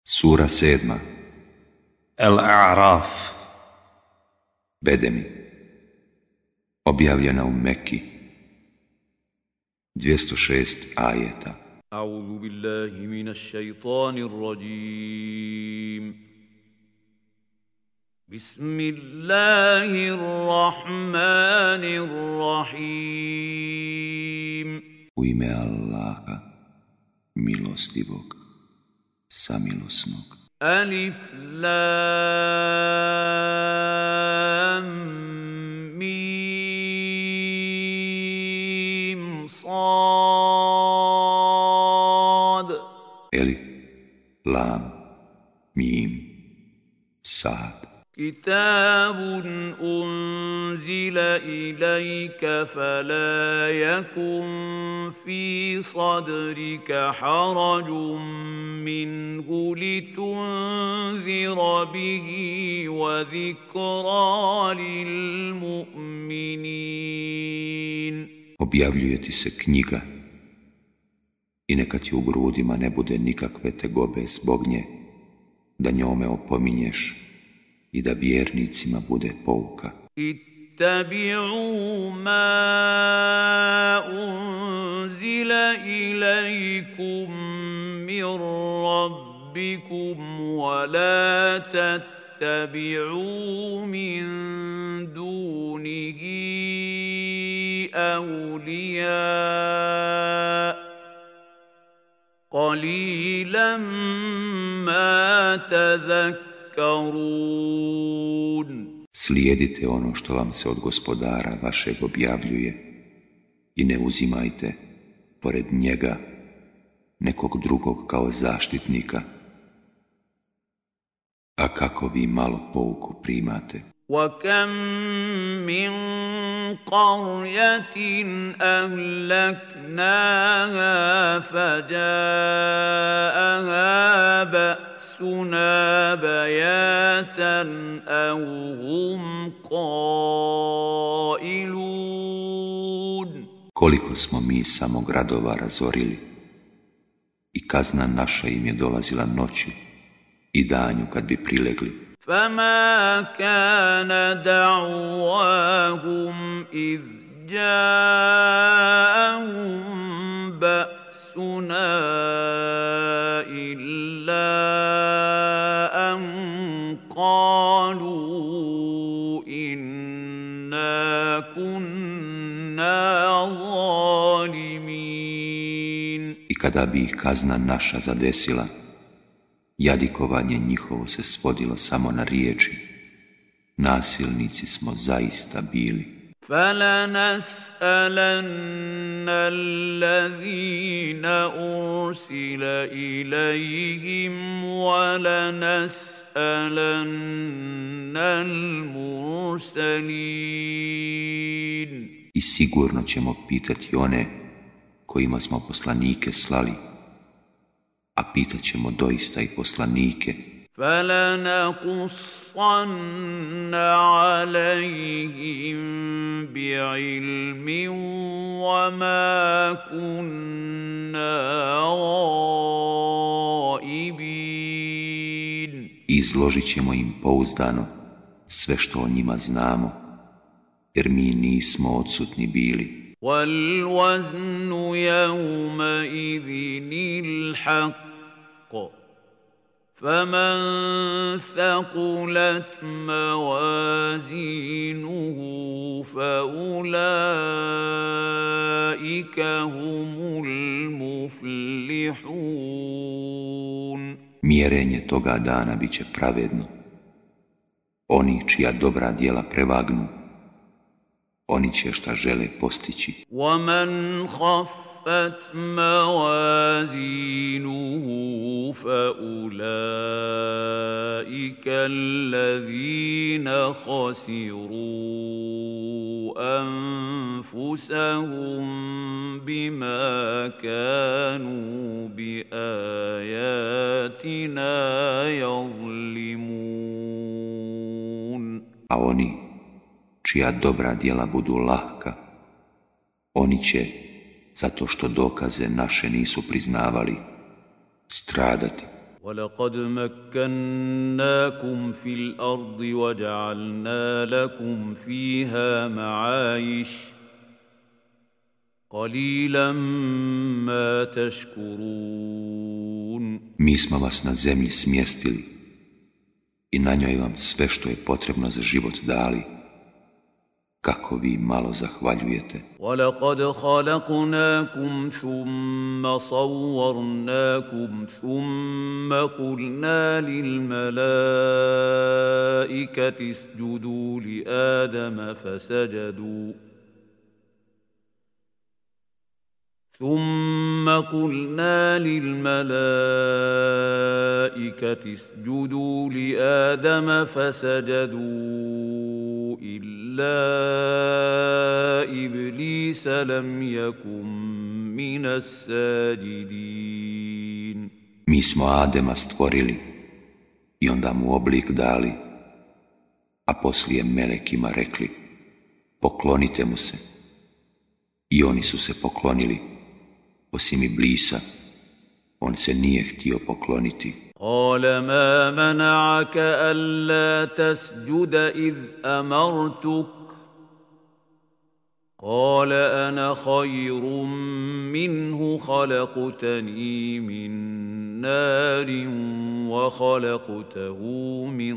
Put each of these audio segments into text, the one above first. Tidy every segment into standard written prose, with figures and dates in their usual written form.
Sura 7. Al-A'raf. Bedemi. Objavljena u Mekki. 206 ajeta. A'udhu billahi minash shaitanir rajim. Bismillahirrahmanirrahim. U ime Allaha, milostivog, samilosnog. Alif Lam Mim Sad. Elif, Lam, Mim, Sad. Kitabun unzila ilayka fala yakun fi sadrika harajun minhu litunzira bihi wa dhikra lil mu'minin. Objavljuje ti se knjiga i neka ti u grudima ne bude nikakve tegobe zbog nje, da njome opominješ i da vjernicima bude pouka. Ittabi'u ma unzila ilaykum min rabbikum wa la tattabi'u min dunihi awliya qalilan ma tadhakkarun. Slijedite ono što vam se od Gospodara vašeg objavljuje i ne uzimajte pored njega nekog drugog kao zaštitnika. A kako vi malo pouku primate. وَكَمْ مِنْ قَرْيَةٍ أَهْلَكْنَاهَا فَجَاءَهَا بَأْسُنَا بَيَاتًا أَوْ هُمْ قَائِلُونَ. Koliko smo mi samo gradova razorili i kazna naša im je dolazila noću i danju kad bi prilegli. فما كان دعواهم إذ جاءهم بأسنا إلا أن قالوا إنا كنا ظالمين. I kada bi ih kazna naša zadesila, jadikovanje njihovo se svodilo samo na riječi: nasilnici smo zaista bili. فَلَنَسْأَلَنَّ الَّذِينَ أُرْسِلَ إِلَيْهِمْ وَلَنَسْأَلَنَّ الْمُرْسَلِينَ. I sigurno ćemo pitati one kojima smo poslanike slali, a pitat ćemo doista i poslanike. فَلَنَقُصَّنَّ عَلَيْهِمْ بِعِلْمٍ وَمَا كُنَّا غَائِبِينَ. Izložit ćemo im pouzdano sve što o njima znamo, jer mi nismo odsutni bili. وَالْوَزْنُ يَوْمَئِذٍ الْحَقُّ فَمَنْ ثَقُلَتْ مَوَازِينُهُ فَأُولَئِكَ هُمُ الْمُفْلِحُونَ. Mjerenje toga dana bit će pravedno. Oni čija dobra djela prevagnu, oni će šta žele postići. وَمَنْ خَفَّتْ مَوَازِينُهُ فَأُولَئِكَ الَّذِينَ خَسِرُوا أَنفُسَهُمْ بِمَا كَانُوا بِآيَاتِنَا يَظْلِمُونَ. A oni čija dobra djela budu lahka, oni će, zato što dokaze naše nisu priznavali, stradati. وَلَقَدْ مَكَّنَّاكُمْ فِي الْأَرْضِ وَجَعَلْنَا لَكُمْ فِيهَا مَعَايِشَ قَلِيلًا مَا تَشْكُرُونَ. Mi smo vas na zemlji smjestili i na njoj vam sve što je potrebno za život dali. Kako vi malo zahvaljujete. وَلَقَدْ خَلَقْنَاكُمْ ثُمَّ صَوَّرْنَاكُمْ ثُمَّ قُلْنَا لِلْمَلَائِكَةِ اسْجُدُوا لِآدَمَ فسجدوا إلا إبليس لم يكن من الساجدين. Mi smo Adema stvorili i onda mu oblik dali, a poslije melekima rekli, poklonite mu se. I oni su se poklonili, osim Iblisa, on se nije htio pokloniti. قال ما منعك ألا تسجد إذ أمرتك قال أنا خير منه خلقتني من نار وخلقته من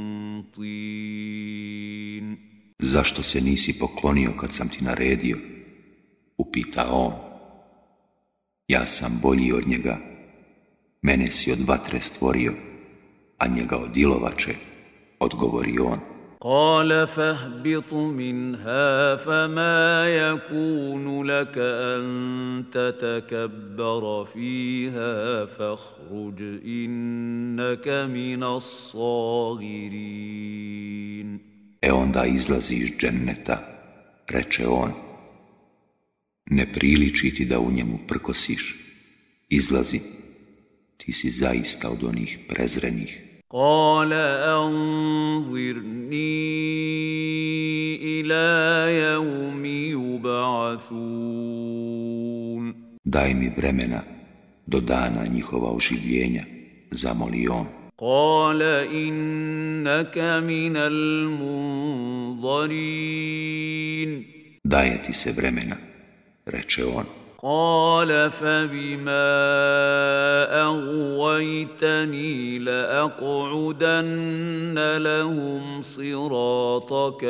طين. Zašto se nisi poklonio kad sam ti naredio? Upita on. Ja sam bolji od njega. Mene si od vatre stvorio, a njega od ilovače, odgovori on. قال فاهبط منها فما يكون لك أن تتكبر فيها فاخرج إنك من الصاغرين. Onda izlazi iz dženneta, reče on. Ne priliči ti da u njemu prkosiš. Izlazi, ti si zaista od onih prezrenih. قال أنظرني إلى يوم يبعثون. Daj mi vremena do dana njihova oživljenja, zamoli on. قال إنك من المنظرين. Daje ti se vremena, reče on. قال فبما أغويتني لأقعدن لهم صراطك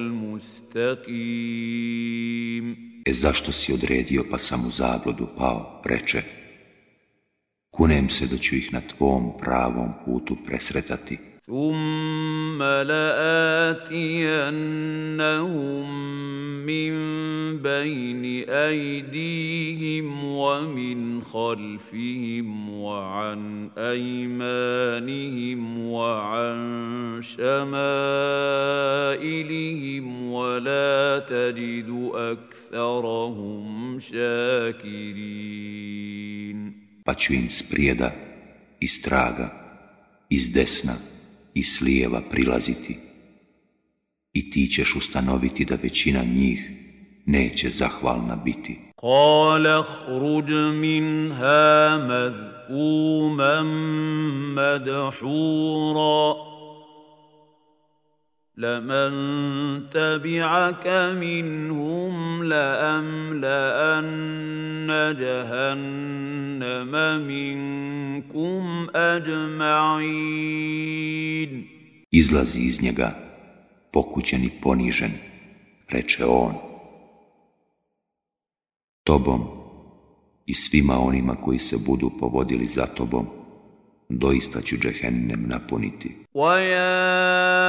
المستقيم. Zašto si odredio pa sam u zabludu pao, reče. Kunem se da ću ih na tvom pravom putu presretati. ثم لآتينهم من بين أيديهم ومن خلفهم وعن أيمانهم وعن شمائلهم ولا تجد أكثرهم شاكرين. Pa ću im sprijeda, iz traga, iz desna i s lijeva prilaziti. I ti ćeš ustanoviti da većina njih neće zahvalna biti. قال اخرج منها مذءوما مدحورا لمن تبعك منهم لأملأن جهنم منكم أجمعين. Izlazi iz njega, pokućen i ponižen, reče on. Tobom i svima onima koji se budu povodili za tobom, doista ću džehennem napuniti. وَيَا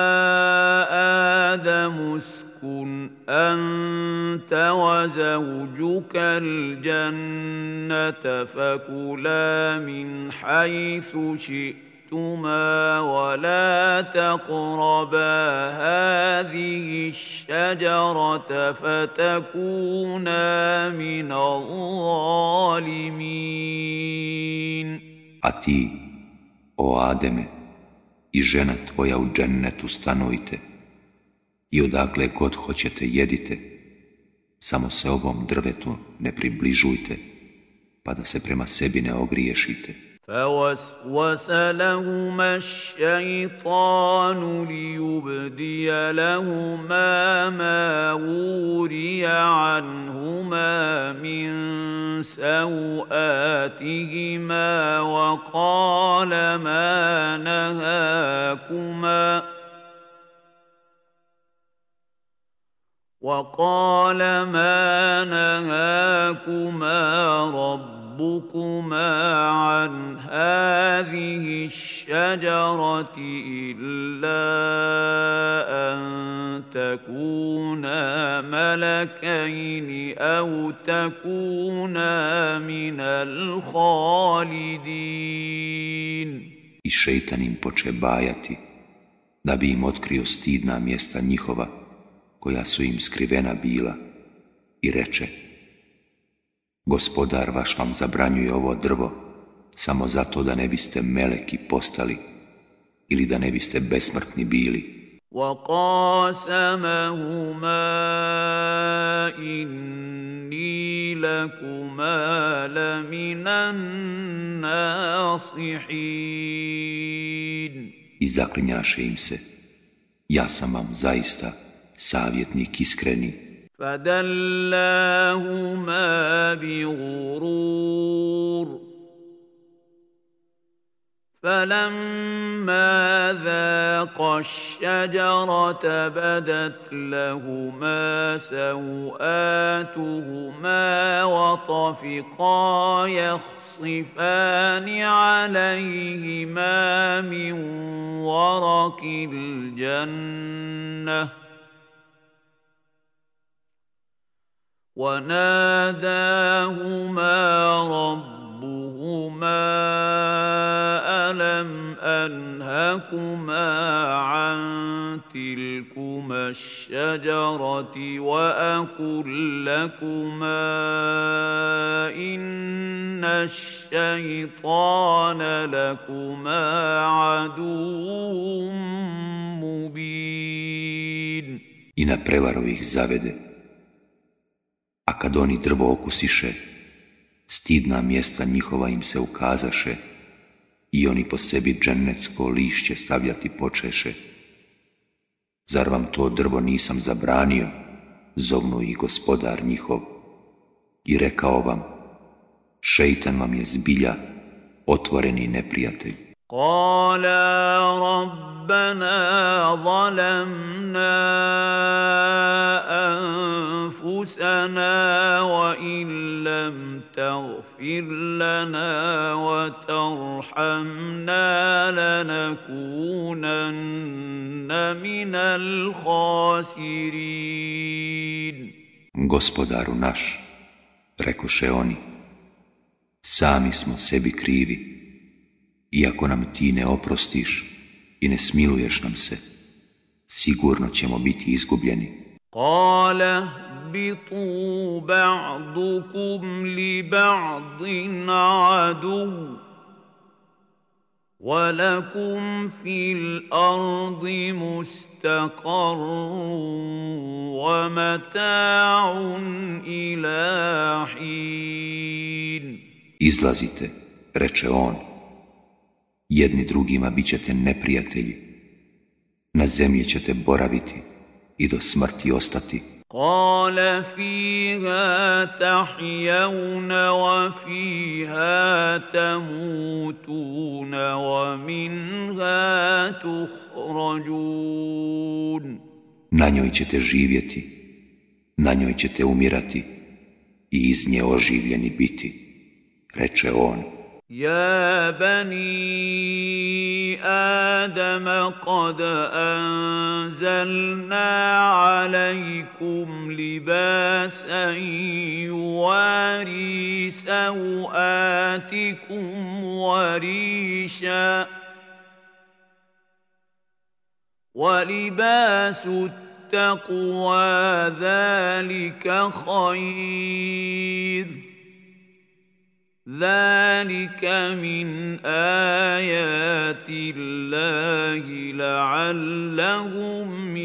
آدَمُ اسْكُنْ أَنْتَ وَزَوْجُكَ الْجَنَّةَ فَكُلَا مِنْ حَيْثُ شِئْتُمَا وَلَا تَقْرَبَا هَذِهِ الشَّجَرَةَ فَتَكُونَا مِنَ الظَّالِمِينَ. A ti, o Ademe, i žena tvoja u džennetu stanujte i odakle god hoćete jedite, samo se ovom drvetu ne približujte, pa da se prema sebi ne ogriješite. فوسوس لهما الشيطان ليبدي لهما ما وري عنهما من سوآتهما وقال ما نهاكما ربكما عن هذه الشجرة إلا أن تكونا ملكين أو تكونا من الخالدين. I šejtan im poče bajati, da bi im otkrio stidna mjesta njihova, koja su im skrivena bila, i reče: Gospodar vaš vam zabranjuje ovo drvo, samo zato da ne biste meleki postali ili da ne biste besmrtni bili. وَقَاسَمَهُمَا إِنِّي لَكُمَا لَمِنَ النَّاصِحِينَ. I zaklinjaše im se: Ja sam vam zaista savjetnik iskreni. فَدَلَّاهُمَا بِغُرُورٍ فَلَمَّا ذَاقَا الشَّجَرَةَ بَدَتْ لَهُمَا سَوْآتُهُمَا وَطَفِقَا يَخْصِفَانِ عَلَيْهِمَا مِنْ وَرَقِ الْجَنَّةِ وناداهما ربهما ألم أنهكما عن تلكما الشجرة وأقل لكما إن الشيطان لكما عدو مبين. I na prevaru ih zavede, a kad oni drvo okusiše, stidna mjesta njihova im se ukazaše i oni po sebi džennetsko lišće stavljati počeše. Zar vam to drvo nisam zabranio, zovnu ih gospodar njihov, i rekao vam: šejtan vam je zbilja otvoreni neprijatelj. Qala rabbana zalamna أنفسنا وإن لم تغفر لنا وترحمنا لنكونن من الخاسرين. Gospodaru naš, rekoše oni, sami smo sebi krivi, iako nam ti ne oprostiš i ne smiluješ nam se, sigurno ćemo biti izgubljeni. قال اهبطوا بعضكم لبعض عدو ولكم في الأرض مستقر ومتاع إلى حين. Izlazite, reče on, jedni drugima bit ćete neprijatelji, na zemlji ćete boraviti i do smrti ostati. قال فيها تحيون وفيها تموتون ومنها تخرجون. Na njoj ćete živjeti, na njoj ćete umirati i iz nje oživljeni biti, reče on. يا بني آدم قد أنزلنا عليكم لباسا يواري سوآتكم وريشا ولباس التقوى ذلك خير ذلك من آيات الله لعلهم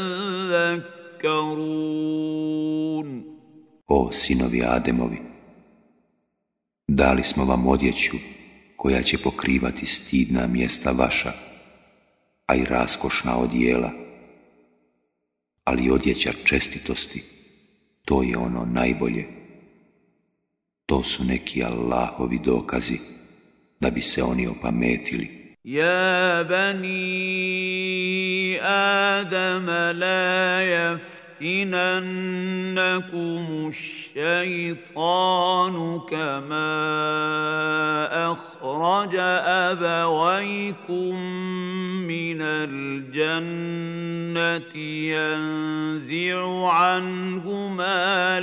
يذكرون. O sinovi Ademovi, dali smo vam odjeću koja će pokrivati stidna mjesta vaša, a i raskošna odijela. Ali odjeća čestitosti, to je ono najbolje. To su neki Allahovi dokazi, da bi se oni opametili. يا بني آدم لا يفتننكم الشيطان كما أخرج أبويكم من الجنة ينزع عنهما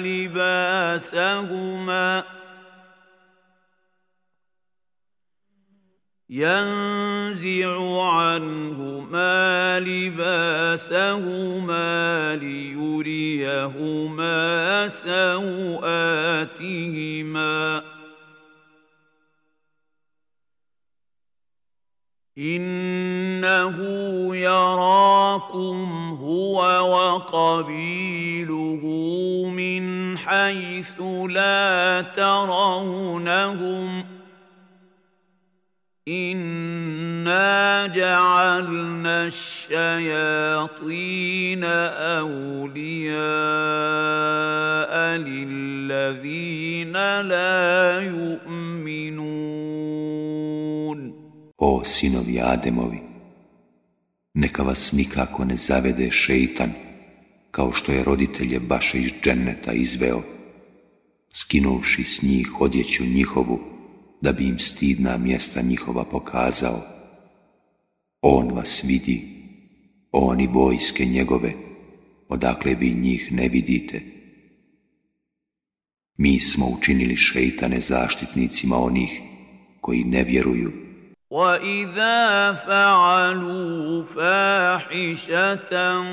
لباسهما ليريهما سوآتهما إنه يراكم هو وقبيله من حيث لا ترونهم إنا جعلنا الشياطين أولياء للذين لا يؤمنون. O sinovi Ademovi, neka vas nikako ne zavede šeitan, kao što je roditelje vaše iz dženneta izveo, skinuvši s njih odjeću njihovu, da bi im stidna mjesta njihova pokazao. On vas vidi, on i vojske njegove, odakle vi njih ne vidite. Mi smo učinili šeitane zaštitnicima onih koji ne vjeruju. وَإِذَا فَعَلُوا فَاحِشَةً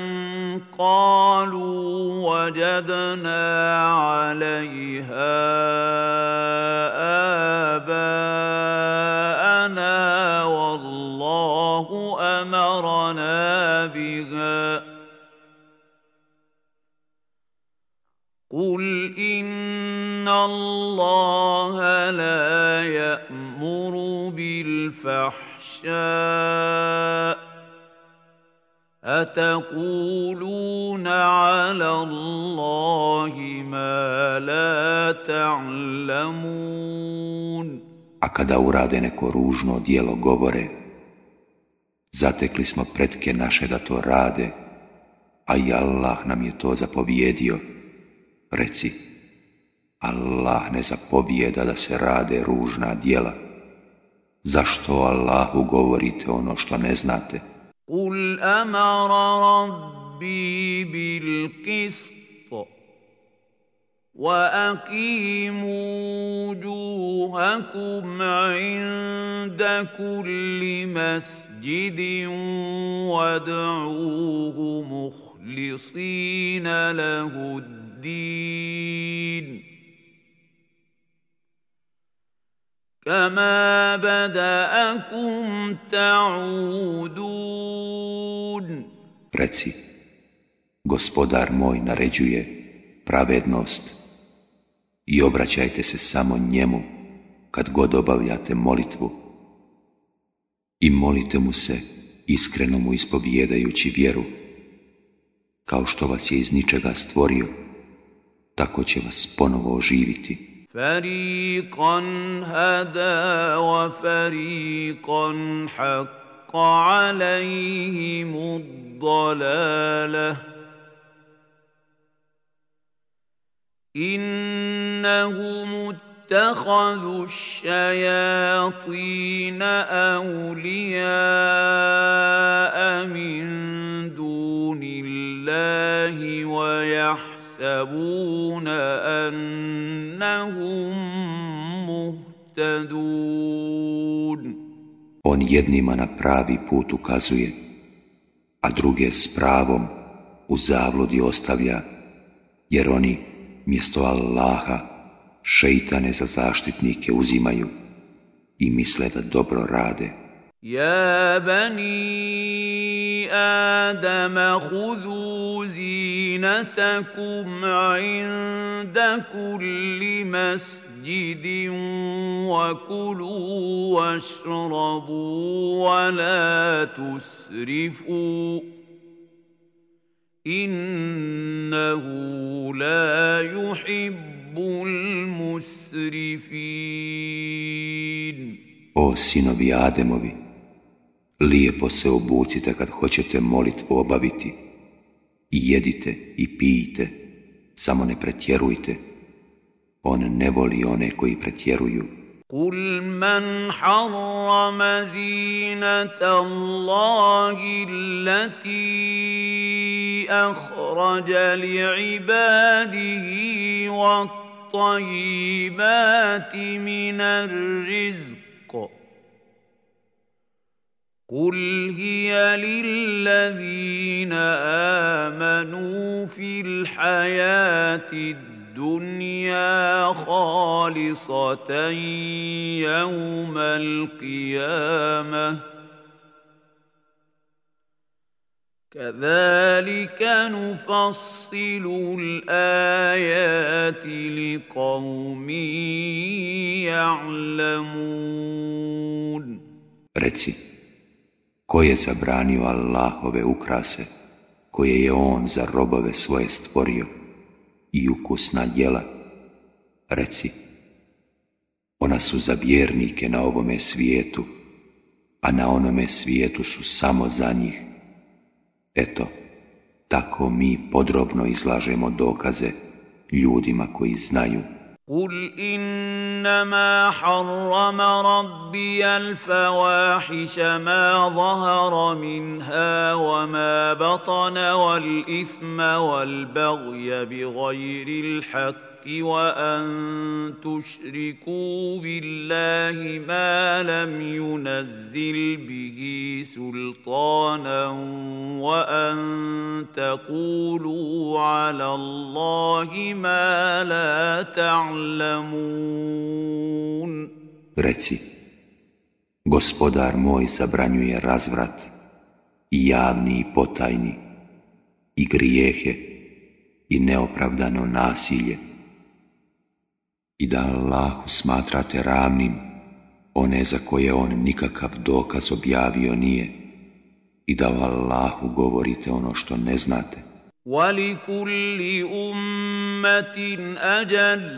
قَالُوا وَجَدْنَا عَلَيْهَا آبَاءَنَا وَاللَّهُ أَمَرَنَا بِهَا قُلْ إِنَّ اللَّهَ لَا يَأْمُرُ بالفحشاء أتقولون على الله ما لا تعلمون. A kada urade neko ružno djelo govore, zatekli smo pretke naše da to rade, a i Allah nam je to zapovjedio. Reci, Allah ne zapovijeda da se rade ružna djela. Zašto Allahu govorite ono što ne znate? قُلْ أَمَرَ رَبِّي بِالْقِسْطِ وَأَقِيمُوا وُجُوهَكُمْ عِندَ كُلِّ مَسْجِدٍ وَادْعُوهُ مُخْلِصِينَ لَهُ الدِّينَ كما بدأكم تعودون. Reci, Gospodar moj naređuje pravednost i obraćajte se samo njemu kad god obavljate molitvu i molite mu se iskreno mu ispovijedajući vjeru. Kao što vas je iz ničega stvorio, tako će vas ponovo oživiti. فريقا هدى وفريقا حق عليهم الضلالة إنهم اتخذوا الشياطين أولياء من دون الله ويحسبون أنهم مهتدون. On jednima na pravi put ukazuje, a druge s pravom u zabludi ostavlja, jer oni mjesto Allaha šeitane za zaštitnike uzimaju i misle da dobro rade. Ja bani Adama khudhu zinatakum inda kulli masjid مسجد وكلوا واشربوا ولا تسرفوا إنه لا يحب المسرفين. O sinovi Ademovi, lijepo se obucite kad hoćete molitvu obaviti i jedite i pijte, samo ne pretjerujte. On ne voli one koji pretjeruju. قل من حرم زينة الله التي أخرج لعباده والطيبات من الرزق قل هي للذين آمنوا في الحياة الدنيا خالصة يوم القيامة كذلك نفصل الآيات لقوم يعلمون. Reci, ko je zabranio Allahove ukrase, koje je on za robove svoje stvorio, i ukusna djela? Reci, ona su za vjernike na ovome svijetu, a na onome svijetu su samo za njih. Eto, tako mi podrobno izlažemo dokaze ljudima koji znaju. قل إنما حرم ربي الفواحش ما ظهر منها وما بطن والإثم والبغي بغير الحق وأن تشركوا بالله ما لم ينزل به سلطانا وأن تقولوا على الله ما لا تعلمون. Reci, Gospodar moj zabranjuje razvrat, i javni i potajni, i grijehe, i neopravdano nasilje, i da Allahu smatrate ravnim one za koje on nikakav dokaz objavio nije, i da o Allahu govorite ono što ne znate. وَلِكُلِّ أُمَّةٍ أَجَلٌ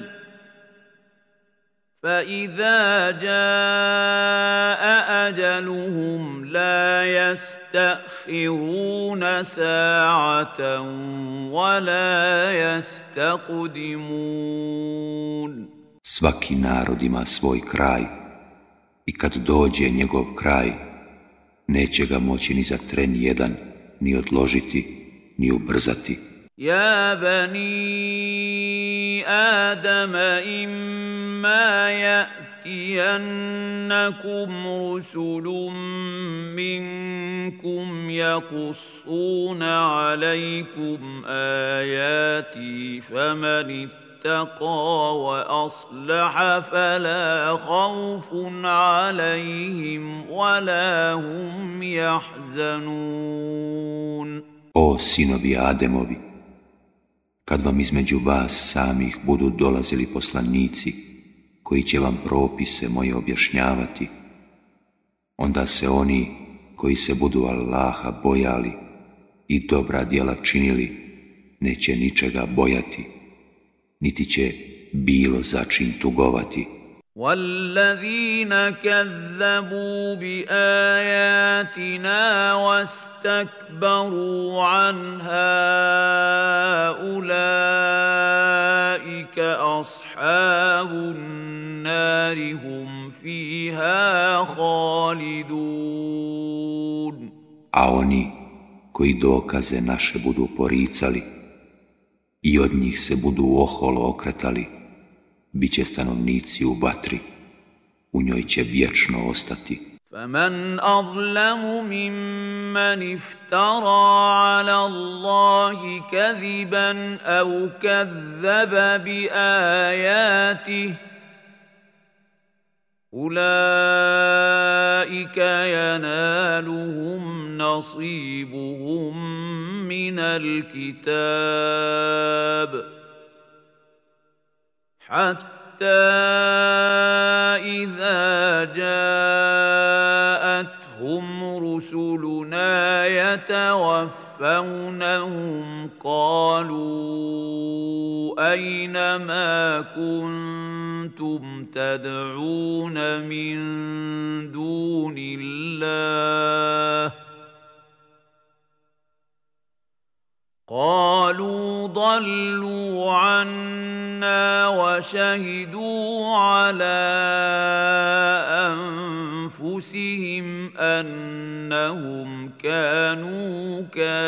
فَإِذَا جَاءَ أَجَلُهُمْ لَا يَسْتَأْخِرُونَ سَاعَةً وَلَا يَسْتَقْدِمُونَ. Svaki narod ima svoj kraj, i kad dođe njegov kraj, neće ga moći ni za tren jedan ni odložiti, ni ubrzati. يا بني آدم إما يأتينكم رسل منكم يقصون عليكم آياتي فمن اتقى وأصلح فلا خوف عليهم ولا هم يحزنون. O sinovi Ademovi, kad vam između vas samih budu dolazili poslanici koji će vam propise moje objašnjavati, onda se oni koji se budu Allaha bojali i dobra djela činili neće ničega bojati, niti će bilo za čim tugovati. وَالَّذِينَ كَذَّبُوا بِآيَاتِنَا وَاسْتَكْبَرُوا عَنْهَا أُولَئِكَ أَصْحَابُ النَّارِ هُمْ فِيهَا خَالِدُونَ. A oni koji dokaze naše budu poricali i od njih se budu oholo okretali, bit će stanovnici u vatri, u njoj će vječno ostati. فَمَنْ أَظْلَمُ مِمَّنِ افْتَرَى عَلَى اللَّهِ كَذِبًا أَوْ كَذَّبَ بِآيَاتِهِ أُولَئِكَ يَنَالُهُمْ نَصِيبُهُم مِّنَ الْكِتَابِ حتى إذا جاءتهم رسلنا يتوفونهم قالوا أين ما كنتم تدعون من دون الله قالوا ضلوا عنا وشهدوا على أنفسهم أنهم كانوا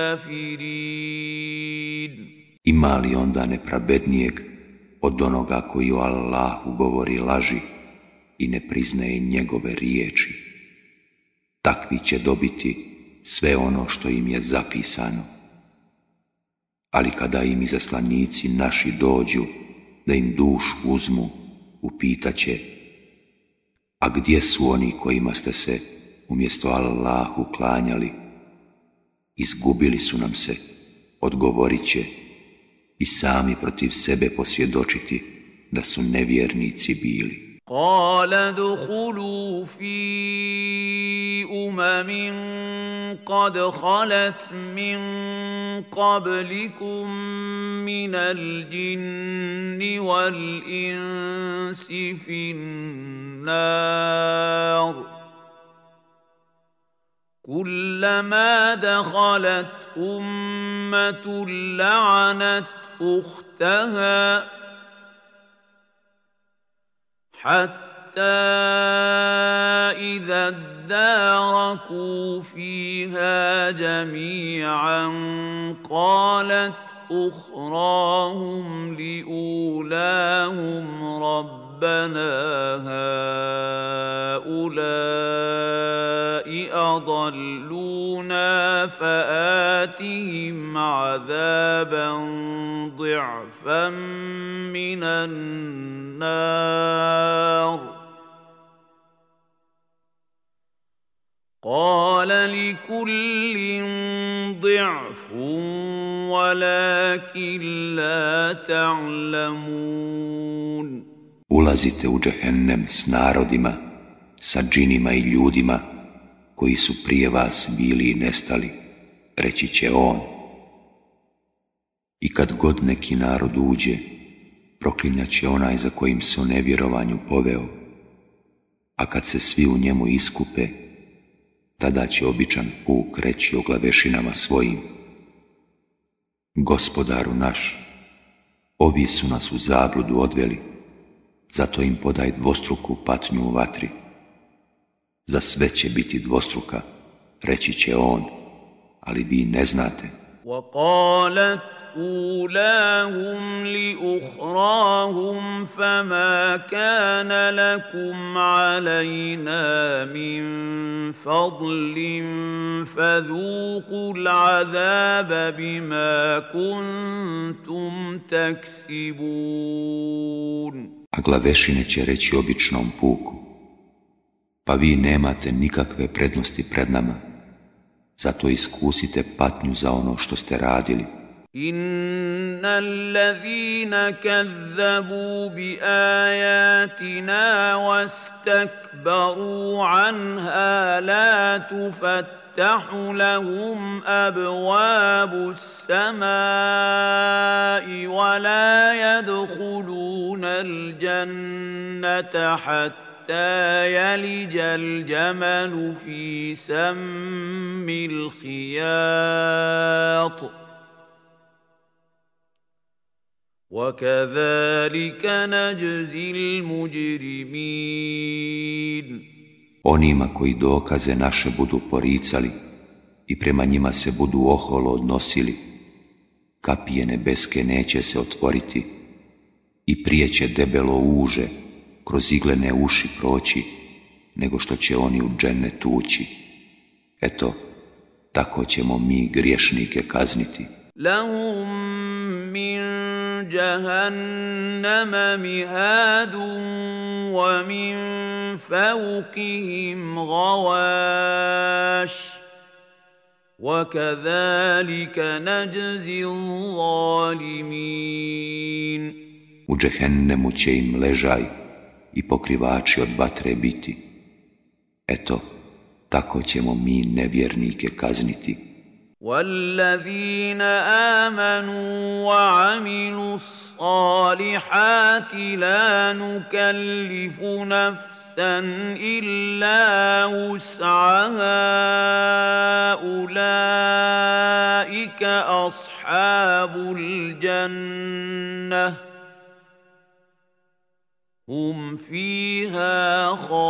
كافرين. Ima li onda nepravednijeg od onoga koji o Allahu govori laži i ne priznaje njegove riječi? Takvi će dobiti sve ono što im je zapisano. Ali kada im izaslanici naši dođu da im dušu uzmu, upitaće: a gdje su oni kojima ste se umjesto Allahu klanjali? Izgubili su nam se, odgovorit će, i sami protiv sebe posvjedočiti da su nevjernici bili. قال ادخلوا في قد خلت من قبلكم من الجن والإنس في النار كلما دخلت أمة لعنت أختها حتى إذا اداركوا فيها جميعا قالت أخراهم لأولاهم ربنا هؤلاء أضلونا فآتهم عذابا ضعفا من النار قال لكل ضعف ولكن لا تعلمون. Ulazite u džehennem s narodima, sa džinima i ljudima koji su prije vas bili i nestali, reći će on. I kad god neki narod uđe, proklinjat će onaj za kojim se o nevjerovanju poveo, a kad se svi u njemu iskupe, tada će običan puk reći o glavešinama svojim: Gospodaru naš, ovi su nas u zabludu odveli, zato im podaj dvostruku patnju u vatri. Za sve će biti dvostruka, reći će on, ali vi ne znate. وقالت أولاهم لأخراهم فما كان لكم علينا من فضل فذوقوا العذاب بما كنتم تكسبون. A glavešine će reći običnom puku: pa vi nemate nikakve prednosti pred nama, zato iskusite patnju za ono što ste radili. إن الذين كذبوا بآياتنا واستكبروا عنها لا تفتح لهم أبواب السماء ولا يدخلون الجنة حتى يلج الجمل في سم الخياط وكذلك نجزي المجرمين. Onima koji dokaze naše budu poricali i prema njima se budu oholo odnosili, kapije nebeske neće se otvoriti i prije će debelo uže kroz iglene uši proći, nego što će oni u džennet ući. Eto, tako ćemo mi griješnike kazniti. Lahum min jahannama mihadun wa min fawqihim ghawash wa kadhalika najzi zalimin. U džehennemu će im ležaj i pokrivači od vatre biti. Eto, tako ćemo mi nevjernike kazniti. وَالَّذِينَ آمَنُوا وَعَمِلُوا الصَّالِحَاتِ لَا نُكَلِّفُ نَفْسًا إِلَّا وُسْعَهَا أُولَئِكَ أَصْحَابُ الْجَنَّةِ هُمْ فِيهَا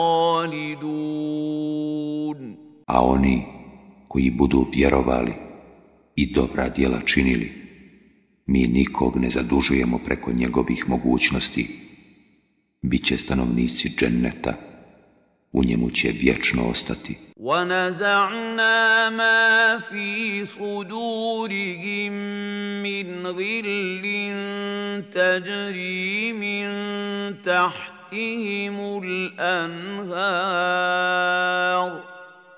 خَالِدُونَ. A oni koji budu vjerovali i dobra djela činili, mi nikog ne zadužujemo preko njegovih mogućnosti. Biće stanovnici dženneta, u njemu će vječno ostati. وَنَزَعْنَا مَا فِي صُدُورِهِم مِّنْ غِلٍّ تَجْرِي مِن تَحْتِهِمُ الْأَنْهَارُ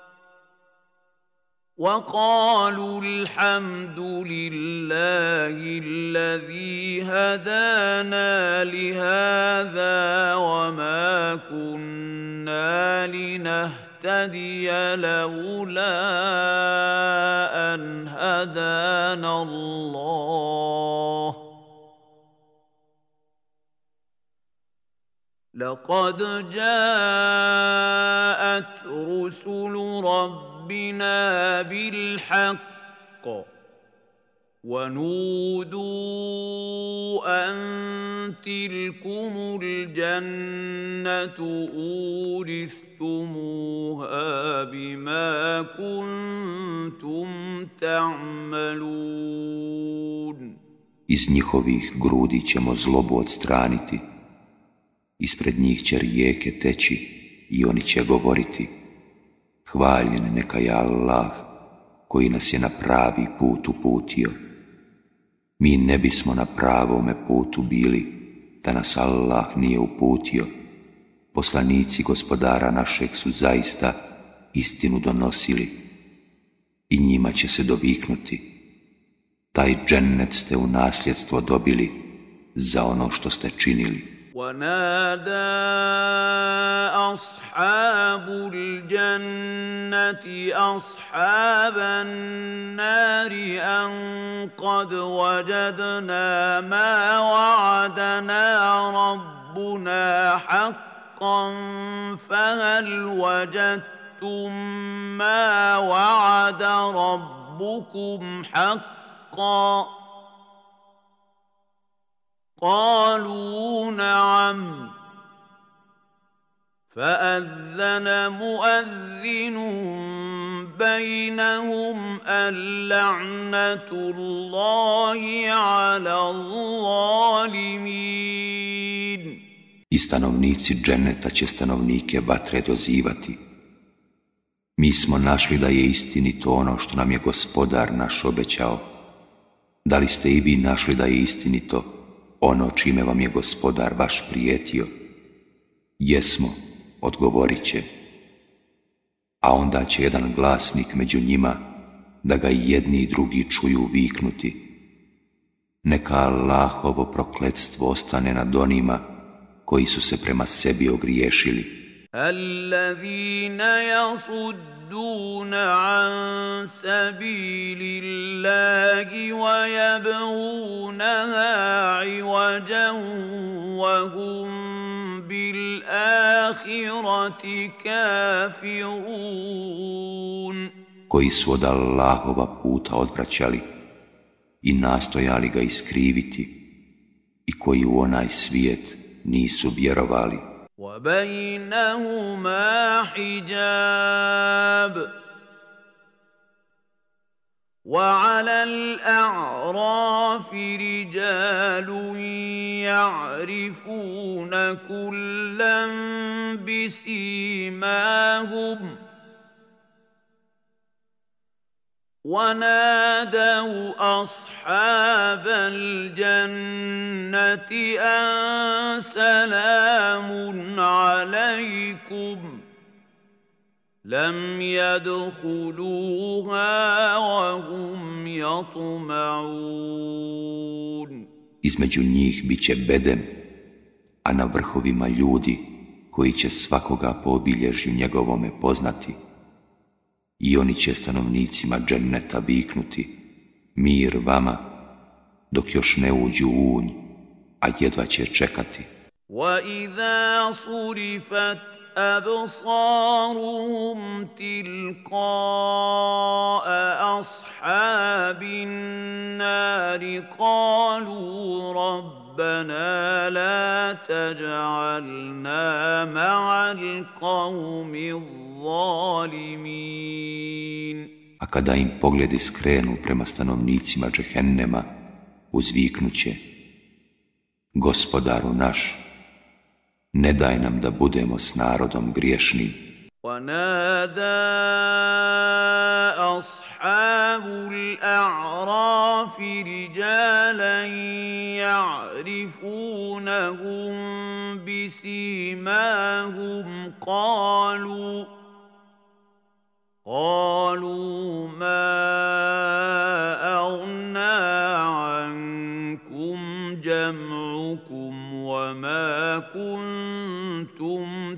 وَقَالُوا الْحَمْدُ لِلَّهِ الَّذِي هَدَانَا لِهَذَا وَمَا كُنَّا لِنَهْتَدِيَ لَوْلَا أَنْ هَدَانَا اللَّهُ لَقَدْ جَاءَتْ رُسُلُ رَبِّنَا بِالْحَقِّ وَنُودُوا أَن تِلْكُمُ الْجَنَّةُ أُورِثْتُمُوهَا بِمَا كُنتُمْ تَعْمَلُونَ. Iz njihovih grudi ćemo zlobu odstraniti. Ispred njih će rijeke teći i oni će govoriti: hvaljen neka je Allah koji nas je na pravi put uputio. Mi ne bismo na pravome putu bili da nas Allah nije uputio. Poslanici gospodara našeg su zaista istinu donosili i njima će se doviknuti: taj džennet ste u nasljedstvo dobili za ono što ste činili. وَنَادَى أَصْحَابُ الْجَنَّةِ أَصْحَابَ النَّارِ أَن قَدْ وَجَدْنَا مَا وَعَدَنَا رَبُّنَا حَقًّا فَهَلْ وَجَدتُّم مَّا وَعَدَ رَبُّكُمْ حَقًّا قالوا نعم فأذن مؤذن بينهم اللعنة الله على الظالمين. I stanovnici dženeta će stanovnike vatre dozivati: mi smo našli da je istinito ono što nam je gospodar naš obećao. Da li ste i vi našli da je istinito ono čime vam je gospodar vaš prijetio? Jesmo, odgovorit će. A onda će jedan glasnik među njima, da ga i jedni i drugi čuju, viknuti: neka Allahovo prokletstvo ostane nad onima koji su se prema sebi ogriješili. Allazina yasudduna an sabilillahi wa yabghunaha iwajan wa hum bil akhirati kafirun. Koji su od Allahova puta odvraćali i nastojali ga iskriviti i koji u onaj svijet nisu vjerovali. وَبَيْنَهُمَا حِجَابٌ وَعَلَى الْأَعْرَافِ رِجَالٌ يَعْرِفُونَ كُلًّا بِسِيمَاهُمْ ونادوا أصحاب الجنة أن سلام عليكم لم يدخلوها وهم يطمعون. između njih bit će bedem, a na vrhovima ljudi koji će svakoga po obilježju njegovome poznati. I oni će stanovnicima dženneta viknuti: mir vama, dok još ne uđu u unj, a jedva će čekati. وَإِذَا صُرِفَتْ أَبْصَارُهُمْ تِلْقَاءَ أَصْحَابِ النَّارِ قَالُوا رَبَّنَا لَا تَجْعَلْنَا مَعَ الْقَوْمِ الظَّالِمِينَ. A kada im pogledi skrenu prema stanovnicima džehennema, uzviknuće: Gospodaru naš, ne daj nam da budemo s narodom griješnim. وَنَادَى أَصْحَابُ الْأَعْرَافِ رِجَالًا يَعْرِفُونَهُم بِسِيمَاهُمْ قالوا ما أغنى عنكم جمعكم وما كنتم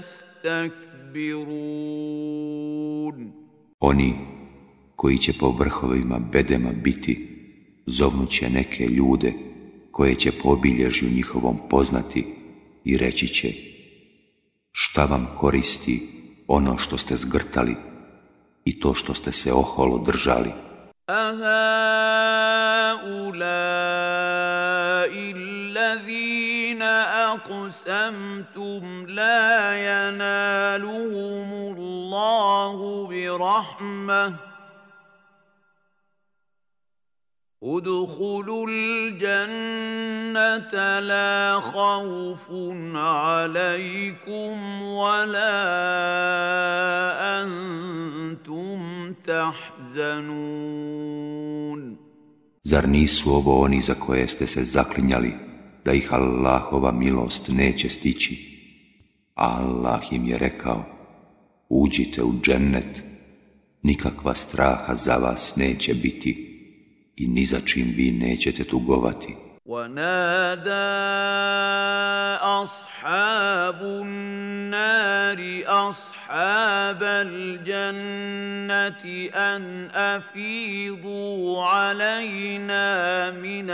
تستكبرون. Oni koji će po vrhovima bedema biti, zovnuće neke ljude koje će po obilježju njihovom poznati i reći će: šta vam koristi ono što ste zgrtali i to što ste se oholo držali? أَهَؤُلَاءِ الَّذِينَ أَقْسَمْتُمْ لَا يَنَالُهُمُ اللَّهُ بِرَحْمَةٍ ادخلوا الجنة لا خوف عليكم ولا أنتم تحزنون. Zar nisu ovo oni za koje ste se zaklinjali da ih Allahova milost neće stići? A Allah im je rekao: uđite u džennet, nikakva straha za vas neće biti i ni za čim vi nećete tugovati. وَنَادَى أَصْحَابُ النَّارِ أَصْحَابَ الْجَنَّةِ أَنْ أَفِيضُوا عَلَيْنَا مِنَ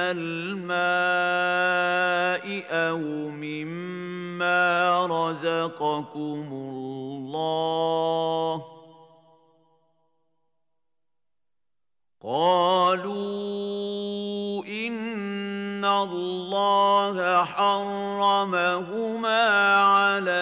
الْمَاءِ أَوْ مِمَّا رَزَقَكُمُ اللَّهُ قالوا إن الله حرمهما على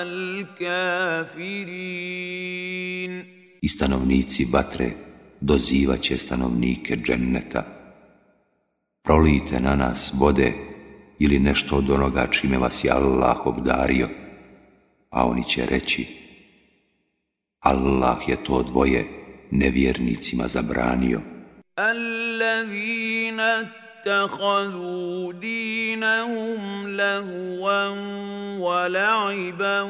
الكافرين. I stanovnici vatre dozivaće stanovnike dženneta: prolijte na nas vode ili nešto od onoga čime vas je Allah obdario. A oni će reći: Allah je to dvoje nevjernicima zabranio. الذين اتخذوا دينهم لهوا ولعبا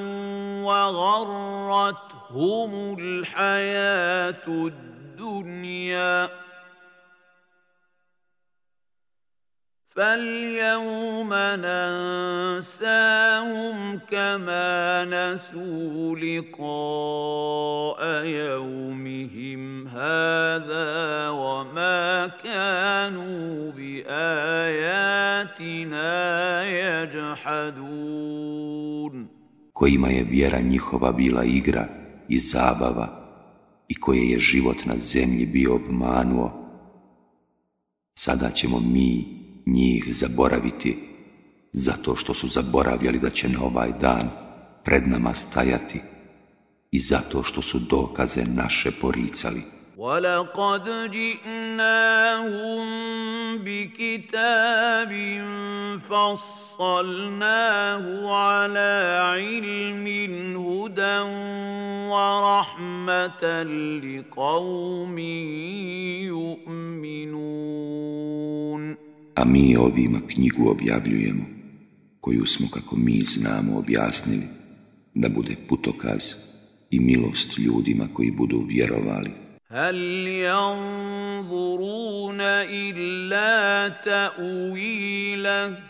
وغرتهم الحياة الدنيا فاليوم ننساهم كما نسوا لقاء يومهم هذا وما كانوا بآياتنا يجحدون. Kojima je vjera njihova bila igra i zabava i koje je život na zemlji bio obmanuo, sada ćemo mi njih zaboraviti, zato što su zaboravljali da će na ovaj dan pred nama stajati i zato što su dokaze naše poricali. وَلَقَدْ جِئْنَاهُمْ بِكِتَابٍ فَصَّلْنَاهُ عَلَى عِلْمٍ هُدًى وَرَحْمَةً لِقَوْمٍ يُؤْمِنُونَ. A mi ovima knjigu objavljujemo, koju smo, kako mi znamo, objasnili, da bude putokaz i milost ljudima koji budu vjerovali. هل ينظرون إلا تأويله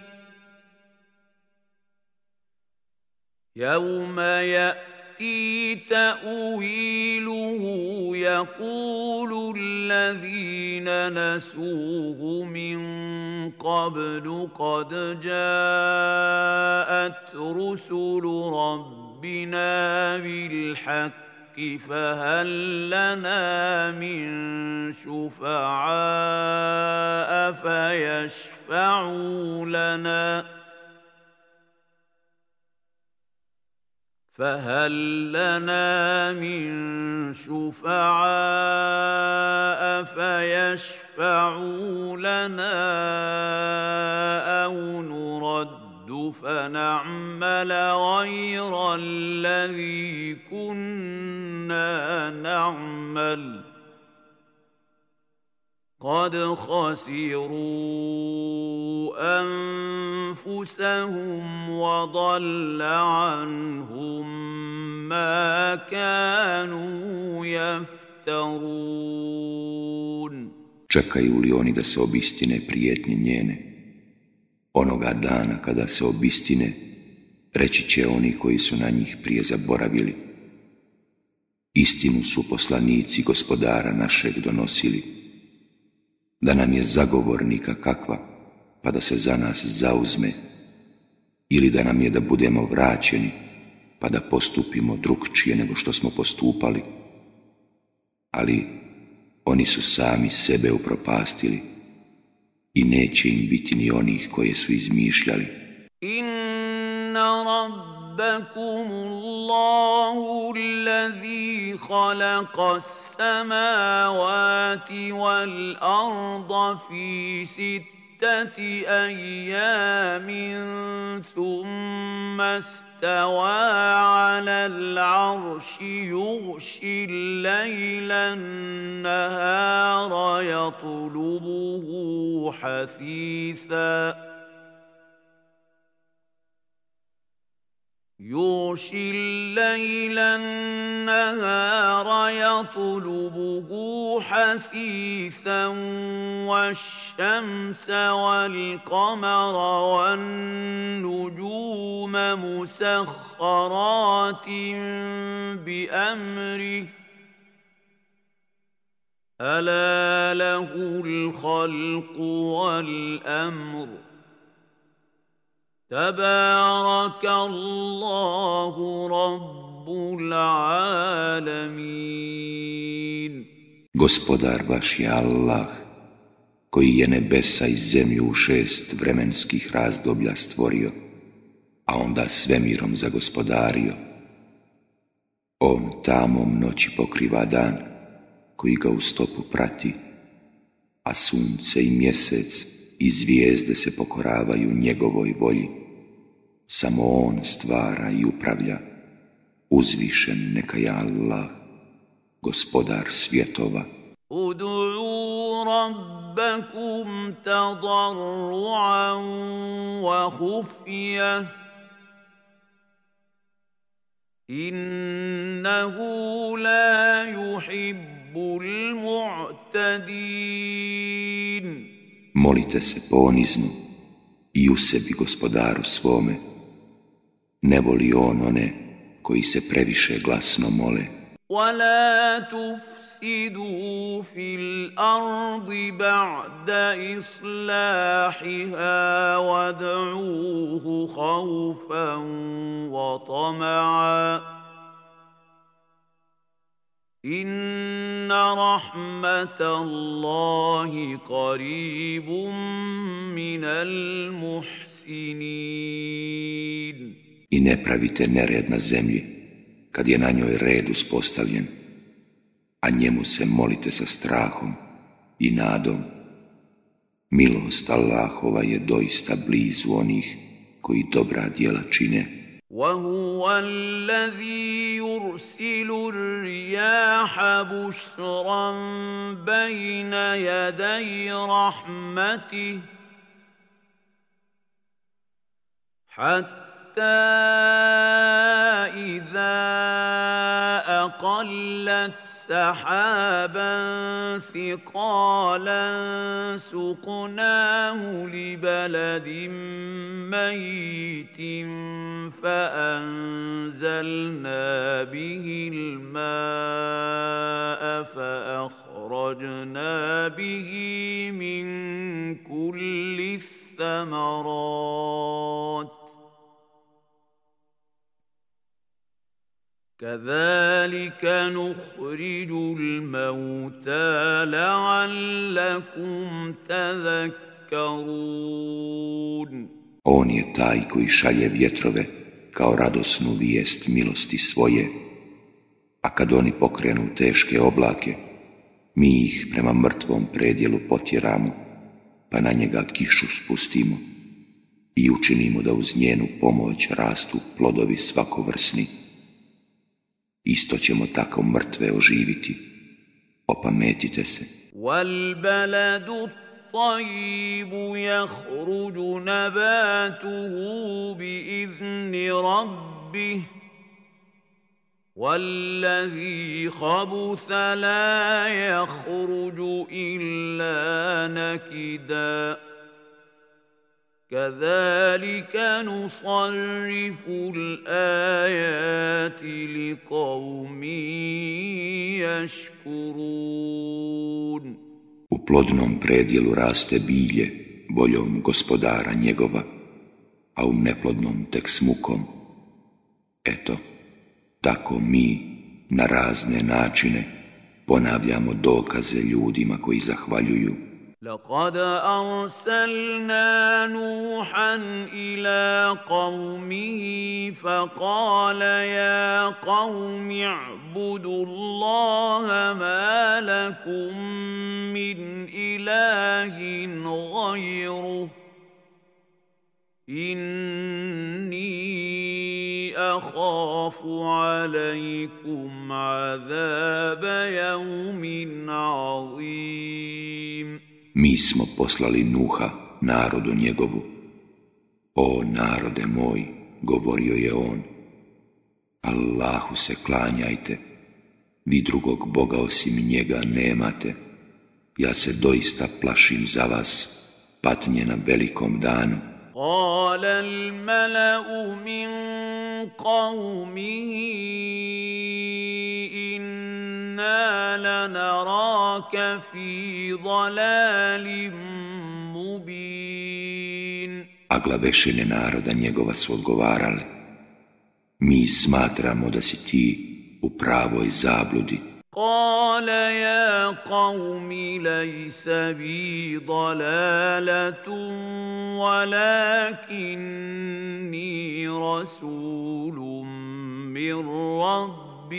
يوم يأتي تأويله يقول الذين نسوه من قبل قد جاءت رسل ربنا بالحق فهل لنا من شفعاء فيشفعوا لنا أو نرد فنعمل غير الذي كنا نعمل قد خسروا أنفسهم وضل عنهم ما كانوا يفترون. Čekaju li oni da se obistine prijetnje njene? Onoga dana kada se obistine, reći će oni koji su na njih prije zaboravili: istinu su poslanici Gospodara našeg donosili, da nam je zagovornika kakva, pa da se za nas zauzme, ili da nam je da budemo vraćeni, pa da postupimo drukčije nego što smo postupali. Ali oni su sami sebe upropastili i neće im biti ni onih koje su izmišljali. Inna rabbakumullahu allazi khalaqa as-samawati wal arda fi sittati ayyamin thumma استوى على العرش يغشي الليل النهار يطلبه حثيثا والشمس والقمر والنجوم مسخرات بأمره ألا له الخلق والأمر تبارك الله رب العالمين. Gospodar vaš je Allah, koji je nebesa i zemlju u 6 vremenskih razdoblja stvorio, a onda svemirom zagospodario. On tamom noći pokriva dan, koji ga u stopu prati, a sunce i mjesec i zvijezde se pokoravaju njegovoj volji. Samo on stvara i upravlja. Uzvišen neka je Allah, gospodar svjetova. Udu'u rabbakum tadarru'an wa khufiyah innahu la yuhibbul mu'tadin. Molite se ponizno i u sebi gospodaru svome. Ne voli on one koji se previše glasno mole. وَلَا تُفْسِدُوا فِي الْأَرْضِ بَعْدَ إِصْلَاحِهَا وَادْعُوهُ خَوْفًا وَطَمَعًا إِنَّ رَحْمَةَ اللَّهِ قَرِيبٌ مِنَ الْمُحْسِنِينَ. I ne pravite nered na zemlji, kad je na njoj red uspostavljen, a njemu se molite sa strahom i nadom. Milost Allahova je doista blizu onih koji dobra djela čine. وَهُوَ الَّذِي يُرْسِلُ الرِّيَاحَ بُشْرًا بَيْنَ يَدَيْ رَحْمَتِهِ حَتَّى إِذَا أقلت سحابا ثقالا سقناه لبلد ميت فأنزلنا به الماء فأخرجنا به من كل الثمرات كذلك نخرج الموتى لعلكم تذكرون. On je taj koji šalje vjetrove kao radosnu vijest milosti svoje, a kad oni pokrenu teške oblake, mi ih prema mrtvom predjelu potjeramo, pa na njega kišu spustimo i učinimo da uz njenu pomoć rastu plodovi svakovrsni. Isto ćemo tako mrtve oživiti, opametite se. وَالْبَلَدُ الطَّيِّبُ يَخْرُجُ نَبَاتُهُ بِإِذْنِ رَبِّهِ وَالَّذِي خَبُثَ لَا يَخْرُجُ إِلَّا نَكِدًا كَذَلِكَ نُصَرِّفُ الْآيَاتِ لِقَوْمٍ يَشْكُرُونَ. U plodnom predjelu raste bilje voljom gospodara njegova, a u neplodnom tek s mukom. Eto, tako mi na razne načine ponavljamo dokaze ljudima koji zahvaljuju. لقد أرسلنا نوحا إلى قومه فقال يا قوم اعبدوا الله ما لكم من إله غيره إني أخاف عليكم عذاب يوم عظيم. Mi smo poslali Nuha narodu njegovu. O narode moj, govorio je on, Allahu se klanjajte, vi drugog Boga osim njega nemate. Ja se doista plašim za vas patnje na velikom danu. قال الملأ من قومه إنا لنراك في ضلال مبين. A glavešine naroda njegova su odgovarale, mi smatramo da si ti u pravoj zabludi. قال يا قوم ليس بي ضلالة ولكني رسول من رب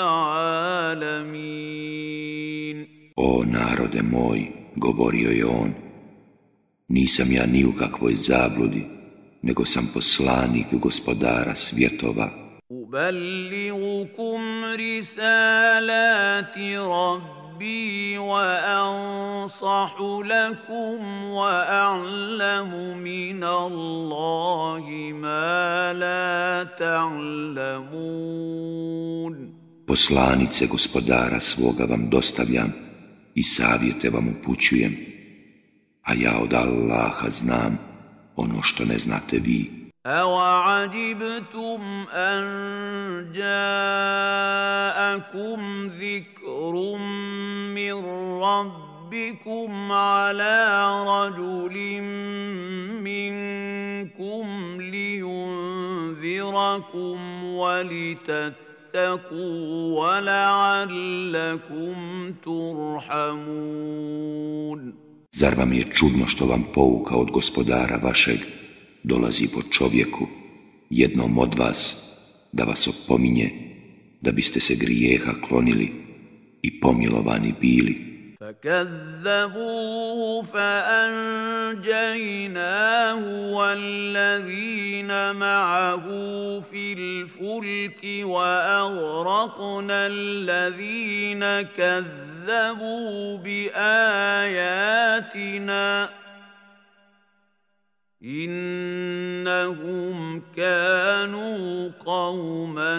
العالمين. O narode moj, govorio je on, nisam ja ni u kakvoj zabludi, nego sam poslanik gospodara svjetova. أبلغكم رسالات ربي وأنصح لكم وأعلم من الله ما لا تعلمون. Poslanice gospodara svoga vam dostavljam i savjete vam upućujem, a ja od Allaha znam ono što ne znate vi. أَوَعَجِبْتُمْ أَنْ جَاءَكُمْ ذِكْرٌ مِّنْ رَبِّكُمْ عَلَى رَجُلٍ مِّنْكُمْ لِيُنذِرَكُمْ وَلِتَتَّقُوا وَلَعَلَّكُمْ تُرْحَمُونَ. Zar vam je čudno što vam pouka od gospodara vašeg dolazi po čovjeku, jednom od vas, da vas opominje, da biste se grijeha klonili i pomilovani bili? فَكَذَّبُوهُ فَأَنْجَيْنَاهُ وَالَّذِينَ مَعَهُ فِي الْفُلْكِ وَأَغْرَقْنَا الَّذِينَ كَذَّبُوا بِآيَاتِنَا إِنَّهُمْ إنهم كانوا قوما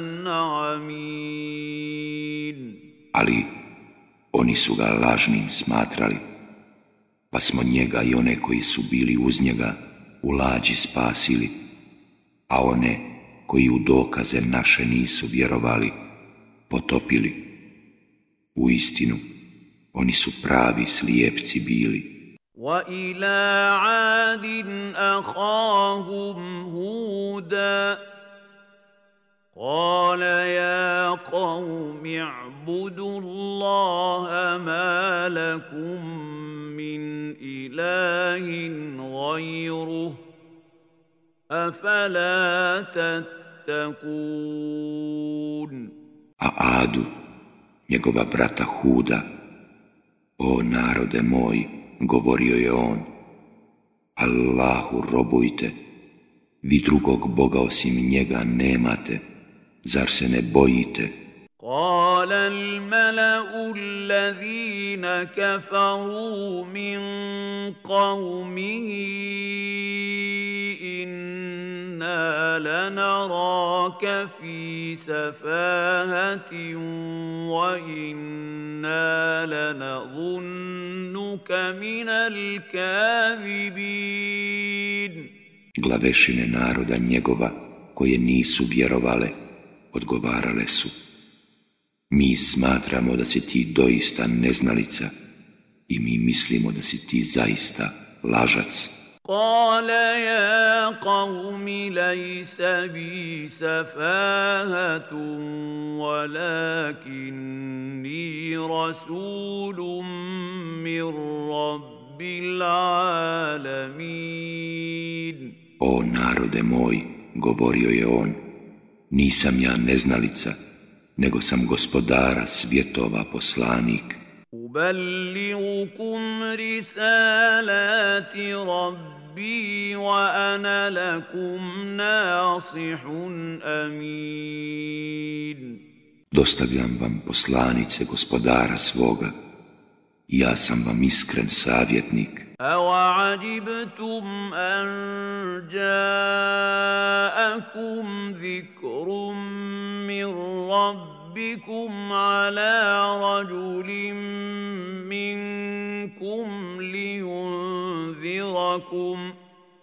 عمين. Ali oni su ga lažnim smatrali, pa smo njega i one koji su bili uz njega u lađi spasili, a one koji u dokaze naše nisu vjerovali, potopili. Uistinu, oni su pravi slijepci bili. وَإِلَىٰ عَادٍ أَخَاهُمْ هُودًا قَالَ يَا قَوْمِ اعْبُدُوا اللَّهَ مَا لَكُم مِّنْ إِلَٰهٍ غَيْرُهُ أَفَلَا تَتَّقُونَ. A Adu, njegova brata Huda: O narode moj, govorio je on, Allahu robujte, vi drugog Boga osim njega nemate, zar se ne bojite? قال الملأ الذين كفروا من قومه إنا لنراك في سفاهة وإنا لنظنك من الكاذبين. Glavešine naroda njegova, koje nisu vjerovale, odgovarale su: Mi smatramo da si ti doista neznalica i mi mislimo da si ti zaista lažac. قال يا قوم ليس بي سفاهة ولكني رسول من رب العالمين. O narode moj, govorio je on, nisam ja neznalica, nego sam gospodara svjetova poslanik. أبلغكم رسالات ربي وأنا لكم ناصح أمين. Dostavljam vam poslanice gospodara svoga, ja sam vam iskren savjetnik. أَوَعَجِبْتُمْ أَنْ جَاءَكُمْ ذِكْرٌ مِّن رَّبِّكُمْ عَلَىٰ رَجُلٍ مِّنكُمْ لِيُنذِرَكُمْ ۖ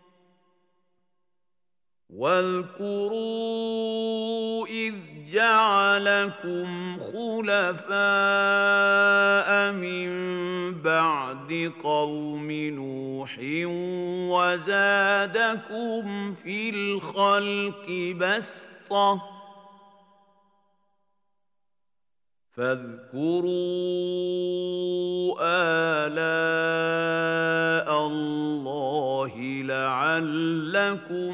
واذكروا إذ جعلكم خلفاء من بعد قوم نوح وزادكم في الخلق بسطة فاذكروا آلاء الله لعلكم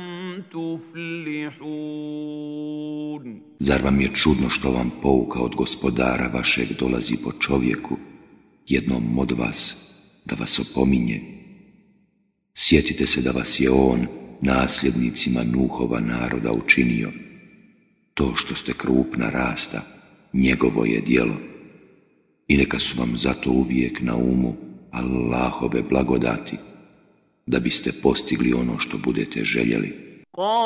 تفلحون. Zar vam je čudno što vam pouka od gospodara vašeg dolazi po čovjeku, jednom od vas, da vas opominje? Sjetite se da vas je on nasljednicima Nuhova naroda učinio. To što ste krupna rasta, njegovo je djelo. I neka su vam zato uvijek na umu Allahove blagodati, da biste postigli ono što budete željeli.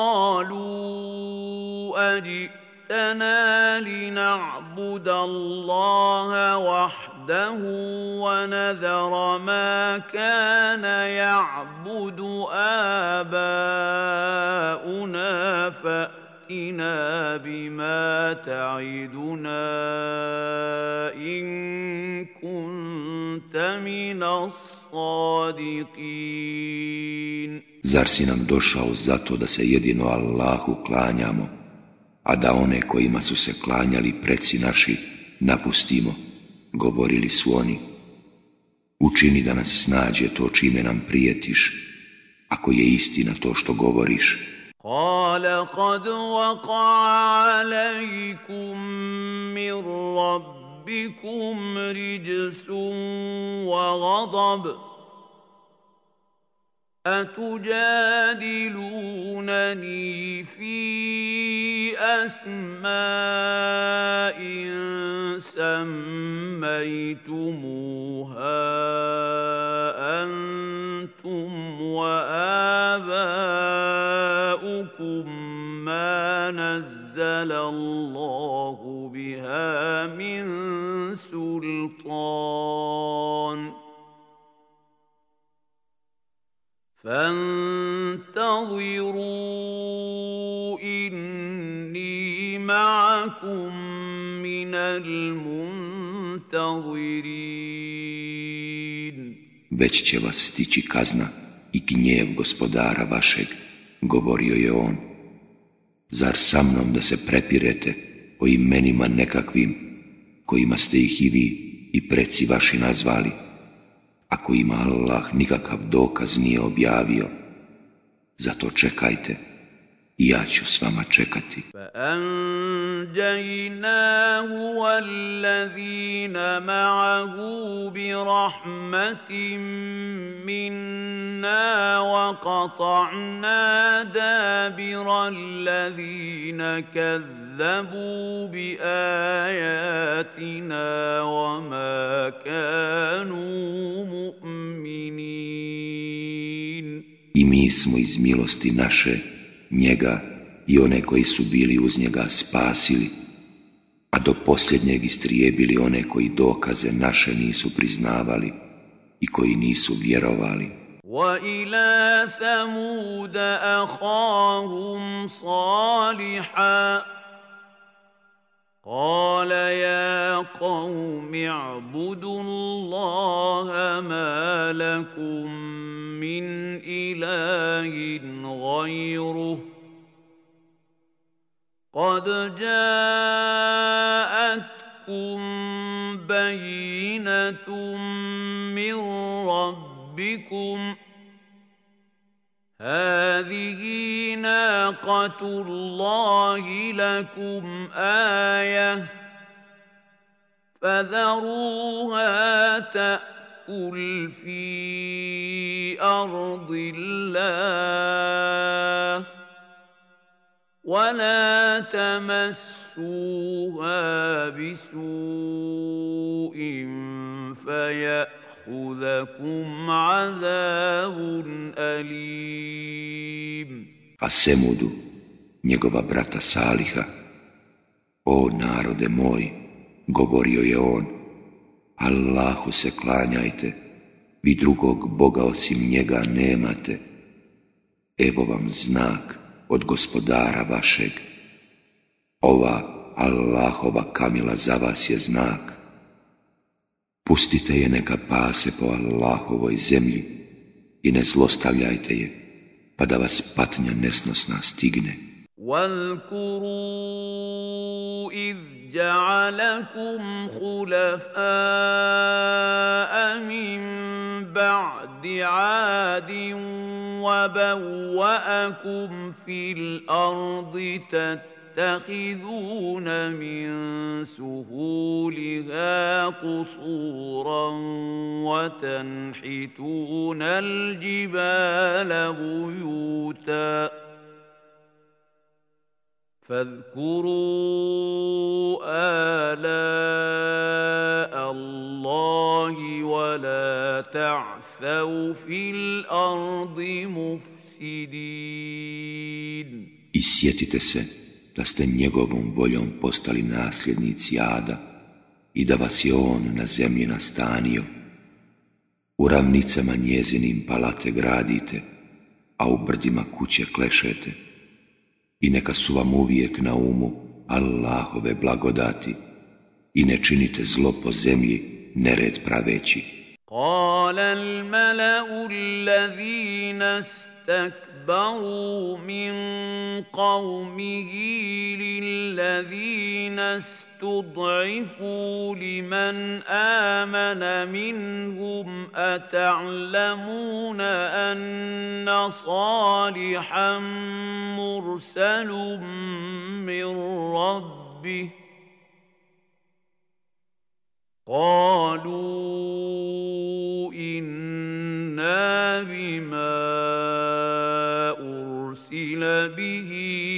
قالوا أجئتنا لنعبد الله وحده ونذر ما كان يعبد آباؤنا فأتنا بما تعدنا إن كنت من الصادقين. Zar si nam došao zato da se jedino Allahu klanjamo, a da one kojima su se klanjali preci naši napustimo? Govorili su oni. Učini da nas snađe to čime nam prijetiš, ako je istina to što govoriš. قال قد وقع عليكم من ربكم رجس وغضب أتجادلونني في أسماء سميتموها أنتم وآباؤكم فانتظروا إني معكم من المنتظرين. Već će vas stići kazna i gnjev gospodara vašeg, govorio je on. Zar sa mnom da se prepirete o imenima nekakvim, kojima ste ih i vi i preci vaši nazvali, a kojima Allah nikakav dokaz nije objavio? Zato čekajte i ja ću s vama čekati. فَأَنْجَيْنَاهُ وَالَّذِينَ مَعَهُ بِرَحْمَةٍ مِّنَّا وَقَطَعْنَا دَابِرَ الَّذِينَ كَذَّبُوا بِآيَاتِنَا وَمَا كَانُوا مُؤْمِنِينَ. I mi smo iz milosti naše njega i one koji su bili uz njega spasili, a do posljednjeg istrijebili one koji dokaze naše nisu priznavali i koji nisu vjerovali. وَإِلَى ثَمُودَ أَخَاهُمْ صَالِحًا قَالَ يَا قَوْمِ اعْبُدُوا اللَّهَ مَا لَكُمْ مِنْ إِلَٰهٍ غَيْرُهُ قَدْ جَاءَتْكُمْ بَيِّنَةٌ مِّن رَّبِّكُمْ هَٰذِهِ نَاقَةُ اللَّهِ لَكُمْ آيَةً فَذَرُوهَا تَأْكُلْ فِي أَرْضِ اللَّهِ وَلَا تَمَسُّوهَا بِسُوءٍ فَيَأْخُذَكُمْ عَذَابٌ أَلِيمٌ. A Semudu, njegova brata Saliha: O narode moj, govorio je on, Allahu se klanjajte, vi drugog Boga osim njega nemate. Evo vam znak od gospodara vašeg. Ova Allahova kamila za vas je znak. Pustite je neka pase po Allahovoj zemlji i ne zlostavljajte je, pa da vas patnja nesnosna stigne. وَاذْكُرُوا إِذْ جَعَلَكُمْ خُلَفَاءَ مِنْ بَعْدِ عَادٍ وَبَوَّأَكُمْ فِي الْأَرْضِ تَتَّخِذُونَ مِنْ سُهُولِهَا قُصُورًا وَتَنْحِتُونَ الْجِبَالَ بُيُوتًا فاذكروا آلاء الله ولا تعثوا في الأرض مفسدين. I sjetite se da ste njegovom voljom postali nasljednici Ada i da vas je on na zemlji nastanio. U ravnicama njezinim palate gradite, a u brdima kuće klešete. I neka su vam uvijek na umu Allahove blagodati i ne činite zlo po zemlji nered praveći. قال الملأ الذين استكبروا من قومه للذين استضعفوا لمن آمن منهم أتعلمون أن صالحا مرسل من ربه قالوا إنا بما أرسل به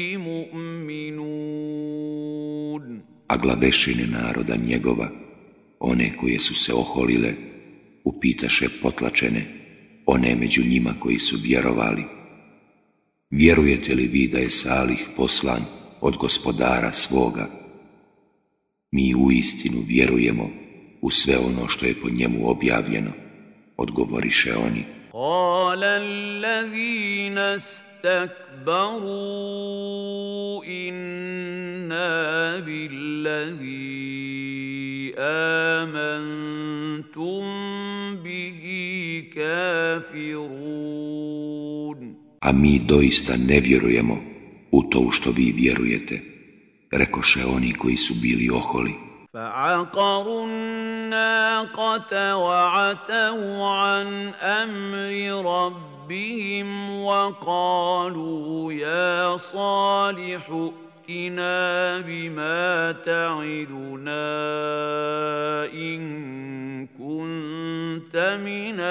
مؤمنون. A glavešine naroda njegova, one koje su se oholile, upitaše potlačene, one među njima koji su vjerovali: vjerujete li vi da je Salih poslan od gospodara svoga? Mi uistinu vjerujemo u sve ono što je po njemu objavljeno, odgovoriše oni. قال الذين استكبروا إنا بالذي آمنتم به كافرون. A mi doista ne vjerujemo u to u što vi vjerujete, rekoše oni koji su bili oholi. فعقروا الناقة وعتوا عن أمر ربهم وقالوا يا صالح ائتنا بما تعدنا إن كنت من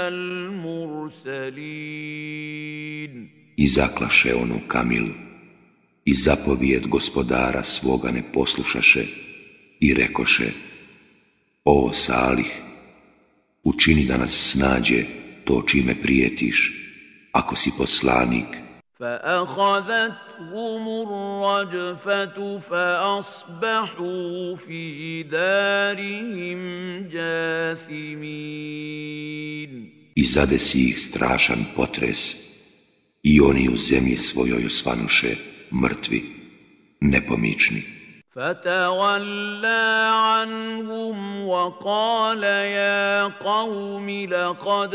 المرسلين. I zaklaše onu kamilu, i zapovijed gospodara svoga ne poslušaše, i rekoše: O Salih, učini da nas snađe to čime prijetiš, ako si poslanik. فأخذتهم الرجفة فأصبحوا في دارهم جاثمين. I zadesi ih strašan potres, i oni u zemlji svojoj osvanuše mrtvi, nepomični. فتولى عنهم وقال يا قوم لقد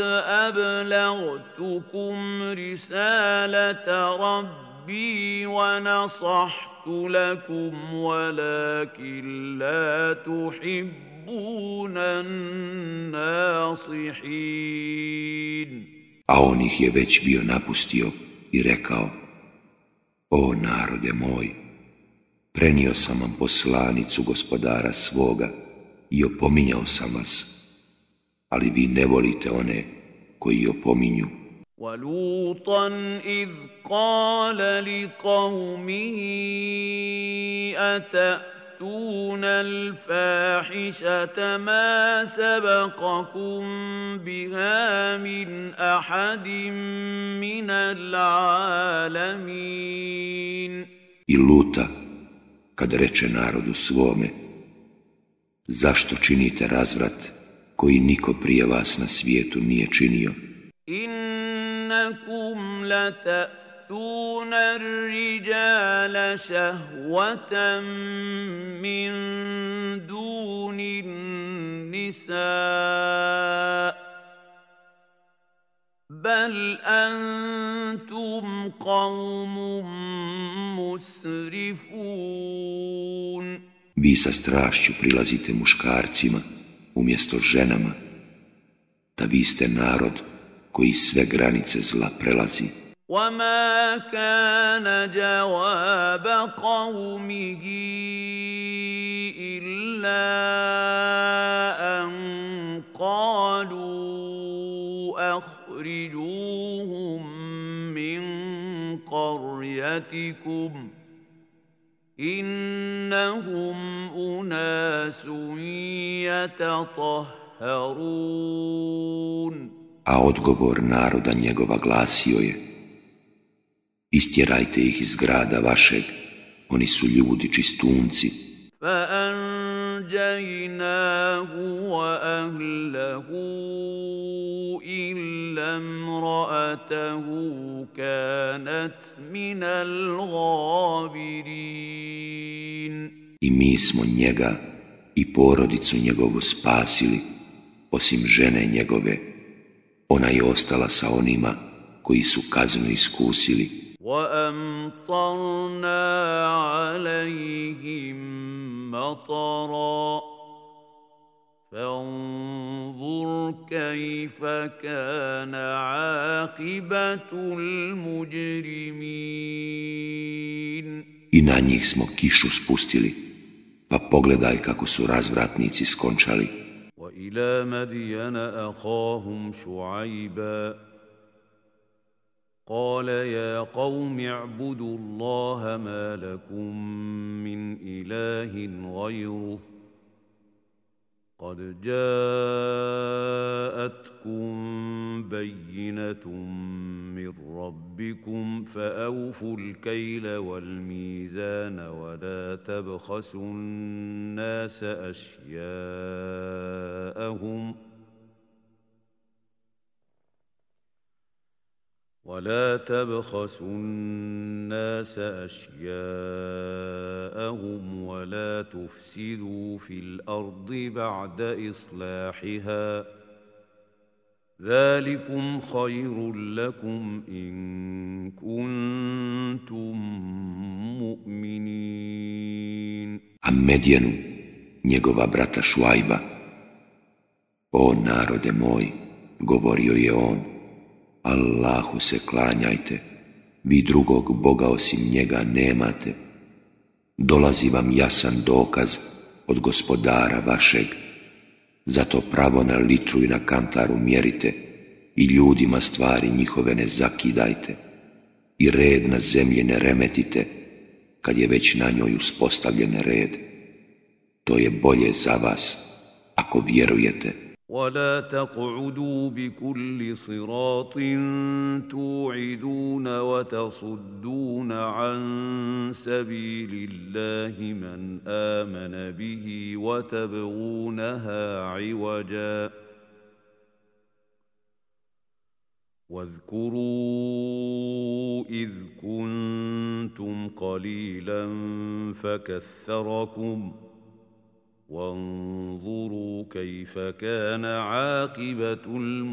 أبلغتكم رسالة ربي ونصحت لكم ولكن لا تحبون الناصحين. A on ih je već bio napustio i rekao: O narode moj, prenio sam vam poslanicu gospodara svoga i opominjao sam vas, ali vi ne volite one koji opominju. وَلُوطًا إِذْ قَالَ لِقَوْمِهِ أَتَأْتُونَ الْفَاحِشَةَ مَا سَبَقَكُم بِهَا مِنْ أَحَدٍ مِنَ الْعَالَمِينَ. I Luta, kad reče narodu svome: Zašto činite razvrat koji niko prije vas na svijetu nije činio? Innakum latatuna ar-rijala shahwatan min dunin nisa bal antum qawmun musrifun. Vi sa strašću prilazite muškarcima umjesto ženama, da vi ste narod koji sve granice zla prelazi. وَمَا كَانَ جَوَابَ قَوْمِهِ إِلَّا أَنْ قَالُوا أَخْرِجُوهُمْ مِنْ قَرْيَتِكُمْ إِنَّهُمْ أُنَاسٌ يَتَطَهَّرُونَ. A odgovor naroda njegova glasio je: Istjerajte ih iz grada vašeg, oni su ljudi čistunci. فَأَنْجَيْنَاهُ وَأَهْلَهُ إِلَّا امْرَأَتَهُ كَانَتْ مِنَ الْغَابِرِينَ. I mi smo njega i porodicu njegovu spasili, osim žene njegove. Ona je ostala sa onima koji su kaznu iskusili. وَأَمْطَرْنَا عَلَيْهِمْ مَطَرًا فَانظُرْ كَيْفَ كَانَ عَاقِبَةُ الْمُجْرِمِينَ. I na njih smo kišu spustili, pa pogledaj kako su razvratnici skončali. وَإِلَى مَدْيَنَ أَخَاهُمْ شُعَيْبًا قال يا قوم اعبدوا الله ما لكم من إله غيره قد جاءتكم بينة من ربكم فأوفوا الكيل والميزان ولا تبخسوا الناس أشياءهم ولا تبخسوا الناس أشياءهم ولا تفسدوا في الأرض بعد إصلاحها ذلكم خير لكم إن كنتم مؤمنين. A Medjenu, njegova brata Šuajba: O narode moj, govorio je on, Allahu se klanjajte, vi drugog Boga osim njega nemate. Dolazi vam jasan dokaz od Gospodara vašeg, zato pravo na litru i na kantaru mjerite i ljudima stvari njihove ne zakidajte i red na zemlji ne remetite kad je već na njoj uspostavljen red. To je bolje za vas ako vjerujete. ولا تقعدوا بكل صراط توعدون وتصدون عن سبيل الله من آمن به وتبغونها عوجا واذكروا إذ كنتم قليلا فكثركم وانظروا كيف كان عاقبة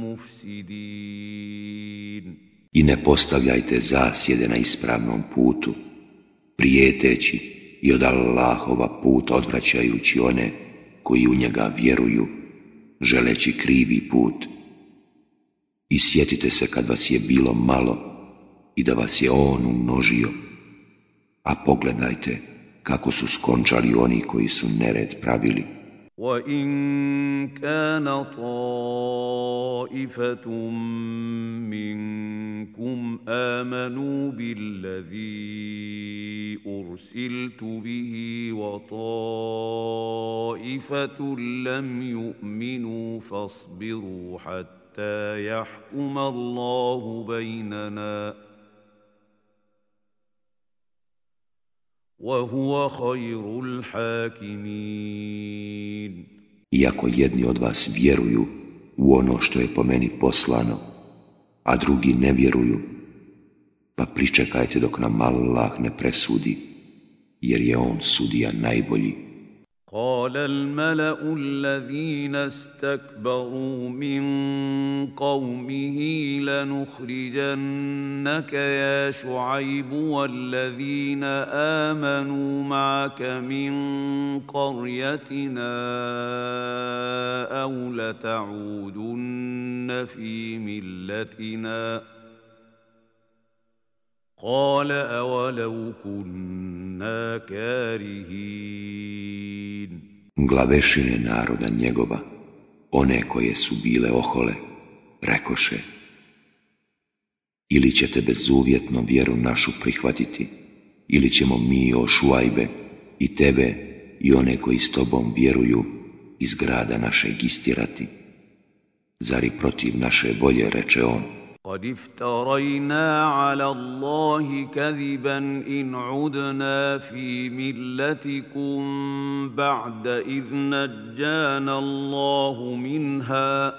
المفسدين. I ne postavljajte zasjede na ispravnom putu, prijeteći i od Allahova puta odvraćajući one koji u njega vjeruju, želeći krivi put. I sjetite se kad vas je bilo malo i da vas je on umnožio, a pogledajte kako su skončali oni koji su nered pravili. وَإِنْ كَانَ طَائِفَةٌ مِّنكُمْ آمَنُوا بِالَّذِي أُرْسِلْتُ بِهِ وَطَائِفَةٌ لَّمْ يُؤْمِنُوا فَاصْبِرُوا حَتَّى يَحْكُمَ اللَّهُ بَيْنَنَا وَهُوَ خَيْرُ الْحَاكِمِينَ. Iako jedni od vas vjeruju u ono što je po meni poslano, a drugi ne vjeruju, pa pričekajte dok nam Allah ne presudi, jer je on sudija najbolji. قال الملأ الذين استكبروا من قومه لنخرجنك يا شعيب والذين آمنوا معك من قريتنا أو لتعودن في ملتنا قال أولو كنا كارهين. Glavešine naroda njegova, one koje su bile ohole, rekoše: ili ćete bezuvjetno vjeru našu prihvatiti, ili ćemo mi, o Šuajbe, i tebe i one koji s tobom vjeruju iz grada našeg istjerati. Zar i protiv naše volje, reče on. قد افترينا على الله كذبا إن عدنا في ملتكم بعد إذ نجانا الله منها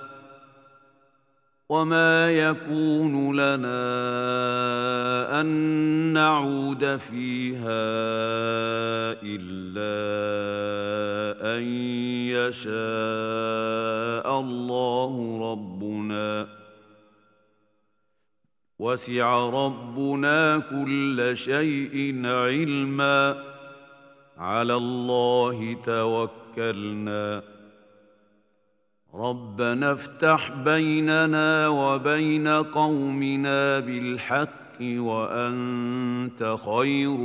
وما يكون لنا أن نعود فيها إلا أن يشاء الله ربنا وسع ربنا كل شيء علما على الله توكلنا ربنا افتح بيننا وبين قومنا بالحق وأنت خير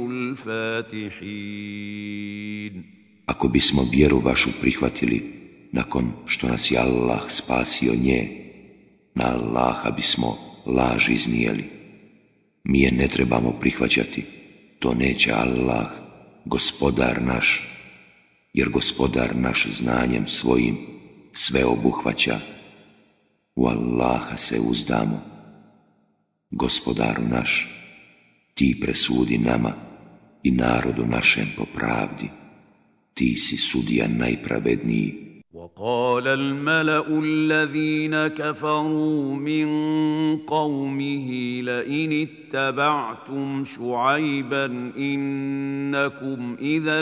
الفاتحين. Ako bismo vjeru vašu prihvatili nakon što nas je Allah spasio nje, na Allaha bismo laž iznijeli. Mi je ne trebamo prihvaćati, to neće Allah, gospodar naš, jer gospodar naš znanjem svojim sve obuhvaća. U Allaha se uzdamo. Gospodaru naš, ti presudi nama i narodu našem po pravdi. Ti si sudija najpravedniji. وقال الملأ الذين كفروا من قومه لئن اتبعتم شعيبا إنكم إذا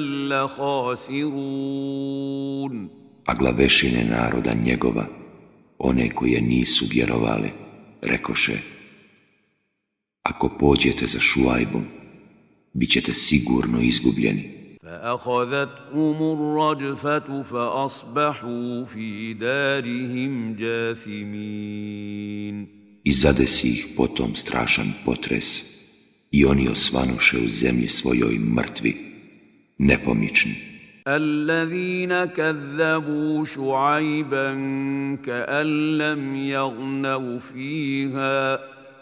لخاسرون. A glavešine naroda njegova, one koje nisu vjerovale, rekoše: ako pođete za Šuajbom, bit ćete sigurno izgubljeni. فأخذتهم الرجفة فأصبحوا في دارهم جاثمين. I zadesi ih potom strašan potres, i oni osvanuše u zemlji svojoj mrtvi, nepomični. الذين كذبوا شعيبا كأن لم يغنوا فيها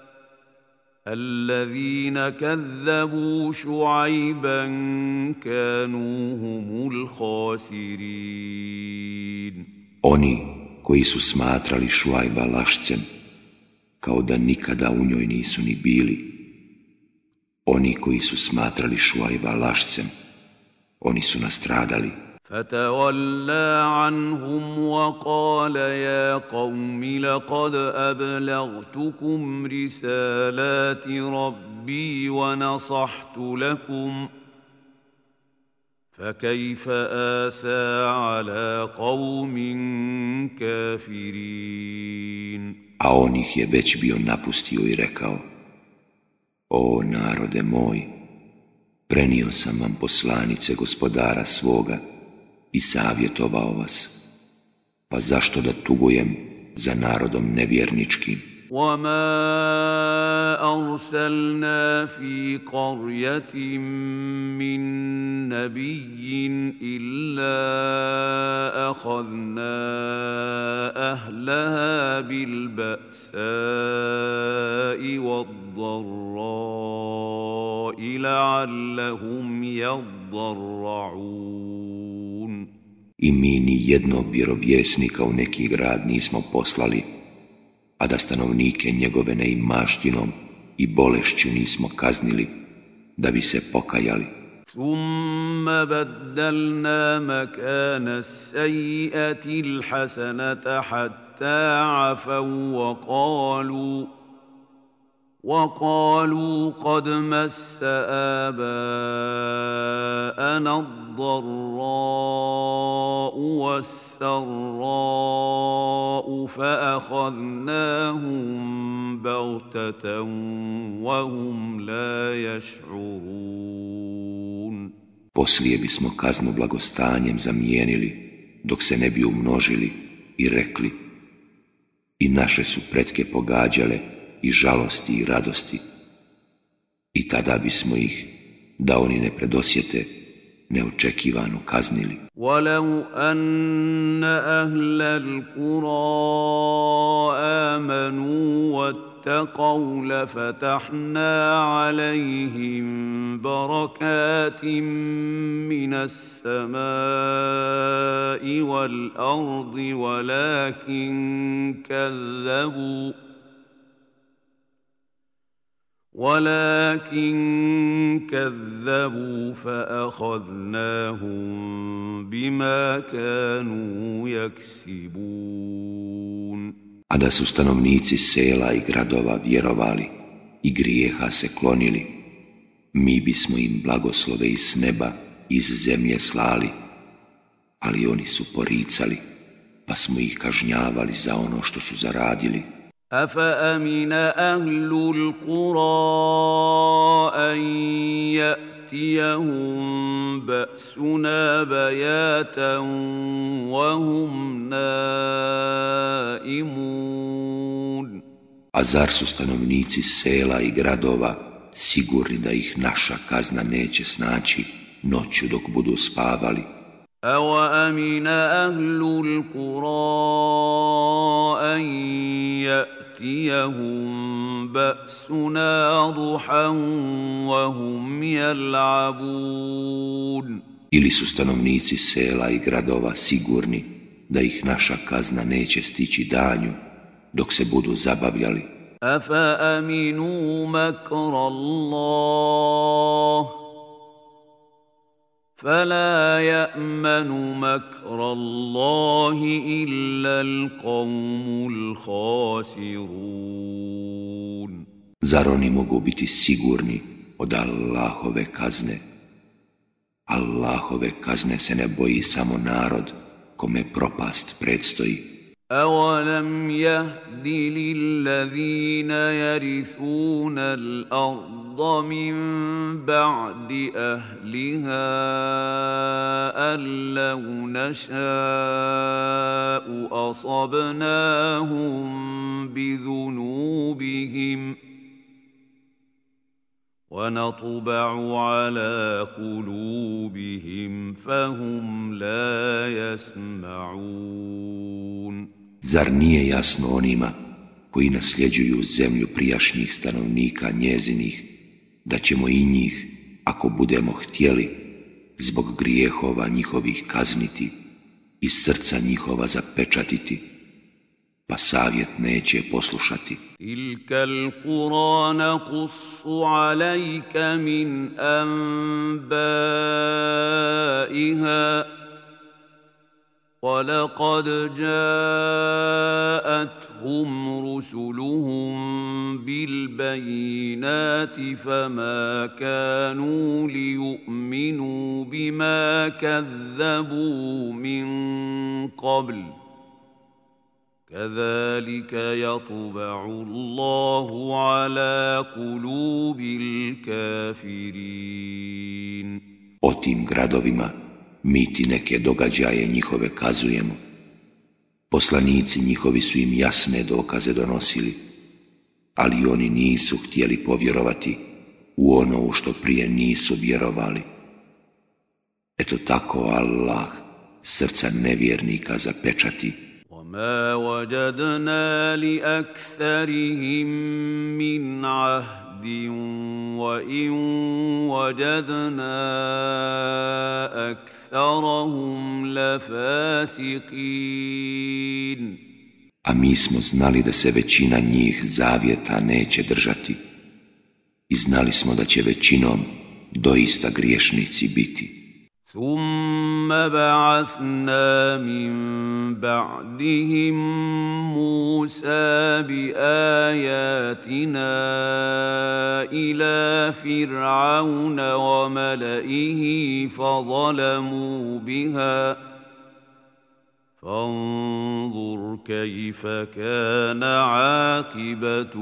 الذين كذبوا شعيبا كانوا هم الخاسرين. Oni koji su smatrali Šuajba lašcem, kao da nikada u njoj nisu ni bili. Oni koji su smatrali Šuajba lašcem, oni su nastradali. فتولى عنهم وقال يا قوم لقد أبلغتكم رسالات ربي ونصحت لكم فكيف آسى على قوم كافرين. A on ih je već bio napustio i rekao: o narode moj, prenio sam vam poslanice gospodara svoga i savjetovao vas, pa zašto da tugujem za narodom nevjerničkim? وَمَا أَرْسَلْنَا فِي قَرْيَةٍ مِّن نَّبِيٍّ إِلَّا أَخَذْنَا أَهْلَهَا بِالْبَأْسَاءِ وَالضَّرَّاءِ لَعَلَّهُمْ يَضَّرَّعُونَ. I mi ni jednog vjerovjesnika u neki grad nismo poslali, a da stanovnike njegove neimaštinom i bolešću nismo kaznili, da bi se pokajali. ثُمَّ بَدَّلْنَا مَكَانَ السَّيِّئَةِ الْحَسَنَةَ حَتَّى عَفَوْا وقالوا قد مس آباءنا الضراء والسراء فأخذناهم بغتة وهم لا يشعرون. Poslije bismo kaznu blagostanjem zamijenili, dok se ne bi umnožili, i rekli: i naše su pretke pogađale i žalosti i radosti, i tada bismo ih, da oni ne predosjete, neočekivano kaznili. وَلَوْ أَنَّ أَهْلَ الْقُرَىٰ آمَنُوا وَاتَّقَوْا لَفَتَحْنَا عَلَيْهِم بَرَكَاتٍ مِّنَ السَّمَاءِ وَالْأَرْضِ ولكن كذبوا فأخذناهم بما كانوا يكسبون. A da su stanovnici sela i gradova vjerovali i grijeha se klonili, mi bismo im blagoslove iz neba, iz zemlje slali, ali oni su poricali, pa smo ih kažnjavali za ono što su zaradili. أفأمن أهل القرى أن يأتيهم بأسنا بياتا وهم نائمون. A zar su stanovnici sela i gradova sigurni da ih naša kazna neće snaći noću dok budu spavali? أَوَأَمِنَ أَهْلُ الْقُرَىٰ أَن يَأْتِيَهُم بَأْسُنَا ضُحًى وَهُمْ يَلْعَبُونَ. Ili su stanovnici sela i gradova sigurni da ih naša kazna neće stići danju dok se budu zabavljali? أَفَأَمِنُوا مَكْرَ اللَّهِ فلا يأمن مكر الله إلا القوم الخاسرون. Zar oni mogu biti sigurni od Allahove kazne? Allahove kazne se ne boji samo narod kome propast predstoji. أولم يهد للذين يرثون الأرض من بعد أهلها أن لو نشاء أصبناهم بذنوبهم ونطبع على قلوبهم فهم لا يسمعون. Zar nije jasno onima koji nasljeđuju zemlju prijašnjih stanovnika njezinih, da ćemo i njih, ako budemo htjeli, zbog grijehova njihovih kazniti i srca njihova zapečatiti, pa savjet neće poslušati. Tilkal Kur'an naqussu alejka min anbaiha وَلَقَدْ جَاءَتْهُمْ رُسُلُهُم بِالْبَيِّنَاتِ فَمَا كَانُوا لِيُؤْمِنُوا بِمَا كَذَّبُوا مِن قَبْلُ كَذَلِكَ يَطْبَعُ اللَّهُ عَلَى قُلُوبِ الْكَافِرِينَ. O tim gradovima mi ti neke događaje njihove kazujemo. Poslanici njihovi su im jasne dokaze donosili, ali oni nisu htjeli povjerovati u ono u što prije nisu vjerovali. Eto tako Allah srca nevjernika zapečati. وَمَا وَجَدْنَا لِأَكْثَرِهِم مِّنْ عَهْدٍ وَإِن وَجَدْنَا أَكْثَرَهُمْ لَفَاسِقِينَ. A mi smo znali da se većina njih zavjeta neće držati i znali smo da će većinom doista griješnici biti. ثُمَّ بَعَثْنَا مِن بَعْدِهِم مُوسَىٰ بِآيَاتِنَا إِلَىٰ فِرْعَوْنَ وَمَلَئِهِ فَظَلَمُوا بِهَا فَانظُرْ كَيْفَ كَانَ عَاقِبَةُ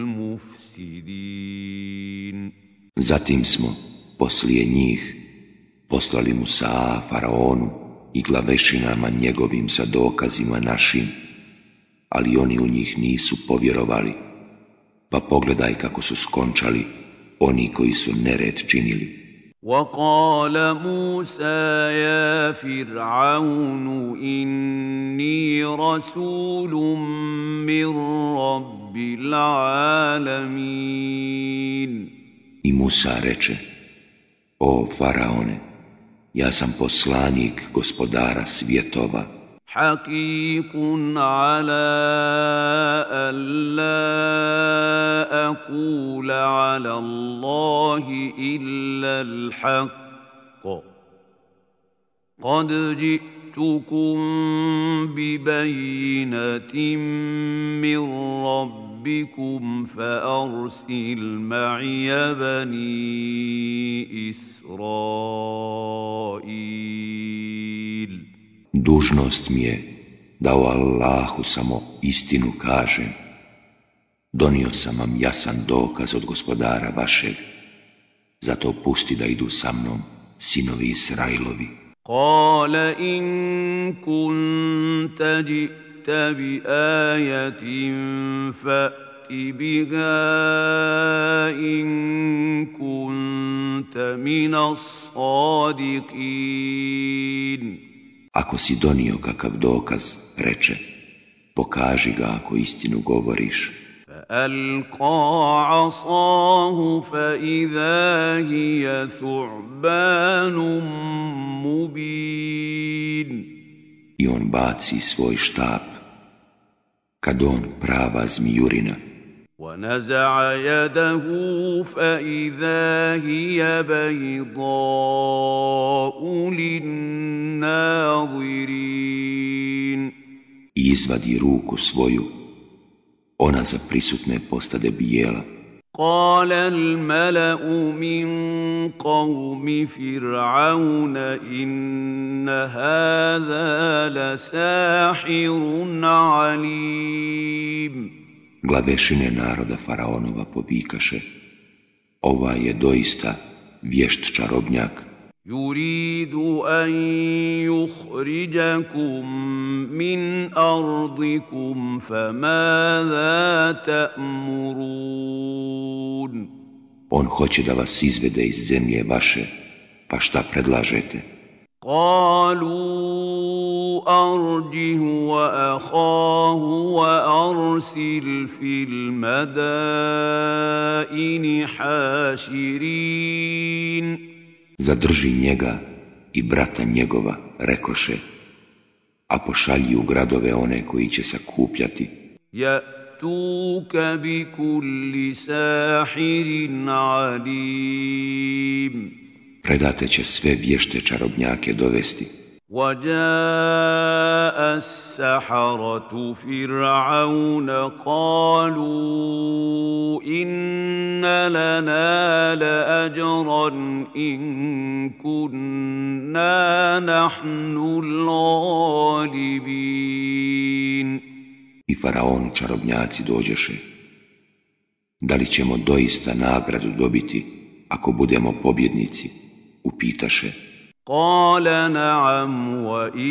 الْمُفْسِدِينَ. Zatim smo poslije njih poslali Musa faraonu i glavešinama njegovim sa dokazima našim, ali oni u njih nisu povjerovali, pa pogledaj kako su skončali oni koji su nered činili. وَقَالَ مُوسَى يَا فِرْعَوْنُ إِنِّي رَسُولٌ مِّن رَّبِّ الْعَالَمِينَ. I Musa reče: O faraone, ja sam poslanik gospodara svjetova. حقيق على ألا أقول على الله إلا الحق قد جئتكم ببينة من ربكم فأرسل معي بني إسرائيل. Dužnost mi je da o Allahu samo istinu kažem. Donio sam vam jasan dokaz od gospodara vašeg, zato pusti da idu sa mnom sinovi Israilovi. Kale in kunta ji'ta bi ajatin fa'ti biha in kunta minas sadiqin. Ako si donio kakav dokaz, reče, pokaži ga ako istinu govoriš. فألقى عصاه فإذا هي ثعبان مبين. I on baci svoj štap, kad on prava zmijurina. ونزع يده فإذا هي بيضاء للناظرين. I izvadi ruku svoju, ona za prisutne postade bijela. قال الملأ من قوم فرعون إن هذا لساحر عليم. Glavešine naroda faraonova povikaše: Ovaj je doista vješt čarobnjak. يريد أن يخرجكم من أرضكم فماذا تأمرون. On hoće da vas izvede iz zemlje vaše, pa šta predlažete? قالوا أرجه وأخاه وأرسل في المدائن حاشرين. Zadrži njega i brata njegova, rekoše, a pošalji u gradove one koji će sakupljati. يأتوك بكل ساحر عليم. Predate će sve vješte čarobnjake dovesti. وجاء السحرة فرعون قالوا إن لنا لأجرا إن كنا نحن الغالبين. I faraonu čarobnjaci dođeše. Da li ćemo doista nagradu dobiti ako budemo pobjednici? Upitaše. قال نعم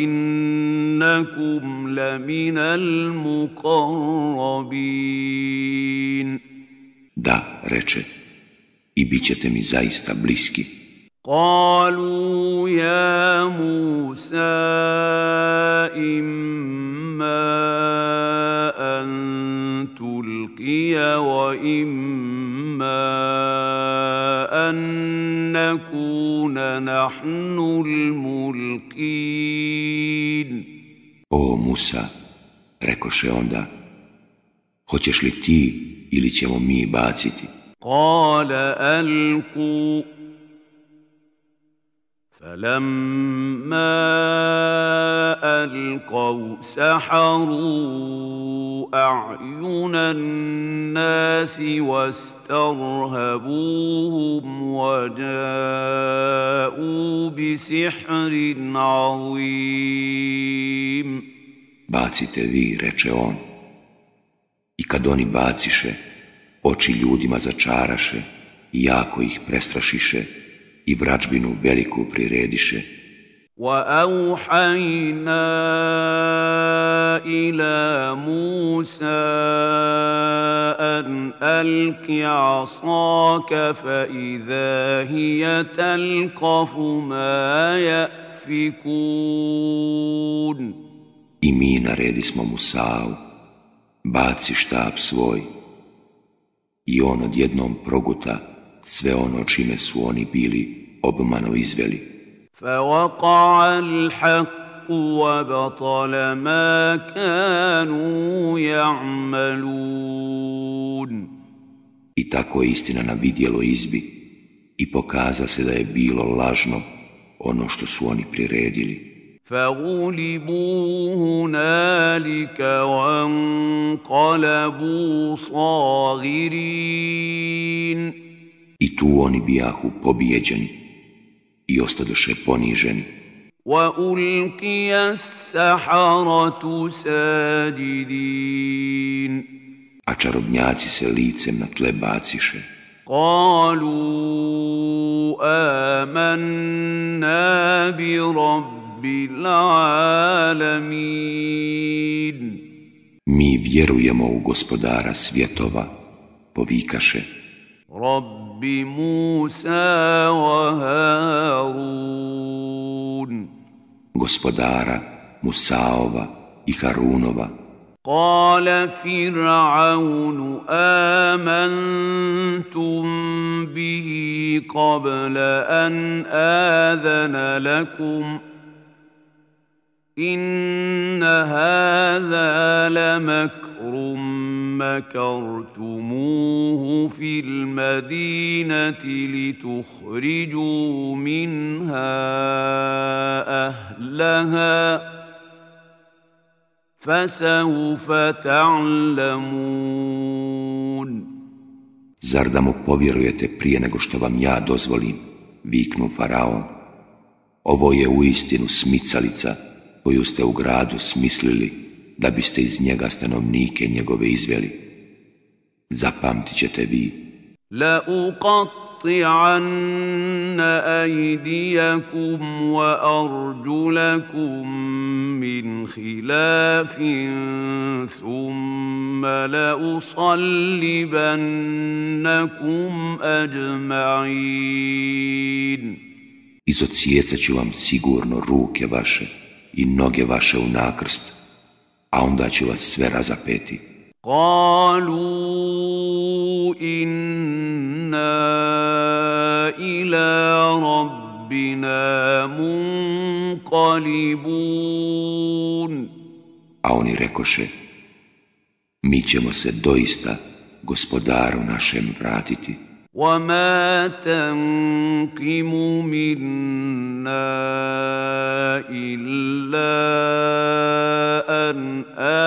وإنكم لمن المقربين. Da, reče, i bit ćete mi zaista bliski. قالوا يا موسى إما أن تلقي وإما أن نكون نحن الملقين. O Musa, rekoše onda, hoćeš li ti ili ćemo mi baciti? قال ألقوا. فلما ألقوا سحروا أعين الناس واسترهبوهم وجاءوا بسحر عظيم. Bacite vi, reče on. I kad oni baciše, oči ljudima začaraše i jako ih prestrašiše i vračbinu veliku prirediše. وأوحينا إلى موسى أن ألق عصاك فإذا هي تلقف ما يأفكون. I mi naredismo Musau, baci štab svoj. I on odjednom proguta sve ono čime su oni bili obmano izveli. فوقع الحق وبطل ما كانوا يعملون. I tako je istina na vidjelo izbi i pokaza se da je bilo lažno ono što su oni priredili. فغلبوا هنالك وانقلبوا صاغرين. I tu oni bijahu pobijeđeni i ostadoše poniženi. وألقي السحرة ساجدين. A čarobnjaci se licem na tle baciše. قالوا آمنا برب العالمين. Mi vjerujemo u gospodara svjetova, povikaše. رب موسى وهارون. Gospodara Musaova i Harunova. قال فرعون آمنتم به قبل أن آذن لكم إن هذا لمكر مكرتموه في المدينة لتخرجوا منها أهلها فسوف تعلمون. Zar da mu povjerujete prije nego što vam ja dozvolim, viknu faraon. Ovo je uistinu smicalica koju ste u gradu smislili da biste iz njega stanovnike njegove izveli. Zapamtit ćete vi. لأقطعن أيديكم وأرجلكم من خلاف ثم لأصلبنكم أجمعين. Izocijecat ću vam sigurno ruke vaše i noge vaše u nakrst, a onda ću vas sve razapeti. قالوا إنا إلى ربنا منقلبون. A oni rekoše, mi ćemo se doista gospodaru našem vratiti. وما تنقم منا إلا أن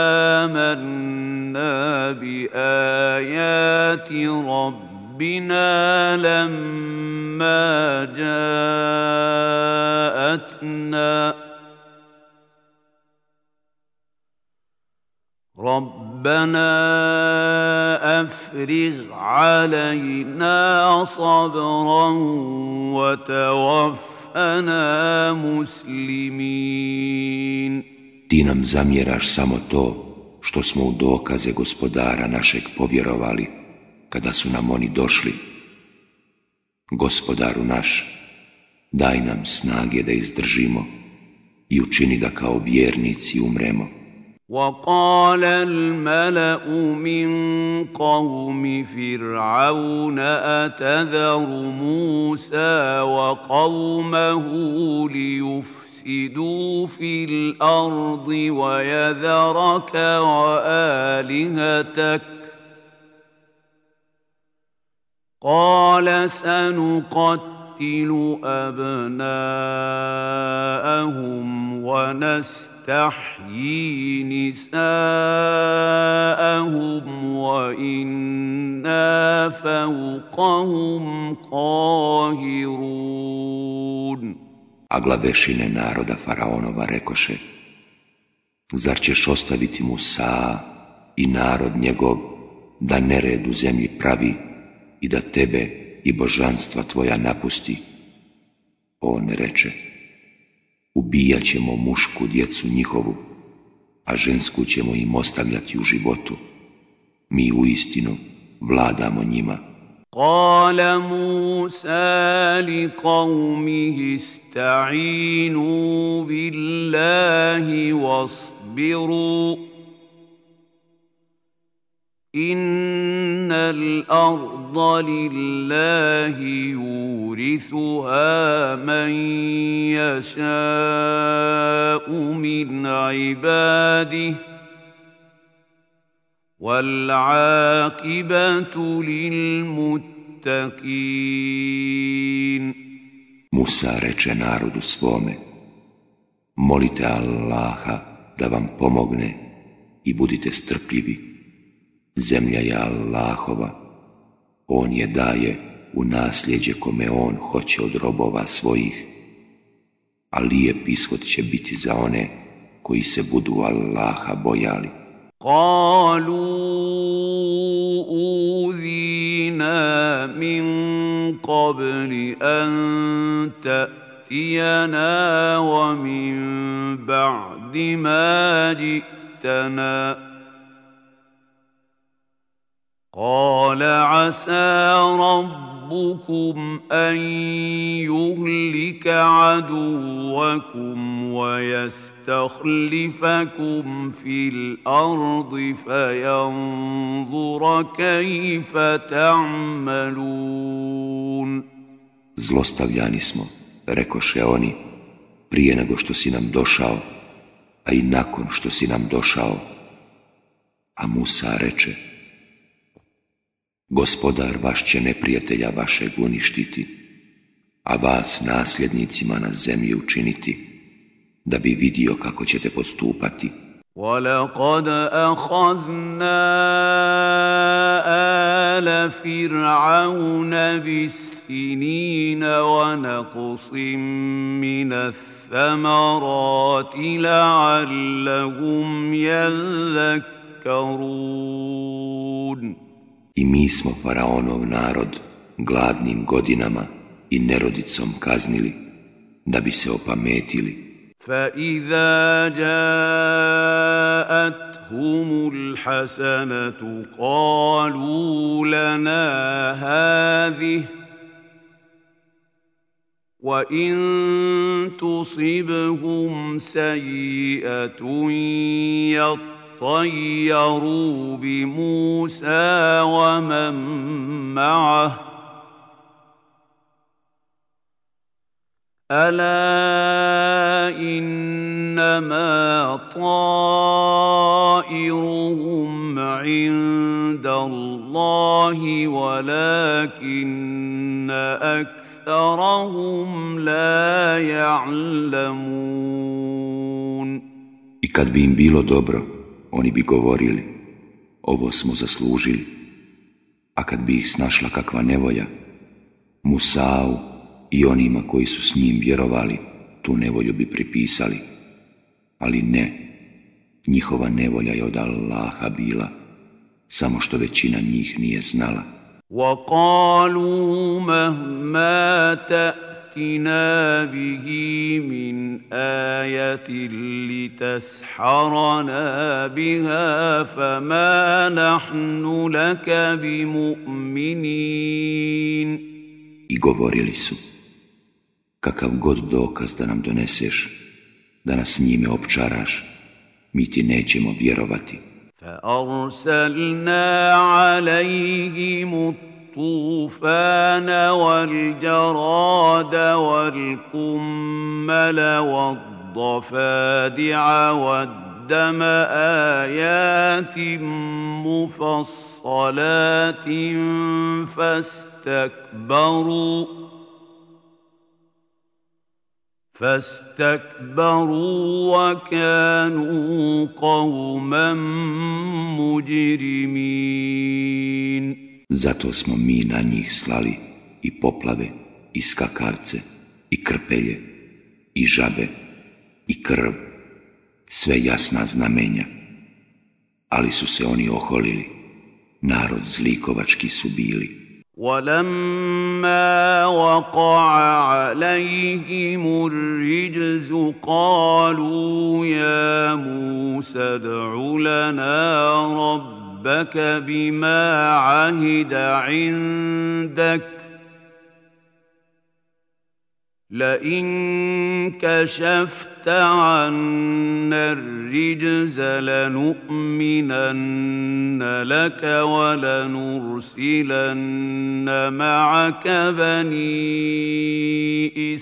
آمنا بآيات ربنا لما جاءتنا ربنا أفرغ علينا صبرا وتوفنا مسلمين. Ti nam zamjeraš samo to što smo u dokaze gospodara našeg povjerovali kada su nam oni došli. Gospodaru naš, daj nam snage da izdržimo i učini da kao vjernici umremo. وقال الملأ من قوم فرعون أتذر موسى وقومه ليفسدوا في الأرض ويذرك وآلهتك قال سنقتل أبناءهم ونستحيي نساءهم وإنا فوقهم قاهرون. A glavešine naroda faraonova rekoše, zar ćeš ostaviti Musa i narod njegov da nered u zemlji pravi i da tebe i božanstva tvoja napusti? On reče, ubijat ćemo mušku djecu njihovu, a žensku ćemo im ostavljati u životu. Mi uistinu vladamo njima. قال موسى لقومه استعينوا بالله واصبروا إن الأرض لله يورثها من يشاء من عباده والعاقبة للمتقين. Musa reče narodu svome, molite Allaha da vam pomogne i budite strpljivi. Zemlja je Allahova, on je daje u nasljeđe kome on hoće od robova svojih, a lijep ishod će biti za one koji se budu Allaha bojali. قالوا أوذينا من قبل أن تأتينا ومن بعد ما جئتنا قال عسى ربكم أن يهلك عدوكم ويستخلفكم في الأرض فينظر كيف تعملون. Zlostavljani smo, rekoše oni, prije nego što si nam došao, a i nakon što si nam došao. A Musa reče: Gospodar vaš će neprijatelja vašeg uništiti, a vas nasljednicima na zemlji učiniti, da bi vidio kako ćete postupati. وَلَقَدْ أَخَذْنَا آلَ فِرْعَوْنَ بِالسِّنِينَ وَنَقْصٍ مِّنَ الثَّمَرَاتِ لَعَلَّهُمْ يَذَّكَّرُونَ. I mi smo faraonov narod gladnim godinama i nerodicom kaznili, da bi se opametili. فَإِذَا جَاءَتْهُمُ الْحَسَنَةُ قَالُوا لَنَا هَٰذِهِ وَإِن تُصِبْهُمْ سَيِّئَةٌ يَطَّيَّرُوا بِمُوسَىٰ وَمَن مَّعَهُ أَلَا إِنَّمَا طَائِرُهُمْ عِندَ اللَّهِ وَلَٰكِنَّ أَكْثَرَهُمْ لَا يَعْلَمُونَ. I kad bi im bilo dobro, oni bi govorili: ovo smo zaslužili. A kad bi ih snašla kakva nevolja, Musau i onima koji su s njim vjerovali, tu nevolju bi pripisali. Ali ne, njihova nevolja je od Allaha bila, samo što većina njih nije znala. وَقَالُوا مَهْمَا تَأْتِنَا بِهِ مِنْ آيَةٍ لِتَسْحَرَنَا بِهَا فَمَا نَحْنُ لَكَ بِمُؤْمِنِينَ. I govorili su: kakav god dokaz da nam doneseš, da nas njime opčaraš, mi ti nećemo vjerovati. فَأَرْسَلْنَا عَلَيْهِمُ الطُّوفَانَ وَالْجَرَادَ وَالْقُمَّلَ وَالضَّفَادِعَ وَالدَّمَ آيَاتٍ مُفَصَّلَاتٍ فاستكبروا وكانوا قوما مجرمين. Zato smo mi na njih slali i poplave, i skakavce, i krpelje, i žabe, i krv, sve jasna znamenja. Ali su se oni oholili, narod zlikovački su bili. وَلَمَّا وَقَعَ عَلَيْهِمُ الرِّجْزُ قَالُوا يَا مُوسَى ادْعُ لَنَا رَبَّكَ بِمَا عَهِدَ عِندَكَ لَئِن كَشَفْتَ عَنَّا الرِّجْزَ لَنُؤْمِنَنَّ لَكَ وَلَنُرْسِلَنَّ مَعَكَ بَنِي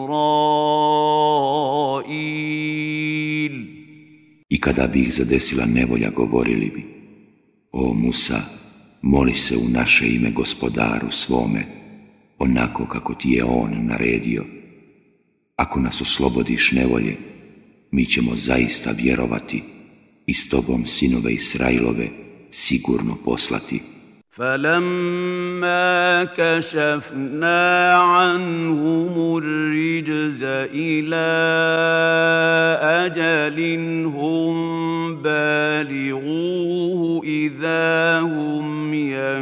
إِسْرَائِيلَ. I kada bi ih zadesila nevolja, govorili bi: o Musa, moli se u naše ime Gospodaru svome, onako kako ti je on naredio. Ako nas oslobodiš nevolje, mi ćemo zaista vjerovati i s tobom sinove Israilove sigurno poslati. فَلَمَّا كَشَفْنَا عَنْهُمُ الرِّجْزَ إِلَىٰ أَجَلٍ هُمْ بَالِغُوهُ إِذَا هُمْ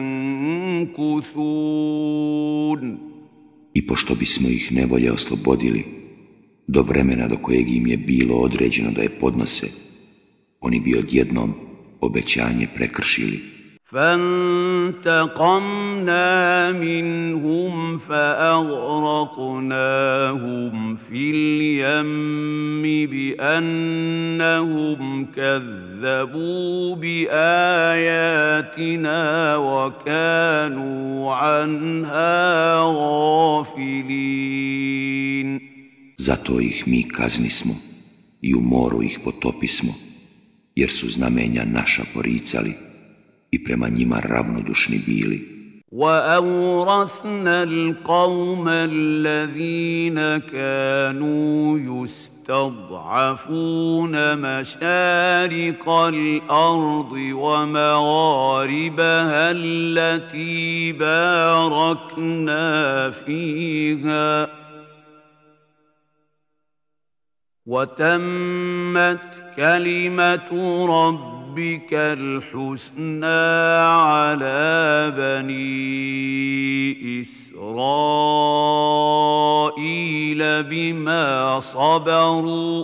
يَنكُثُونَ. I pošto bismo ih nevolje oslobodili, do vremena do kojeg im je bilo određeno da je podnose, oni bi odjednom obećanje prekršili. فَانْتَقَمْنَا مِنْهُمْ فَأَغْرَقْنَاهُمْ فِي الْيَمِّ بِأَنَّهُمْ كَذَّبُوا بِآيَاتِنَا وَكَانُوا عَنْهَا غَافِلِينَ. Zato ih mi kaznismo i u moru ih potopismo, jer su znamenja naša poricali i prema njima ravnodušni bili. وأورثنا القوم الذين كانوا يستضعفون مشارق الأرض ومغاربها التي باركنا فيها وتمت كلمة ربك الحسنى على بني إسرائيل بما صبروا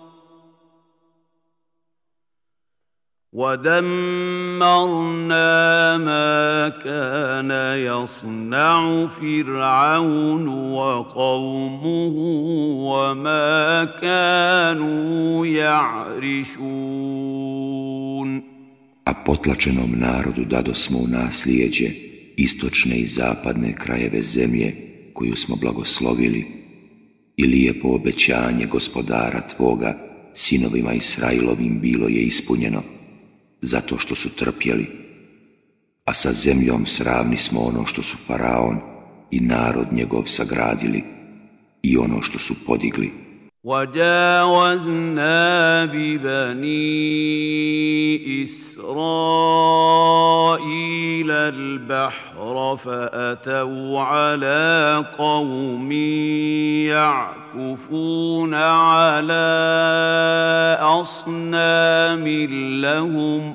ودمرنا ما كان يصنع فرعون وقومه وما كانوا يعرشون. A potlačenom narodu dadosmo u nasljeđe istočne i zapadne krajeve zemlje koju smo blagoslovili i lijepo obećanje gospodara tvoga sinovima Israilovim bilo je ispunjeno zato što su trpjeli, a sa zemljom sravni smo ono što su faraon i narod njegov sagradili i ono što su podigli. وَجَاوَزْنَا بِبَنِي إِسْرَائِيلَ الْبَحْرَ فَأَتَوْا عَلَى قَوْمٍ يَعْكُفُونَ عَلَى أَصْنَامٍ لَهُمْ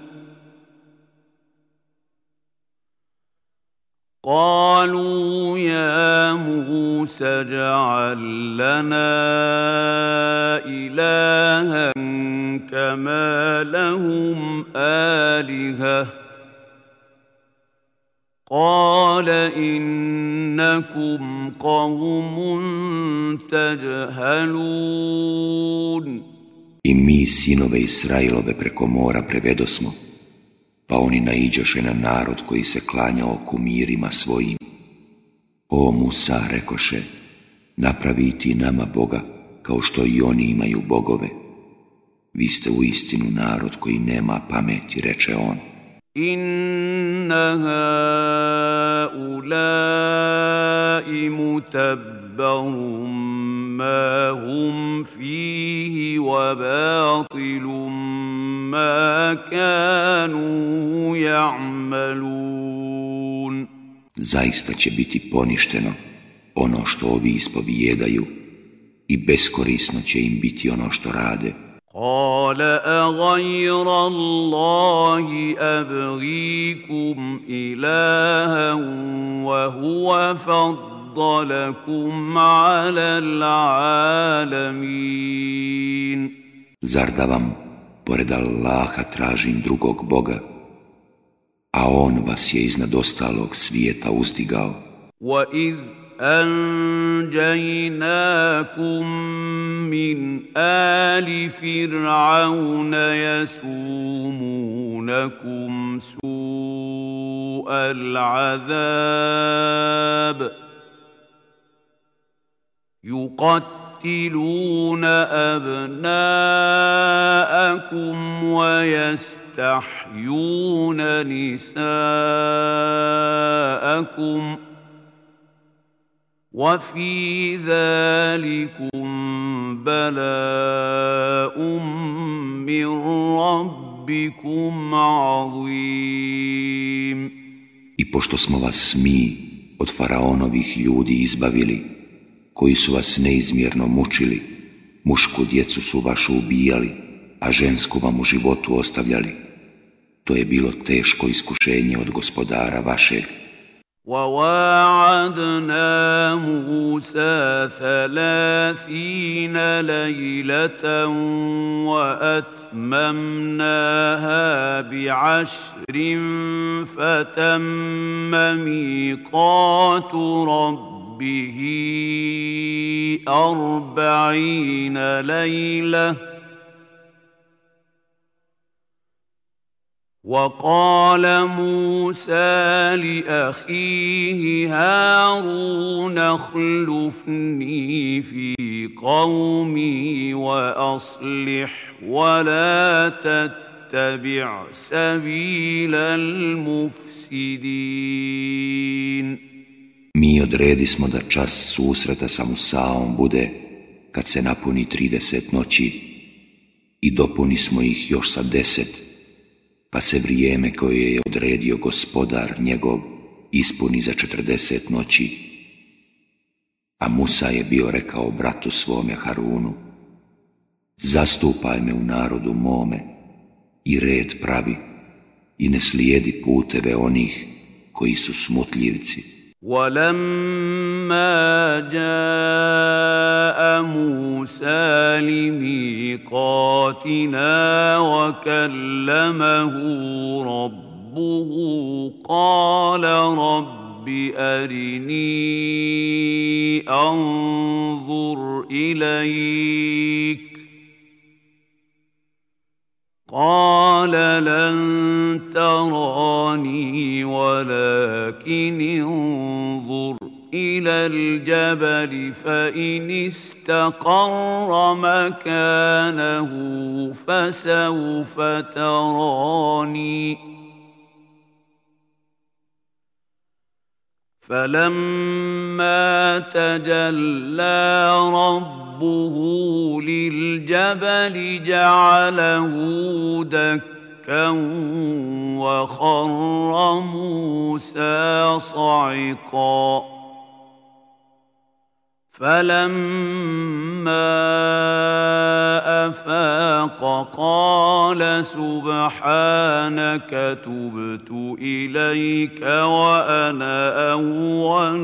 قالوا يا موسى اجعل لنا إلها كما لهم آلهة قال إنكم قوم تجهلون. I mi sinove Israilove preko mora prevedosmo, pa oni naiđoše na narod koji se klanjao kumirima svojim. O Musa, rekoše, napravi ti nama Boga, kao što i oni imaju bogove. Vi ste uistinu narod koji nema pameti, reče on. Inna haulai mutabbarum ma hum fihi wa batilum ma kanu ya'malun. Zaista će biti poništeno ono što ovi ispovijedaju i beskorisno će im biti ono što rade. قال أغير الله أبغيكم إلها وهو فضلكم على العالمين. Zar da vam, pored Allaha, tražim drugog Boga, a On vas je iznad ostalog svijeta uzdigao? وَإِذْ أنجيناكم من آل فرعون يسومونكم سوء العذاب يقتلون أبناءكم ويستحيون نساءكم وفي ذلكم بلاء من ربكم عظيم. I pošto smo vas mi od faraonovih ljudi izbavili, koji su vas neizmjerno mučili, mušku djecu su vašu ubijali, a žensku vam u životu ostavljali, to je bilo teško iskušenje od gospodara vašeg. وواعدنا موسى 30 ليلة وأتممناها ب10 فتم ميقات ربه 40 ليلة وقال موسى لأخيه هارون اخلفني في قومي وأصلح ولا تتبع سبيل المفسدين. Mi odredismo da čas susreta sa Musaom bude kad se napuni 30 noći i dopunismo ih još sa 10, pa se vrijeme koje je odredio gospodar njegov ispuni za 40 noći. A Musa je bio rekao bratu svome Harunu: zastupaj me u narodu mome i red pravi i ne slijedi puteve onih koji su smutljivci. ولما جاء موسى لميقاتنا وكلمه ربه قال رب أرني أنظر إليك قال لن تراني ولكن انظر إلى الجبل فإن استقر مكانه فسوف تراني فلما تجلى ربه للجبل جعله دكا وخر موسى صعقا فلما أفاق قال سبحانك تبت إليك وأنا أول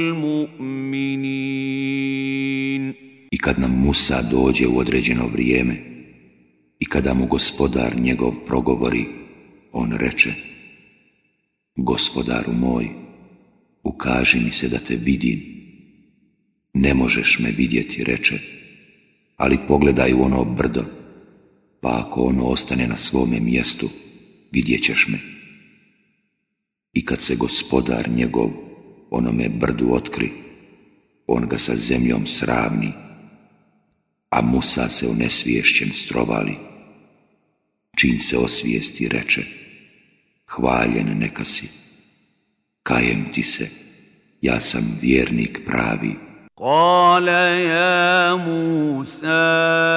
المؤمنين. I kad nam Musa dođe u određeno vrijeme i kada mu gospodar njegov progovori, on reče: Gospodaru moj, ukaži mi se da te vidim. Ne možeš me vidjeti, reče, ali pogledaj u ono brdo, pa ako ono ostane na svome mjestu, vidjet ćeš me. I kad se gospodar njegov onome brdu otkri, on ga sa zemljom sravni, a Musa se onesviješćen strovali. Čim se osvijesti, reče: hvaljen neka si, kajem ti se, ja sam vjernik pravi. قال يا موسى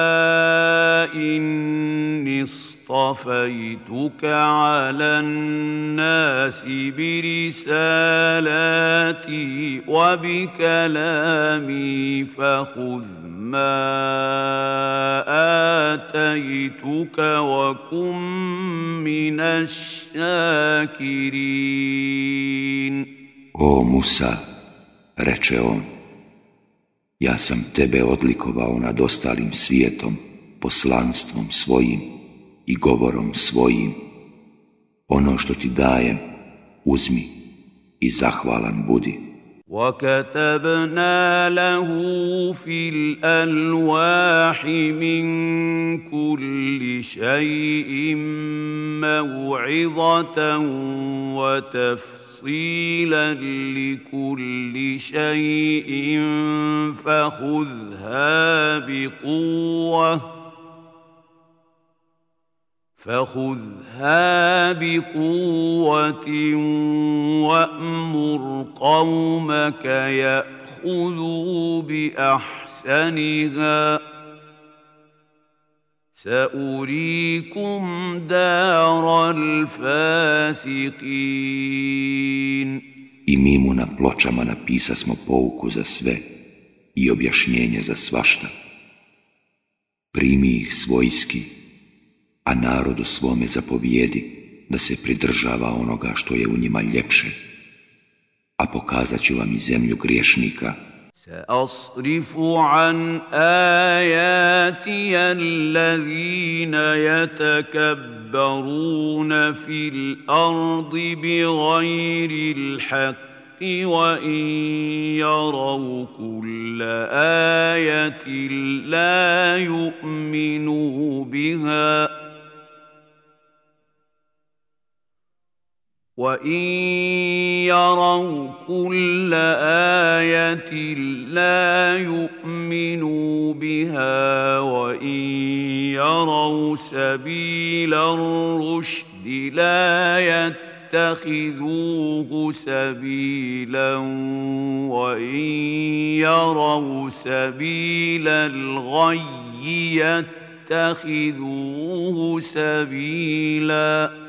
إني اصطفيتك على الناس برسالاتي وبكلامي فخذ ما آتيتك وكن من الشاكرين. O Musa, reče on, ja sam tebe odlikovao nad ostalim svijetom, poslanstvom svojim i govorom svojim. Ono što ti dajem, uzmi i zahvalan budi. وَكَتَبْنَا لَهُ فِي الْأَلْوَاحِ مِنْ كُلِّ شَيْءٍ مَوْعِظَةً وَتَفْصِيلًا لِكُلِّ شَيْءٍ فخذها بقوة وأمر قومك يأخذوا بأحسنها سأريكم دار الفاسقين. I mi mu na pločama napisasmo pouku za sve i objašnjenje za svašta. Primi ih svojski, a narodu svome zapovijedi da se pridržava onoga što je u njima ljepše, a pokazat ću vam i zemlju griješnika. سأصرف عن آياتي الذين يتكبرون في الأرض بغير الحق وإن يروا كل آية لا يؤمنوا بها وَإِنْ يَرَوْا كُلَّ آيَةٍ لَا يُؤْمِنُوا بها وإن يروا سبيل الرشد لا يتخذوه سبيلا وإن يروا سبيل الغي يتخذوه سبيلا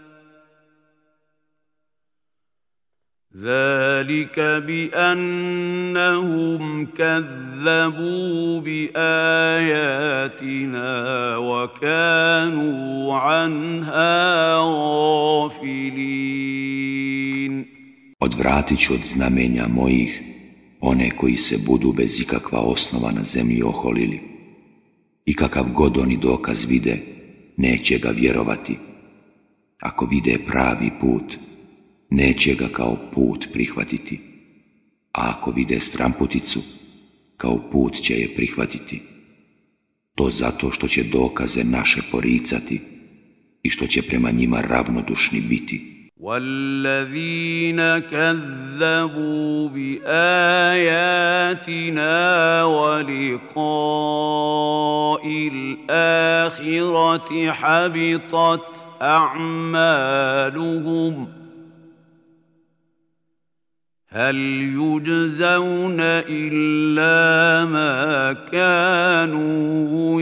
ذلك بأنهم كذبوا بآياتنا وكانوا عنها غافلين. Odvratit ću od znamenja mojih one koji se budu bez ikakva osnova na zemlji oholili. I kakav god oni dokaz vide, neće ga vjerovati. Ako vide pravi put, neće ga kao put prihvatiti, a ako vide stramputicu, kao put će je prihvatiti. To zato što će dokaze naše poricati i što će prema njima ravnodušni biti. وَالَّذِينَ كَذَّبُوا بِآيَاتِنَا وَلِقَاءِ الْآخِرَةِ حَبِطَتْ أَعْمَالُهُمْ هل يجزون إلا ما كانوا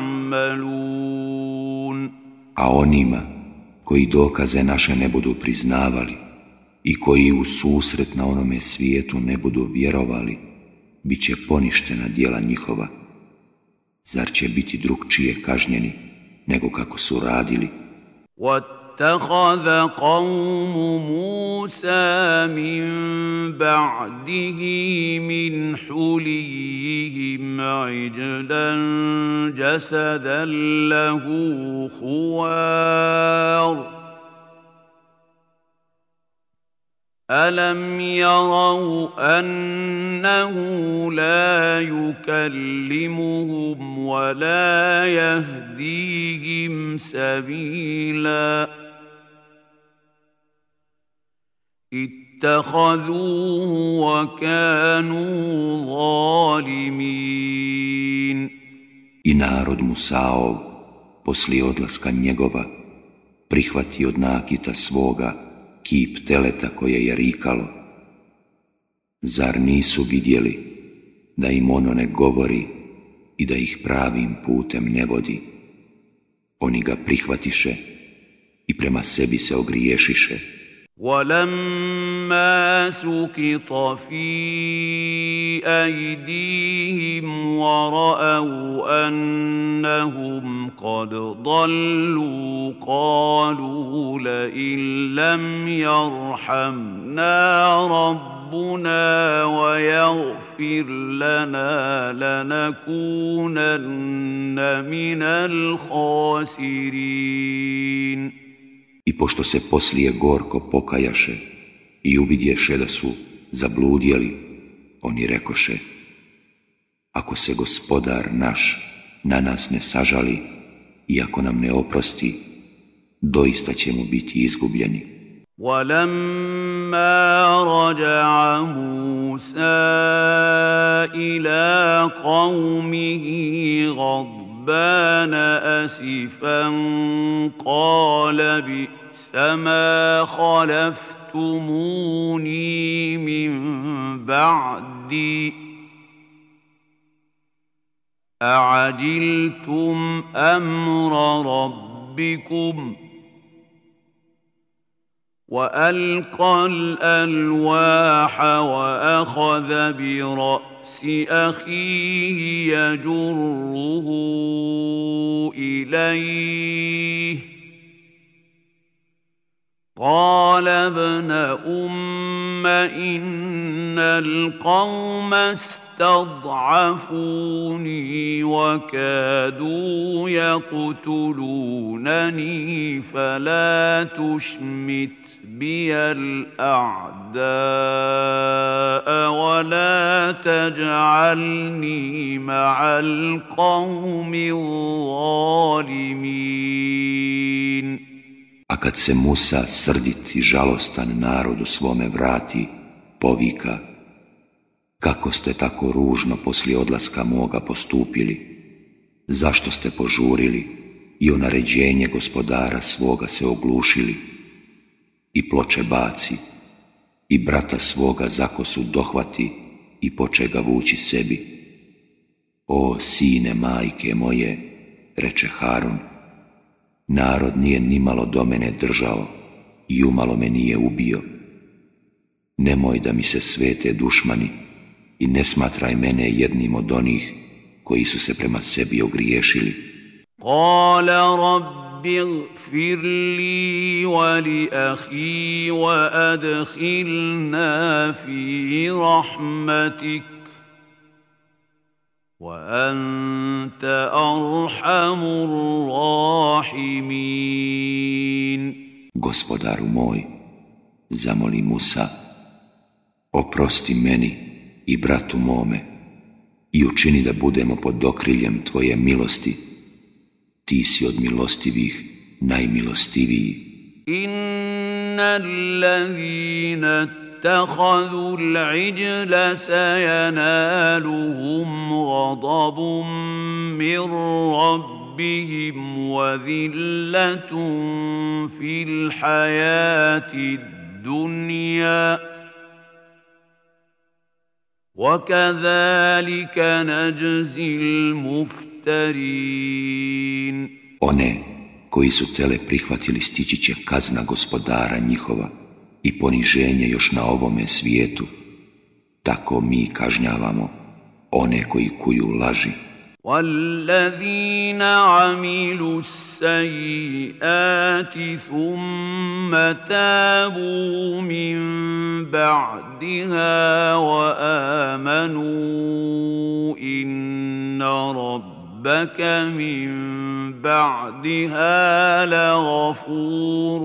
يعملون. A onima koji dokaze naše ne budu priznavali i koji u susret na onome svijetu ne budu vjerovali, bit će poništena djela njihova. Zar će biti drukčije kažnjeni nego kako su radili? واتخذ قوم موسى من بعده من حليهم عجلا جسدا له خوار ألم يروا أنه لا يكلمهم ولا يهديهم سبيلا اتخذوه وكانوا ظالمين. I narod Musaov, poslije odlaska njegova, prihvati od nakita svoga kip teleta koje je rikalo. Zar nisu vidjeli da im ono ne govori i da ih pravim putem ne vodi? Oni ga prihvatiše i prema sebi se ogriješiše. وَلَمَّا سُقِطَ فِي أَيْدِيهِمْ وَرَأَوْا أَنَّهُمْ قَدْ ضَلُّوا قَالُوا لَئِن لَّمْ يَرْحَمْنَا رَبُّنَا وَيَغْفِرْ لَنَا لَنَكُونَنَّ مِنَ الْخَاسِرِينَ. I pošto se poslije gorko pokajaše i uvidješe da su zabludjeli, oni rekoše: ako se Gospodar naš na nas ne sažali i ako nam ne oprosti, doista ćemo biti izgubljeni. وَلَمَّا رَجَعَ مُوسَى إِلَى قَوْمِهِ غَضْبَانَ أَسِفًا قَالَ بِئْسَ مَا خَلَفْتُمُونِي مِنْ بَعْدِي أَعَجِلْتُمْ أَمْرَ رَبِّكُمْ وألقى الألواح وأخذ برأس أخيه يجره إليه قال ابن أم إن القوم استضعفوني وكادوا يقتلونني فلا تشمت بي الأعداء ولا تجعلني مع القوم الظالمين. A kad se Musa srdit i žalostan narodu svome vrati, povika: Kako ste tako ružno poslije odlaska moga postupili? Zašto ste požurili i o naređenje gospodara svoga se oglušili? I ploče baci, i brata svoga za kosu dohvati i poče ga vući sebi. O sine majke moje, reče Harun, narod nije nimalo do mene držao i umalo me nije ubio. Nemoj da mi se svete dušmani i ne smatraj mene jednim od onih koji su se prema sebi ogriješili. Kala rabbi gfir li wa li ahi wa adkhilna fi rahmatik wa anta arhamur rahimin. Gospodaru moj, zamoli Musa, oprosti meni i bratu mome i učini da budemo pod okriljem tvoje milosti. Ti si od milostivih najmilostiviji. Innal ladhina ittakhadhu al-ijla sayanaluhum ghadabun min rabbihim wa dhillatun fil hayati ad-dunya وَكَذَلِكَ نَجْزِي الْمُفْتَرِينَ. One koji su tele prihvatili stići će kazna gospodara njihova i poniženje još na ovome svijetu. Tako mi kažnjavamo one koji kuju laži. وَالَّذِينَ عَمِلُوا السَّيِّئَاتِ ثُمَّ تَابُوا مِن بَعْدِهَا وَآمَنُوا إِنَّ رَبَّكَ مِن بَعْدِهَا لَغَفُورٌ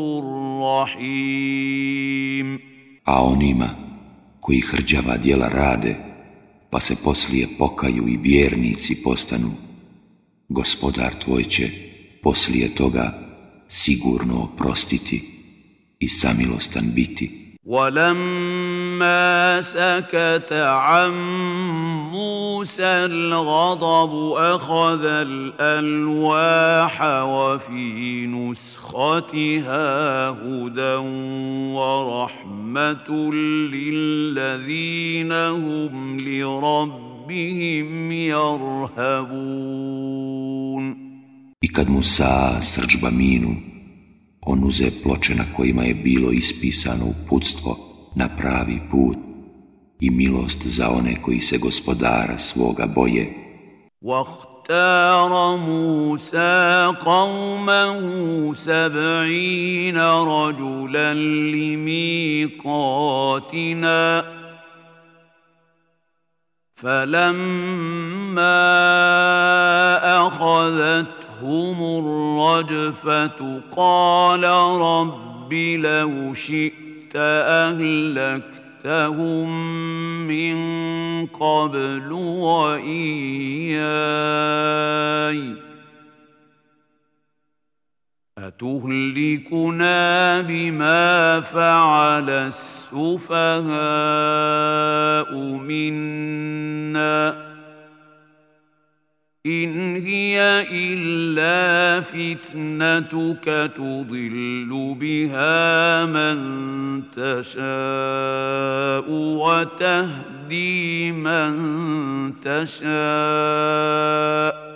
رَّحِيمٌ. A onima koji hrđava djela rade, pa se poslije pokaju i vjernici postanu, gospodar tvoj će poslije toga sigurno oprostiti i samilostan biti. وَلَمَّا سَكَتَ عَن مُوسَى الْغَضَبُ أَخَذَ الْأَلْوَاحَ وَفِي نُسْخَتِهَا هُدًى وَرَحْمَةٌ لِّلَّذِينَ هُمْ لِرَبِّهِمْ يَرْهَبُونَ. I kad Musa srdžba minu, on uze ploče na kojima je bilo ispisano uputstvo na pravi put i milost za one koji se gospodara svoga boje. وَاخْتَارَ مُوسَى قَوْمَهُ 70 رَجُلًا لِمِيقَاتِنَا فَلَمَّا أَخَذَتْهُمُ الرَّجْفَةُ قَالَ رَبِّ لَوْ شِئْتَ أَهْلَكْتَهُم مِّن قَبْلُ وَإِيَّايَ أَتُهْلِكُنَا بِمَا فَعَلَ السُّفَهَاءُ مِنَّا إِنْ هِيَ إِلَّا فِتْنَتُكَ تُضِلُّ بِهَا مَن تَشَاءُ وَتَهْدِي مَن تَشَاءُ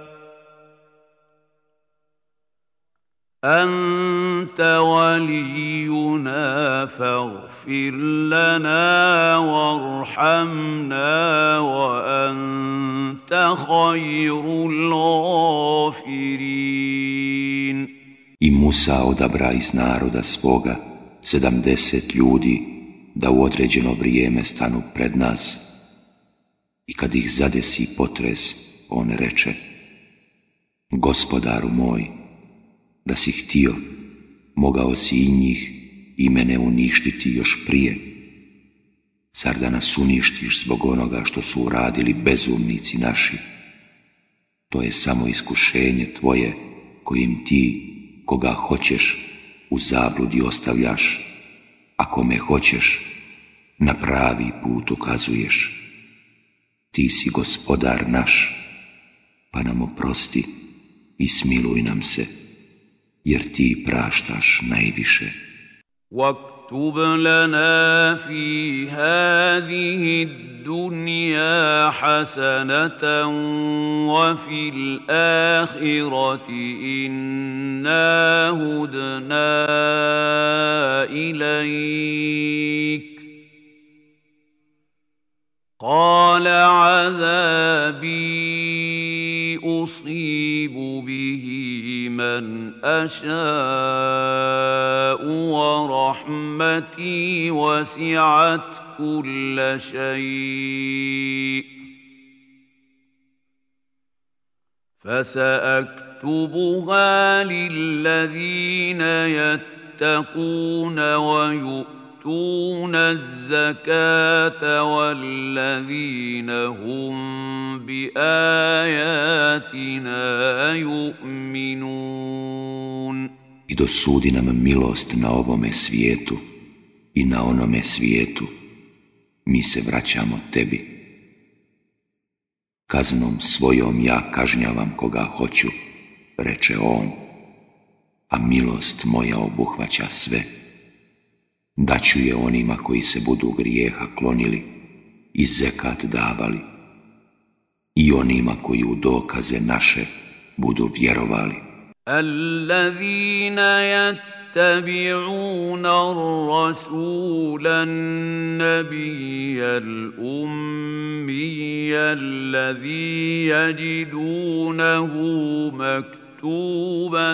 أَنْتَ وَلِيُّنَا فَاغْفِرْ لَنَا وَارْحَمْنَا وَأَنْتَ خَيْرُ الْغَافِرِينَ. I Musa odabra iz naroda svoga 70 ljudi da u određeno vrijeme stanu pred nas. I kad ih zadesi potres, on reče: Gospodaru moj, da si htio, mogao si i njih i mene uništiti još prije. Zar da nas uništiš zbog onoga što su uradili bezumnici naši? To je samo iskušenje tvoje kojim ti, koga hoćeš, u zabludi ostavljaš, a kome hoćeš, na pravi put ukazuješ. ti si gospodar naš, pa nam oprosti i smiluj nam se, jer ti praštaš najviše. واكتب لنا في هذه الدنيا حسنة وفي الآخرة إنا هدنا إليك قال عذابي أصيب به من أشاء ورحمتي وسعت كل شيء فسأكتبها للذين يتقون ويؤتون الزكاة والذين هم بآياتنا يؤمنون. I dosudi nam milost na ovome svijetu i na onome svijetu. Mi se vraćamo tebi. Kaznom svojom ja kažnjavam koga hoću, reče on, a milost moja obuhvaća sve. Daću je onima koji se budu grijeha klonili i zekat davali i onima koji u dokaze naše budu vjerovali. الذين يتبعون الرسول النبي الأمي الذي يجدونه مكتوبا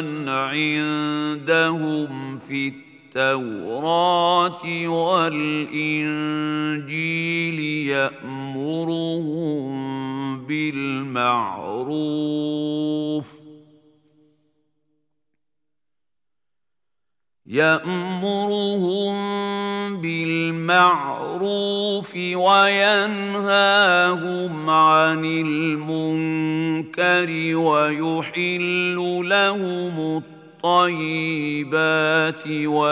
عندهم في التوراة والإنجيل يأمرهم بالمعروف وينهاهم عن المنكر ويحل لهم الطيبات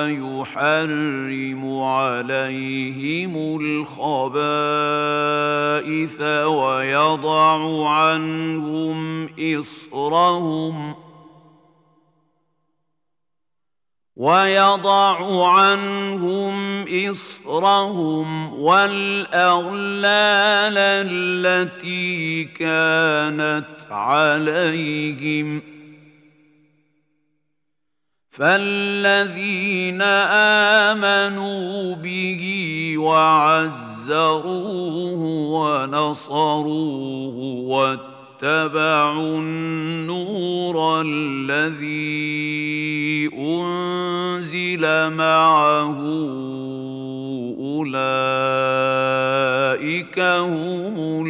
ويحرم عليهم الخبائث ويضع عنهم إصرهم والأغلال التي كانت عليهم فالذين آمنوا به وعزروه ونصروه واتبعوا النور الذي أنزل معه أولئك هم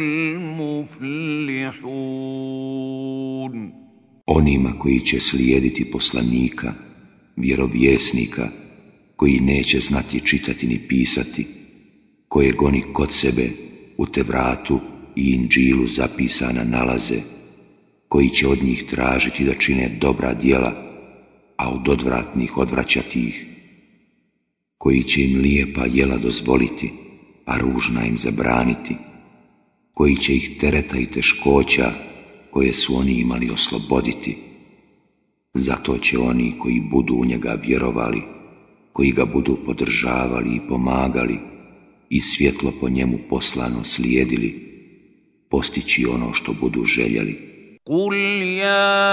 المفلحون. Onima koji će slijediti poslanika, vjerovjesnika, koji neće znati čitati ni pisati, kojeg oni kod sebe u Tevratu i Inđilu zapisana nalaze, koji će od njih tražiti da čine dobra djela, a od odvratnih odvraćati ih, koji će im lijepa jela dozvoliti, a ružna im zabraniti, koji će ih tereta i teškoća koje su oni imali osloboditi. Zato će oni koji budu u njega vjerovali, koji ga budu podržavali i pomagali i svjetlo po njemu poslano slijedili, postići ono što budu željeli. قل يا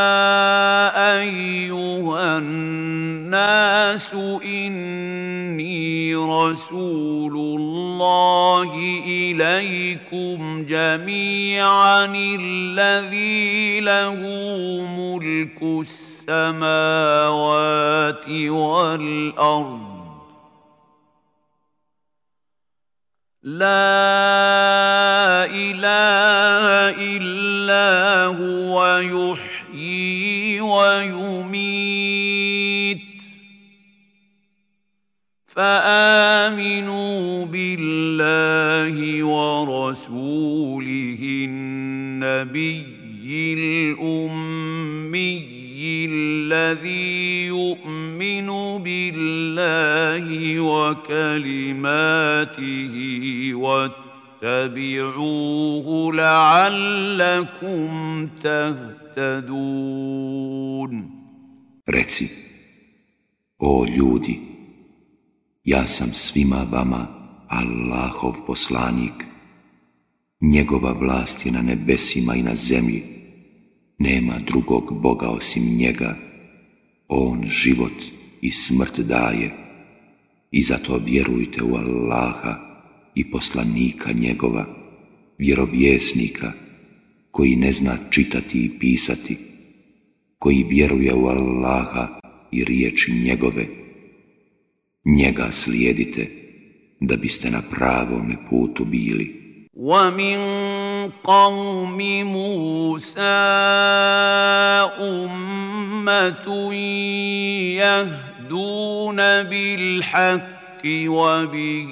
أيها الناس إني رسول الله إليكم جميعا الذي له ملك السماوات والأرض لا إله إلا هو يحيي ويميت فآمنوا بالله ورسوله النبي الأمي الذي يؤمن بالله وكلماته واتبعوه لعلكم تهتدون. Reci, o ljudi, ja sam svima vama Allahov poslanik. Njegova vlast je na nebesima i na zemlji. Nema drugog Boga osim njega. On život i smrt daje. I zato vjerujte u Allaha i poslanika njegova, vjerovjesnika, koji ne zna čitati i pisati, koji vjeruje u Allaha i riječi njegove. Njega slijedite, da biste na pravome putu bili. وَمِنْ قَوْمِ مُوسَى أُمَّةٌ يَهْدُونَ بِالْحَقِّ وَبِهِ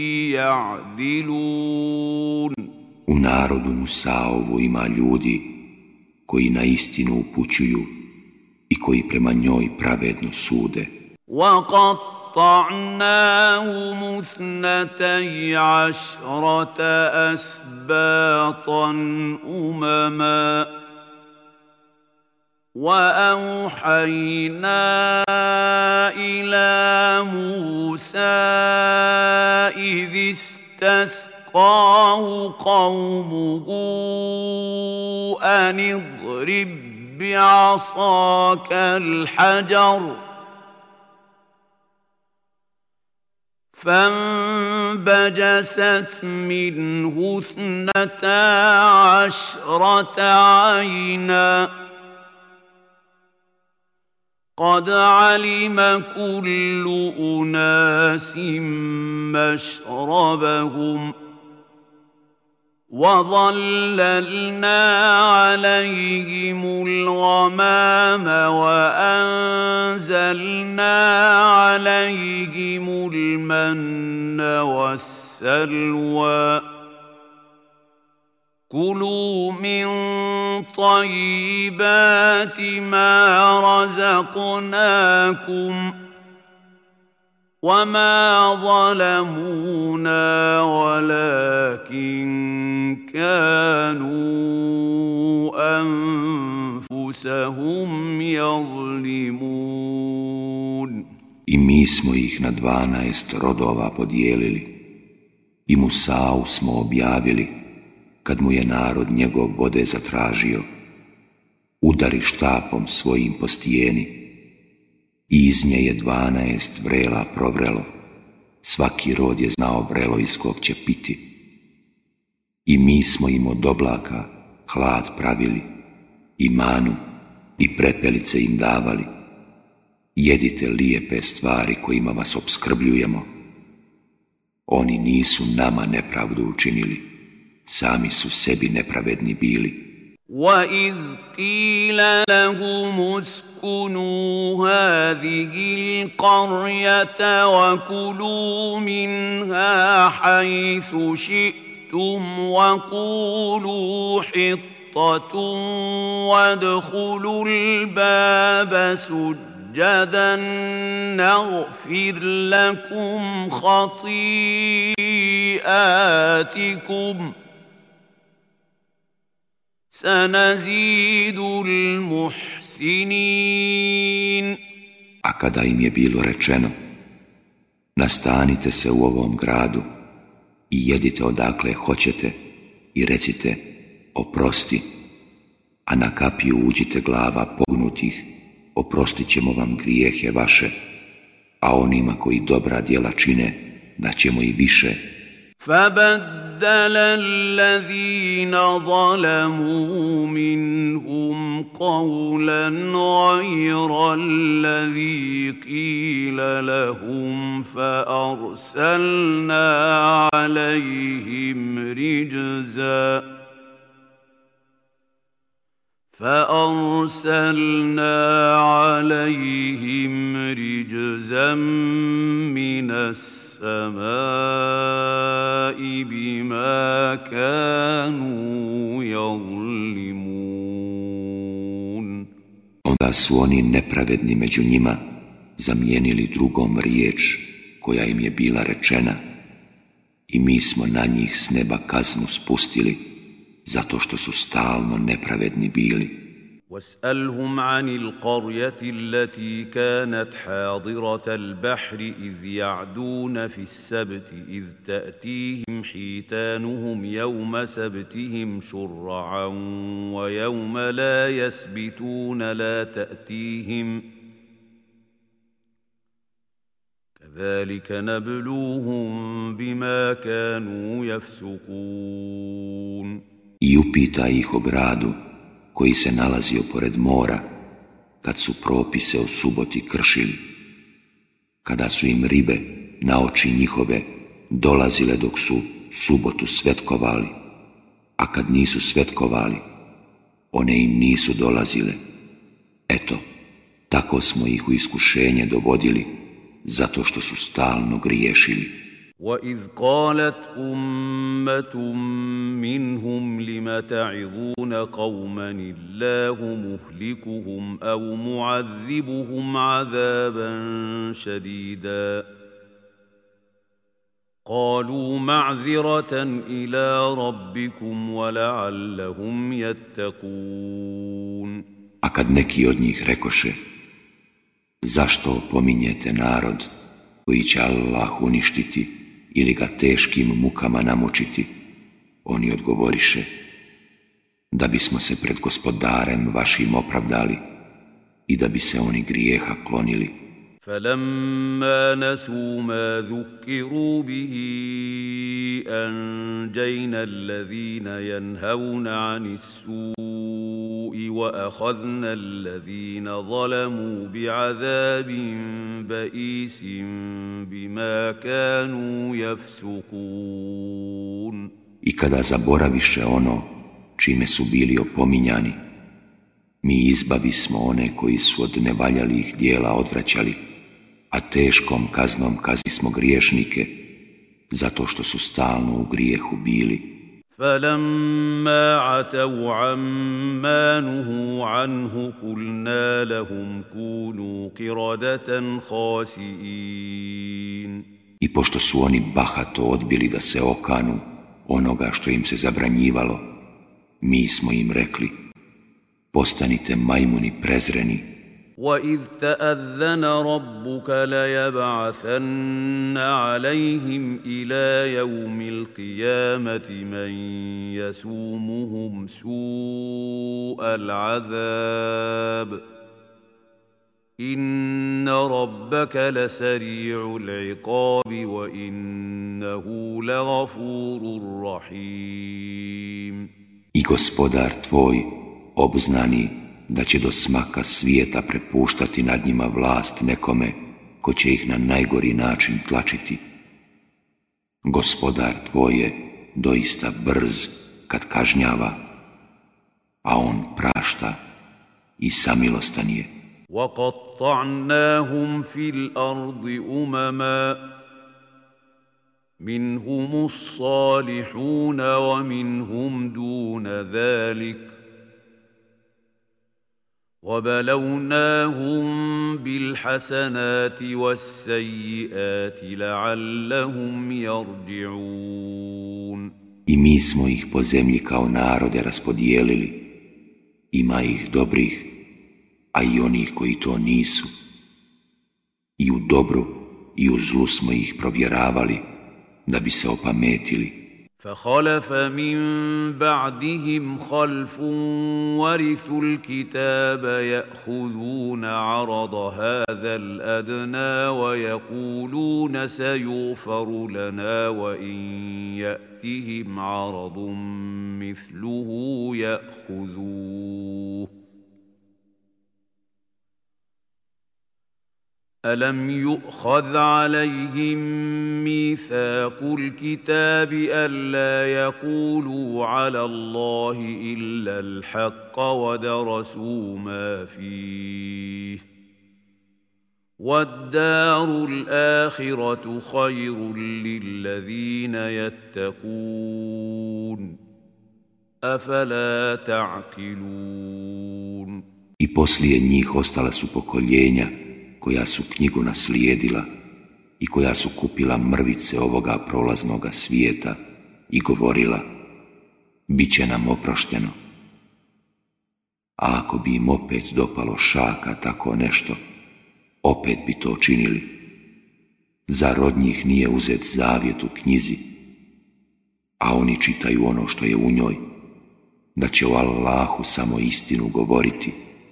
يَعْدِلُونَ. U narodu Musaovu ima ljudi koji na istinu upućuju i koji prema njoj pravedno sude. وَقَطَّعْنَاهُمُ 12 أَسْبَاطًا أُمَمًا وَأَوْحَيْنَا إِلَى مُوسَى إِذِ اسْتَسْقَاهُ قَوْمُهُ أَنِ اضْرِبْ بِعَصَاكَ الْحَجَرَ فانبجست منه 12 عينا قد علم كل أناس مشربهم وظللنا عليهم الغمام وأنزلنا عليهم المن والسلوى كلوا من طيبات ما رزقناكم وما ظلمونا ولكن كانوا أنفسهم يظلمون. I mi smo ih na 12 rodova podijelili i Musau smo objavili kad mu je narod njegov vode zatražio. Udari štapom svojim po stijeni i iz nje je 12 vrela provrelo. Svaki rod je znao vrelo iz kog će piti. I mi smo im od oblaka hlad pravili i manu i prepelice im davali. Jedite lijepe stvari kojima vas opskrbljujemo. Oni nisu nama nepravdu učinili, sami su sebi nepravedni bili. وَإِذْ قِيلَ لَهُمُ اسْكُنُوا هَٰذِهِ الْقَرْيَةَ وَكُلُوا مِنْهَا حَيْثُ شِئْتُمْ وَقُولُوا حِطَّةٌ وَادْخُلُوا الْبَابَ سُجَّدًا نَغْفِرْ لَكُمْ خَطِيئَاتِكُمْ سَنَزِيدُ الْمُحْسِنِينَ. A kada im je bilo rečeno, nastanite se u ovom gradu i jedite odakle hoćete i recite oprosti, a na kapiju uđite glava pognutih, oprostit ćemo vam grijehe vaše, a onima koji dobra djela čine, daćemo i više. فَبَدَّلَ الَّذِينَ ظَلَمُوا مِنْهُمْ قَوْلًا غَيْرَ الَّذِي قِيلَ لَهُمْ فَأَرْسَلْنَا عليهم رجزا من السماء بما كانوا يظلمون. Onda su oni nepravedni među njima zamijenili drugom riječ koja im je bila rečena I mi smo na njih s neba kaznu spustili, zato što su stalno nepravedni bili. واسألهم عن القرية التي كانت حاضرة البحر إذ يعدون في السبت إذ تأتيهم حيتانهم يوم سبتهم شرعا ويوم لا يسبتون لا تأتيهم كذلك نبلوهم بما كانوا يفسقون. I upita ih o gradu koji se nalazio pored mora, kad su propise o suboti kršili, kada su im ribe na oči njihove dolazile dok su subotu svetkovali, a kad nisu svetkovali, one im nisu dolazile. Eto, tako smo ih u iskušenje dovodili, zato što su stalno griješili. وَإِذْ قَالَتْ أُمَّةٌ مِّنْهُمْ لِمَ تَعِظُونَ قَوْمًا اللَّهُ مُهْلِكُهُمْ أَوْ مُعَذِّبُهُمْ عَذَابًا شَدِيدًا قَالُوا مَعْذِرَةً إِلَى رَبِّكُمْ وَلَعَلَّهُمْ يَتَّقُونَ. A kad neki od njih rekoše, zašto opominjete narod koji će Allah uništiti ili ga teškim mukama namučiti, oni odgovoriše, da bismo se pred gospodarem vašim opravdali i da bi se oni grijeha klonili. فَلَمَّا نَسُوا مَا ذُكِّرُوا بِهِ أَنجَيْنَا الَّذِينَ يَنْهَوْنَ عَنِ السُّوءِ وَأَخَذْنَا الَّذِينَ ظَلَمُوا بِعَذَابٍ بَئِيسٍ بِمَا كَانُوا يَفْسُقُونَ. I kada zaboraviše ono čime su bili opominjani, mi izbavismo one koji su od nevaljalih dijela odvraćali, a teškom kaznom kaznimo griješnike, zato što su stalno u grijehu bili. فَلَمَّا عَتَوْا عَمَّا نُهُوا عَنْهُ قُلْنَا لَهُمْ كُونُوا قِرَدَةً خَاسِئِينَ. I pošto su oni bahato odbili da se okanu onoga što im se zabranjivalo, mi smo im rekli, postanite majmuni prezreni. وَإِذْ تَأَذَّنَ رَبُّكَ لَيَبْعَثَنَّ عَلَيْهِمْ إِلَى يَوْمِ الْقِيَامَةِ مَنْ يَسُومُهُمْ سُوءَ الْعَذَابِ إِنَّ رَبَّكَ لَسَرِيعُ الْعِقَابِ وَإِنَّهُ لَغَفُورٌ رَحِيمٌ. I gospodar tvoj obznani da će do smaka svijeta prepuštati nad njima vlast nekome ko će ih na najgori način tlačiti. Gospodar tvoj je doista brz kad kažnjava, a on prašta i samilostan je. وَقَطَّعْنَاهُمْ فِي الْأَرْضِ أُمَمًا مِنْهُمُ الصَّالِحُونَ وَمِنْهُمْ دُونَ ذَلِكَ وَبَلَوْنَاهُمْ بِالْحَسَنَاتِ وَالسَّيِّئَاتِ لَعَلَّهُمْ يَرْجِعُونَ. I mi smo ih po zemlji kao narode raspodijelili. Ima ih dobrih, a i onih koji to nisu. I u dobru i u zlu smo ih provjeravali, da bi se opametili. فَخَلَفَ مِن بَعْدِهِمْ خَلْفٌ وَرِثُوا الْكِتَابَ يَأْخُذُونَ عَرَضَ هَذَا الْأَدْنَىٰ وَيَقُولُونَ سَيُغْفَرُ لَنَا وَإِن يَأْتِهِمْ عَرَضٌ مِّثْلُهُ يَأْخُذُوهُ أَلَمْ يُؤْخَذْ عَلَيْهِمْ مِيثَاقُ الْكِتَابِ أَلَّا يَقُولُوا عَلَى اللَّهِ إِلَّا الْحَقَّ وَدَرَسُوا مَا فِيهِ وَالدَّارُ الْآخِرَةُ خَيْرٌ لِّلَّذِينَ يَتَّقُونَ أَفَلَا تَعْقِلُونَ. I poslije njih ostala su pokoljenja koja su knjigu naslijedila, i koja su kupila mrvice ovoga prolaznoga svijeta i govorila: bit će nam oprošteno. A ako bi im opet dopalo šaka tako nešto, opet bi to činili. Zar od njih nije uzet zavjet u knjizi, a oni čitaju ono što je u njoj, da će o Allahu samo istinu govoriti?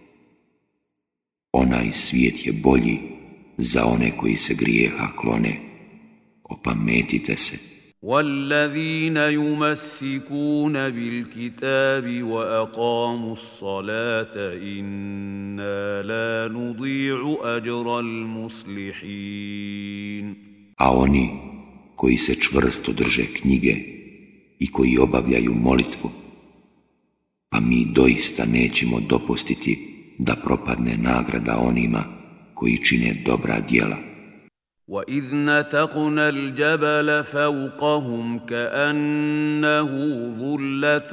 Onaj svijet je bolji za one koji se grijeha klone. Opametite se. والذين يمسكون بالكتاب وأقاموا الصلاة إنا لا نضيع أجر المصلحين. A oni koji se čvrsto drže knjige i koji obavljaju molitvu, pa mi doista nećemo dopustiti da propadne nagrada onima koji čine dobra djela. وَإِذْ نَتَقْنَا الْجَبَلَ فَوْقَهُمْ كَأَنَّهُ ظُلَّةٌ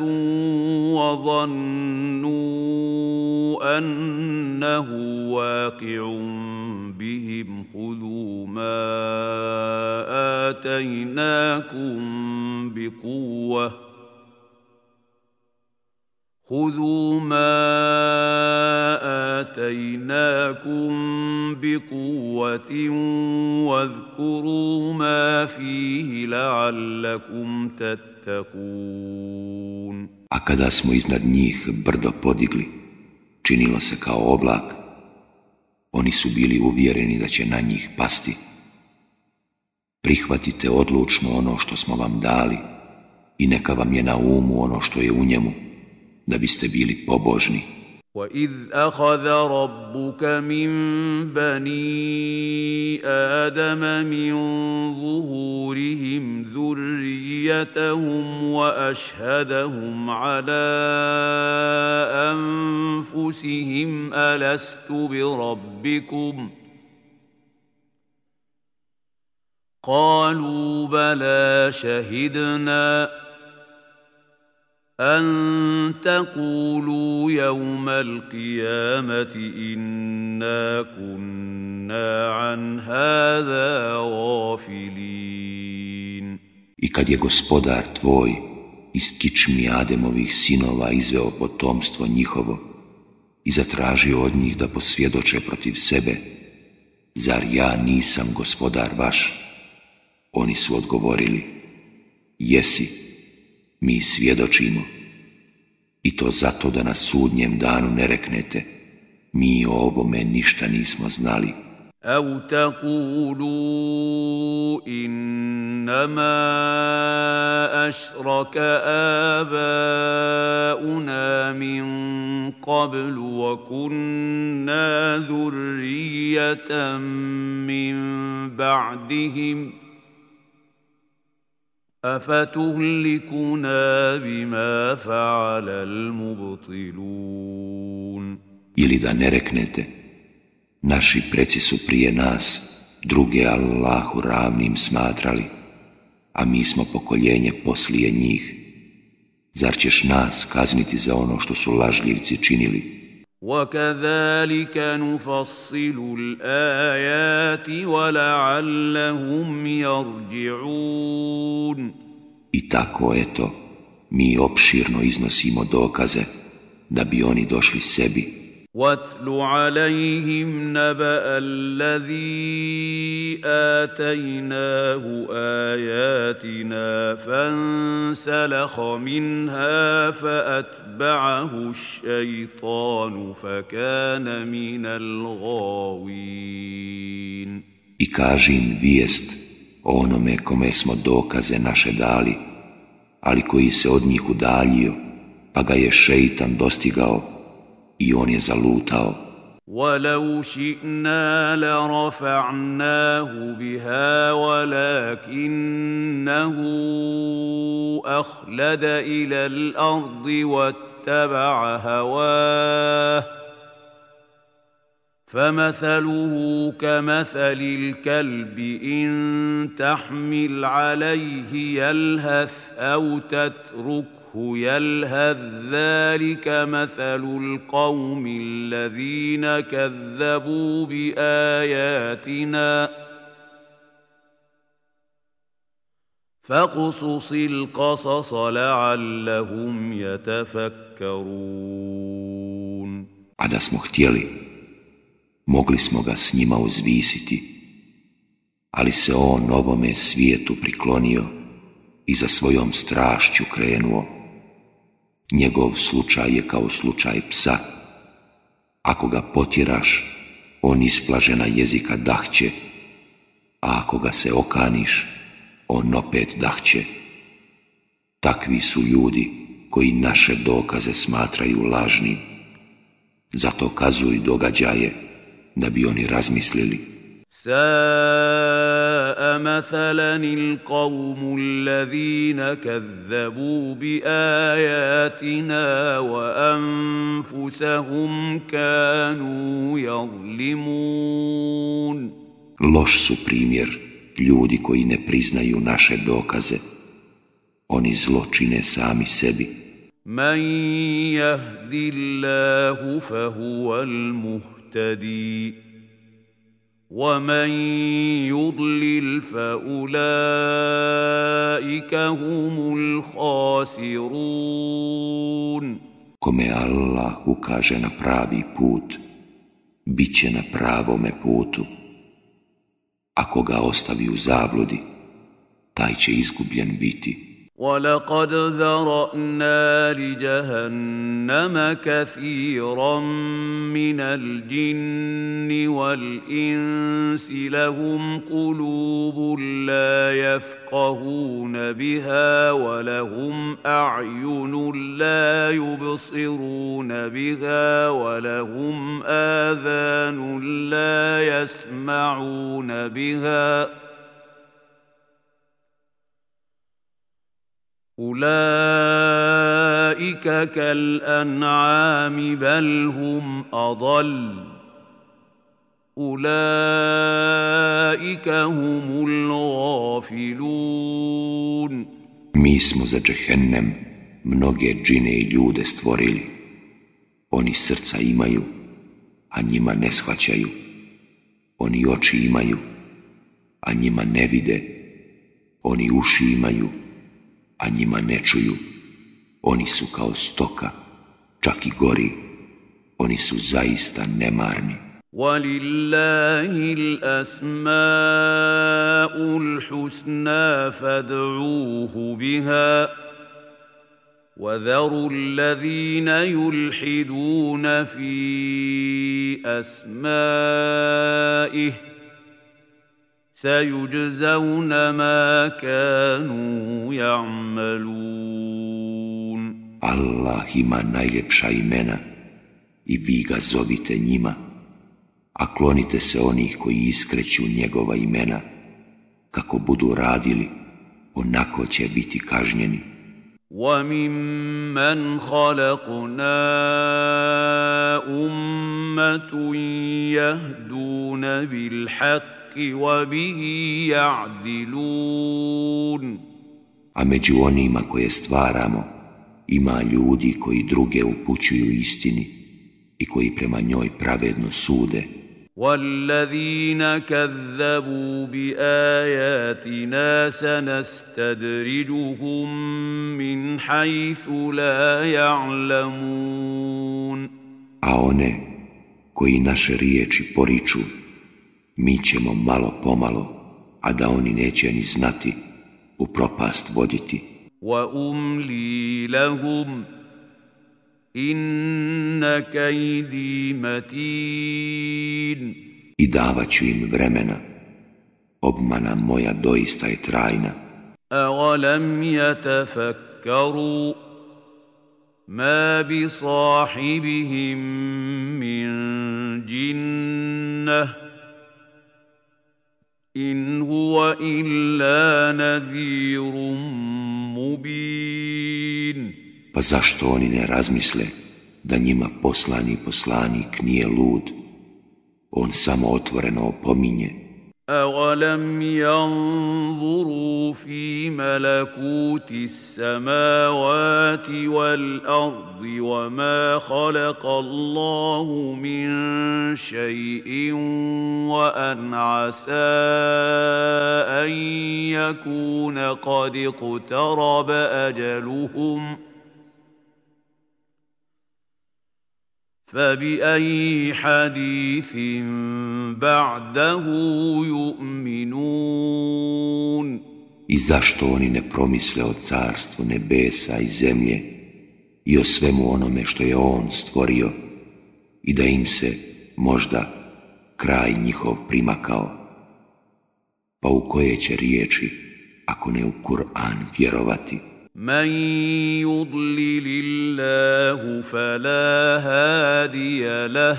وَظَنُّوا أَنَّهُ واقع بِهِمْ خُذُوا ما آتيناكم بقوة واذكروا ما فيه لعلكم تتقون. A kada smo iznad njih brdo podigli, činilo se kao oblak, oni su bili uvjereni da će na njih pasti. Prihvatite odlučno ono što smo vam dali i neka vam je na umu ono što je u njemu, da biste bili pobožni. وَإِذْ أَخَذَ رَبُّكَ مِنْ بَنِي آدَمَ مِنْ ظُهُورِهِمْ ذُرِّيَّتَهُمْ وَأَشْهَدَهُمْ عَلَى أَنْفُسِهِمْ أَلَسْتُ بِرَبِّكُمْ قَالُوا بَلَى شَهِدْنَا أن تقولوا يوم القيامة إنا كنا عن هذا غافلين. I kad je gospodar tvoj iz kičmi Ademovih sinova izveo potomstvo njihovo i zatražio od njih da posvjedoče protiv sebe, zar ja nisam gospodar vaš? Oni su odgovorili: jesi. Mi svjedočimo, i to zato da na sudnjem danu ne reknete: mi o ovome ništa nismo znali. أَوْ تَقُولُوا إِنَّمَا أَشْرَكَ آبَاؤُنَا مِنْ قَبْلُ وَكُنَّا ذُرِّيَّةً مِنْ بَعْدِهِمْ أَفَتُهْلِكُنَا بِمَا فَعَلَ الْمُبْطِلُونَ. Ili da ne reknete: naši preci su prije nas druge Allahu ravnim smatrali, a mi smo pokoljenje poslije njih. Zar ćeš nas kazniti za ono što su lažljivci činili? وَكَذَلِكَ نُفَصِّلُ الْآيَاتِ وَلَعَلَّهُمْ يَرْجِعُونَ. I tako, eto, mi opširno iznosimo dokaze da bi oni došli sebi. وَاتْلُ عَلَيْهِمْ نَبَأَ الَّذِي آتَيْنَاهُ آيَاتِنَا فَانسَلَخَ مِنْهَا فَأَتْبَعَهُ الشَّيْطَانُ فَكَانَ مِنَ الْغَاوِينَ. I kaži im vijest o onome kome smo dokaze naše dali, ali koji se od njih udaljio, pa ga je šeitan dostigao i on je zalutao. وَلَوْ شِئْنَا لَرَفَعْنَاهُ بِهَا وَلَكِنَّهُ أَخْلَدَ إِلَى الْأَرْضِ وَاتَّبَعَ هَوَاهُ فَمَثَلُهُ كَمَثَلِ الْكَلْبِ إِنْ تَحْمِلْ عَلَيْهِ يَلْهَثْ أَوْ تَتْرُكْهُ يلهث ذلك مثل القوم الذين كذبوا بآياتنا فاقصص القصص لعلهم يتفكرون. A da smo htjeli, mogli smo ga s njima uzvisiti, ali se on ovome svijetu priklonio i za svojom strašću krenuo. Njegov slučaj je kao slučaj psa. Ako ga potjeraš, on isplažena jezika dahće, a ako ga se okaniš, on opet dahće. Takvi su ljudi koji naše dokaze smatraju lažnim. Zato kazuj događaje da bi oni razmislili. ساء مثلا القوم الذين كذبوا بآياتنا وأنفسهم كانوا يظلمون. Loš su primjer ljudi koji ne priznaju naše dokaze. Oni zlo čine sami sebi. من يهد الله فهو المهتدي ومن يضلل فأولئك هم الخاسرون. Kome Allah ukaže na pravi put, bit će na pravome putu. Ako ga ostavi u zabludi, taj će izgubljen biti. وَلَقَدْ ذَرَأْنَا لِجَهَنَّمَ كَثِيرًا مِنَ الْجِنِّ وَالْإِنسِ لَهُمْ قُلُوبٌ لَا يَفْقَهُونَ بِهَا وَلَهُمْ أَعْيُنٌ لَا يُبْصِرُونَ بِهَا وَلَهُمْ آذَانٌ لَا يَسْمَعُونَ بِهَا أولئك كالأنعام بل هم أضل أولئك هم الغافلون. Mi smo za džehennem mnoge džine i ljude stvorili. Oni srca imaju, a njima ne shvaćaju. Oni oči imaju, a njima ne vide. Oni uši imaju, a njima ne čuju. Oni su kao stoka, čak i gori. Oni su zaista nemarni. وَلِلَّهِ الْأَسْمَاءُ الْحُسْنَى فَادْعُوهُ بِهَا وَذَرُوا الَّذِينَ يُلْحِدُونَ فِي أَسْمَائِهِ سَيُجْزَوْنَ مَا كَانُوا يَعْمَلُونَ. Allah ima najljepša imena i vi ga zovite njima, a klonite se onih koji iskreću njegova imena. Kako budu radili, onako će biti kažnjeni. وَمِمَّنْ خَلَقْنَا أُمَّةٌ يَهْدُونَ بِالْحَقِّ وَبِهِ يَعْدِلُونَ. A među onima koje stvaramo ima ljudi koji druge upućuju istini i koji prema njoj pravedno sude. وَالَّذِينَ كَذَّبُوا بِآيَاتِنَا سَنَسْتَدْرِجُهُم مِّنْ حَيْثُ لَا يَعْلَمُونَ. A one koji naše riječi poriču, mi ćemo malo pomalo, a da oni neće ni znati, u propast voditi. وَأُمْلِي لَهُمْ إِنَّ كَيْدِي مَتِينٌ. I davat ću im vremena, obmana moja doista je trajna. أَوَلَمْ يَتَفَكَّرُوا مَا بِصَاحِبِهِم مِّن جِنَّةٍ إِنْ هُوَ إِلَّا نَذِيرٌ مُبِينٌ. Pa zašto oni ne razmisle da njima poslani poslanik nije lud? On samo otvoreno opominje. أَوَلَمْ يَنظُرُوا فِي مَلَكُوتِ السَّمَاوَاتِ وَالْأَرْضِ وَمَا خَلَقَ اللَّهُ مِن شَيْءٍ وَأَنْ عَسَىٰ أَن يَكُونَ قَدِ اقْتَرَبَ أَجَلُهُمْ ۖ فَبِأَيِّ حَدِيثٍ بَعْدَهُ يُؤْمِنُونَ. I zašto oni ne promisle o carstvu nebesa i zemlje i o svemu onome što je on stvorio i da im se možda kraj njihov primakao? Pa u koje će riječi, ako ne u Kur'an, vjerovati? مَن يُضْلِلِ اللَّهُ فَلَا هَادِيَ لَهُ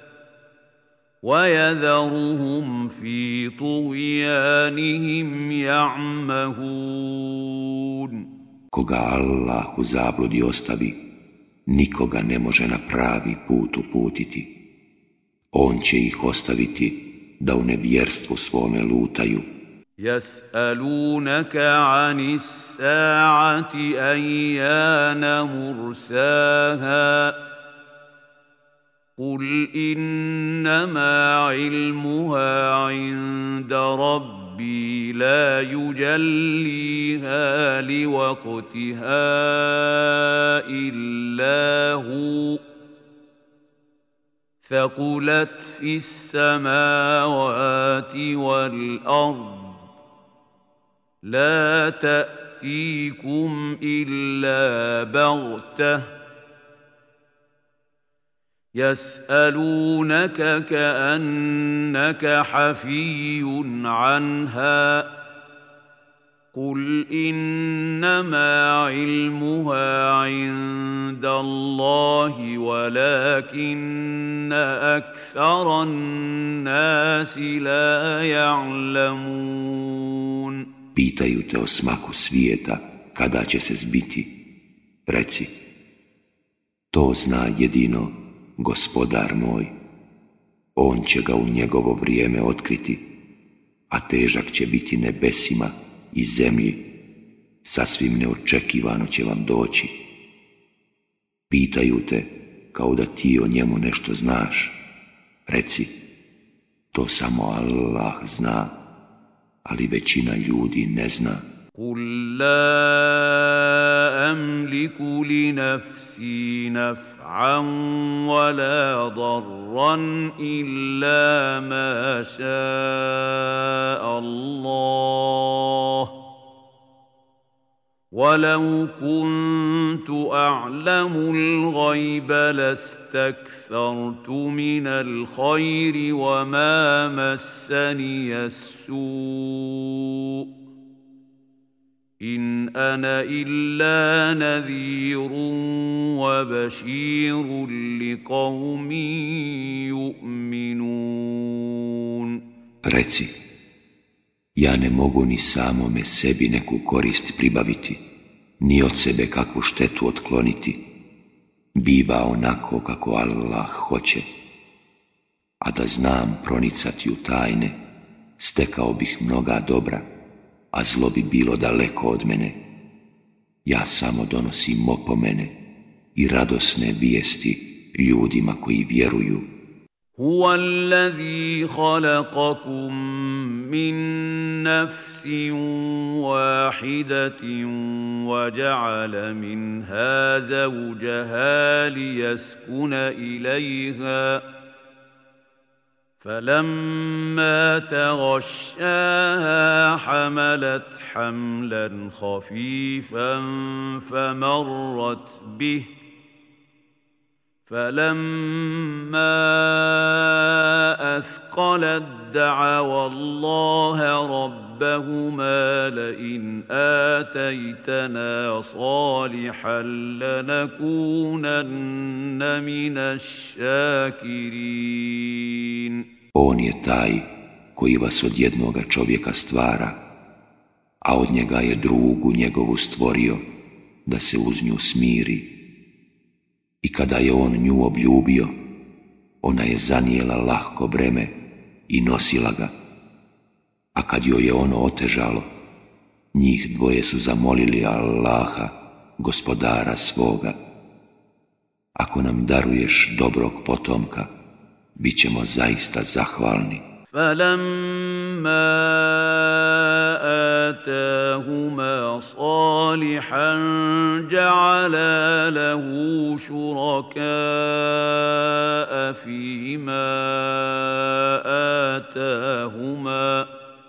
وَيَذَرُهُمْ فِي طُغْيَانِهِمْ يَعْمَهُونَ. Koga Allah u zabludi ostavi, nikoga ne može na pravi put uputiti. On će ih ostaviti da u nevjerstvu svome lutaju. يَسْأَلُونَكَ عَنِ السَّاعَةِ أَيَّانَ مُرْسَاهَا قُلْ إِنَّمَا عِلْمُهَا عِندَ رَبِّي لَا يُجَلِّيهَا لِوَقْتِهَا إِلَّا هُوَ ثَقُلَتْ فِي السَّمَاوَاتِ وَالْأَرْضِ لَا تَأْتِيكُمْ إِلَّا بَغْتَةً يَسْأَلُونَكَ كَأَنَّكَ حَفِيٌّ عَنْهَا قُلْ إِنَّمَا عِلْمُهَا عِندَ اللَّهِ وَلَكِنَّ أَكْثَرَ النَّاسِ لَا يَعْلَمُونَ. Pitaju te o smaku svijeta, kada će se zbiti. Reci, to zna jedino Gospodar moj. On će ga u njegovo vrijeme otkriti, a težak će biti nebesima i zemlji. Sasvim neočekivano će vam doći. Pitaju te kao da ti o njemu nešto znaš. Reci, to samo Allah zna, ali većina ljudi ne zna. قُلْ لَا أَمْلِكُ لِنَفْسِي نَفْعًا وَلَا ضَرًّا إِلَّا مَا شَاءَ اللَّهُ وَلَوْ كُنْتُ أَعْلَمُ الْغَيْبَ لَاسْتَكْثَرْتُ مِنَ الْخَيْرِ وَمَا مَسَّنِيَ السُّوءُ إِنْ أَنَا إِلَّا نَذِيرٌ وَبَشِيرٌ لِقَوْمٍ يُؤْمِنُونَ. Reci, ja ne mogu ni samome sebi neku korist pribaviti, ni od sebe kakvu štetu otkloniti. Biva onako kako Allah hoće. A da znam pronicati u tajne, stekao bih mnoga dobra, a zlo bi bilo daleko od mene. Ja samo donosim opomene i radosne vijesti ljudima koji vjeruju. هُوَ الَّذِي خَلَقَكُم مِّن نَّفْسٍ وَاحِدَةٍ وَجَعَلَ مِنْهَا زَوْجَهَا لِيَسْكُنَ إِلَيْهَا فَلَمَّا تَغَشَّاهَا حَمَلَتْ حَمْلًا خَفِيفًا فَمَرَّتْ بِهِ فَلَمَّا أَثْقَلَتْ دَعَوَا اللَّهَ رَبَّهُمَا لَئِنْ آتَيْتَنَا صَالِحًا لَنَكُونَنَّ مِنَ الشَّاكِرِينَ. On je taj koji vas od jednoga čovjeka stvara, a od njega je drugu njegovu stvorio da se uz nju smiri. I kada je on nju obljubio, ona je zanijela lahko breme i nosila ga, A kad joj je ono otežalo, njih dvoje su zamolili Allaha, gospodara svoga: ako nam daruješ dobrog potomka, bit ćemo zaista zahvalni. فَلَمَّا آتَاهُمَا صَالِحًا جَعَلَا لَهُ شُرَكَاءَ فِيمَا آتَاهُمَا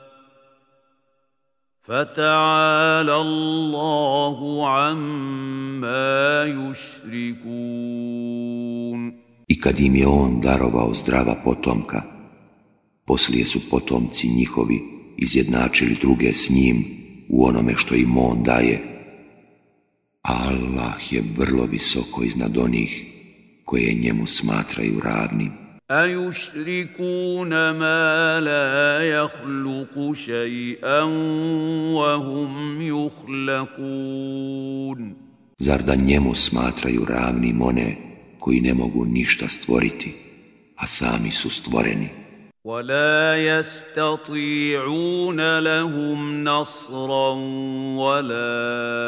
فَتَعَالَى اللَّهُ عَمَّا يُشْرِكُونَ. I kad im je on darovao zdrava potomka, poslije su potomci njihovi izjednačili druge s njim u onome što im on daje. A Allah je vrlo visoko iznad onih koje njemu smatraju ravnim. أَيُشْرِكُونَ مَا لَا يَخْلُقُ شَيْئًا وَهُمْ يُخْلَقُونَ. Zar da njemu smatraju ravnim one koji ne mogu ništa stvoriti, a sami su stvoreni? وَلَا يَسْتَطِيعُونَ لَهُمْ نَصْرًا وَلَا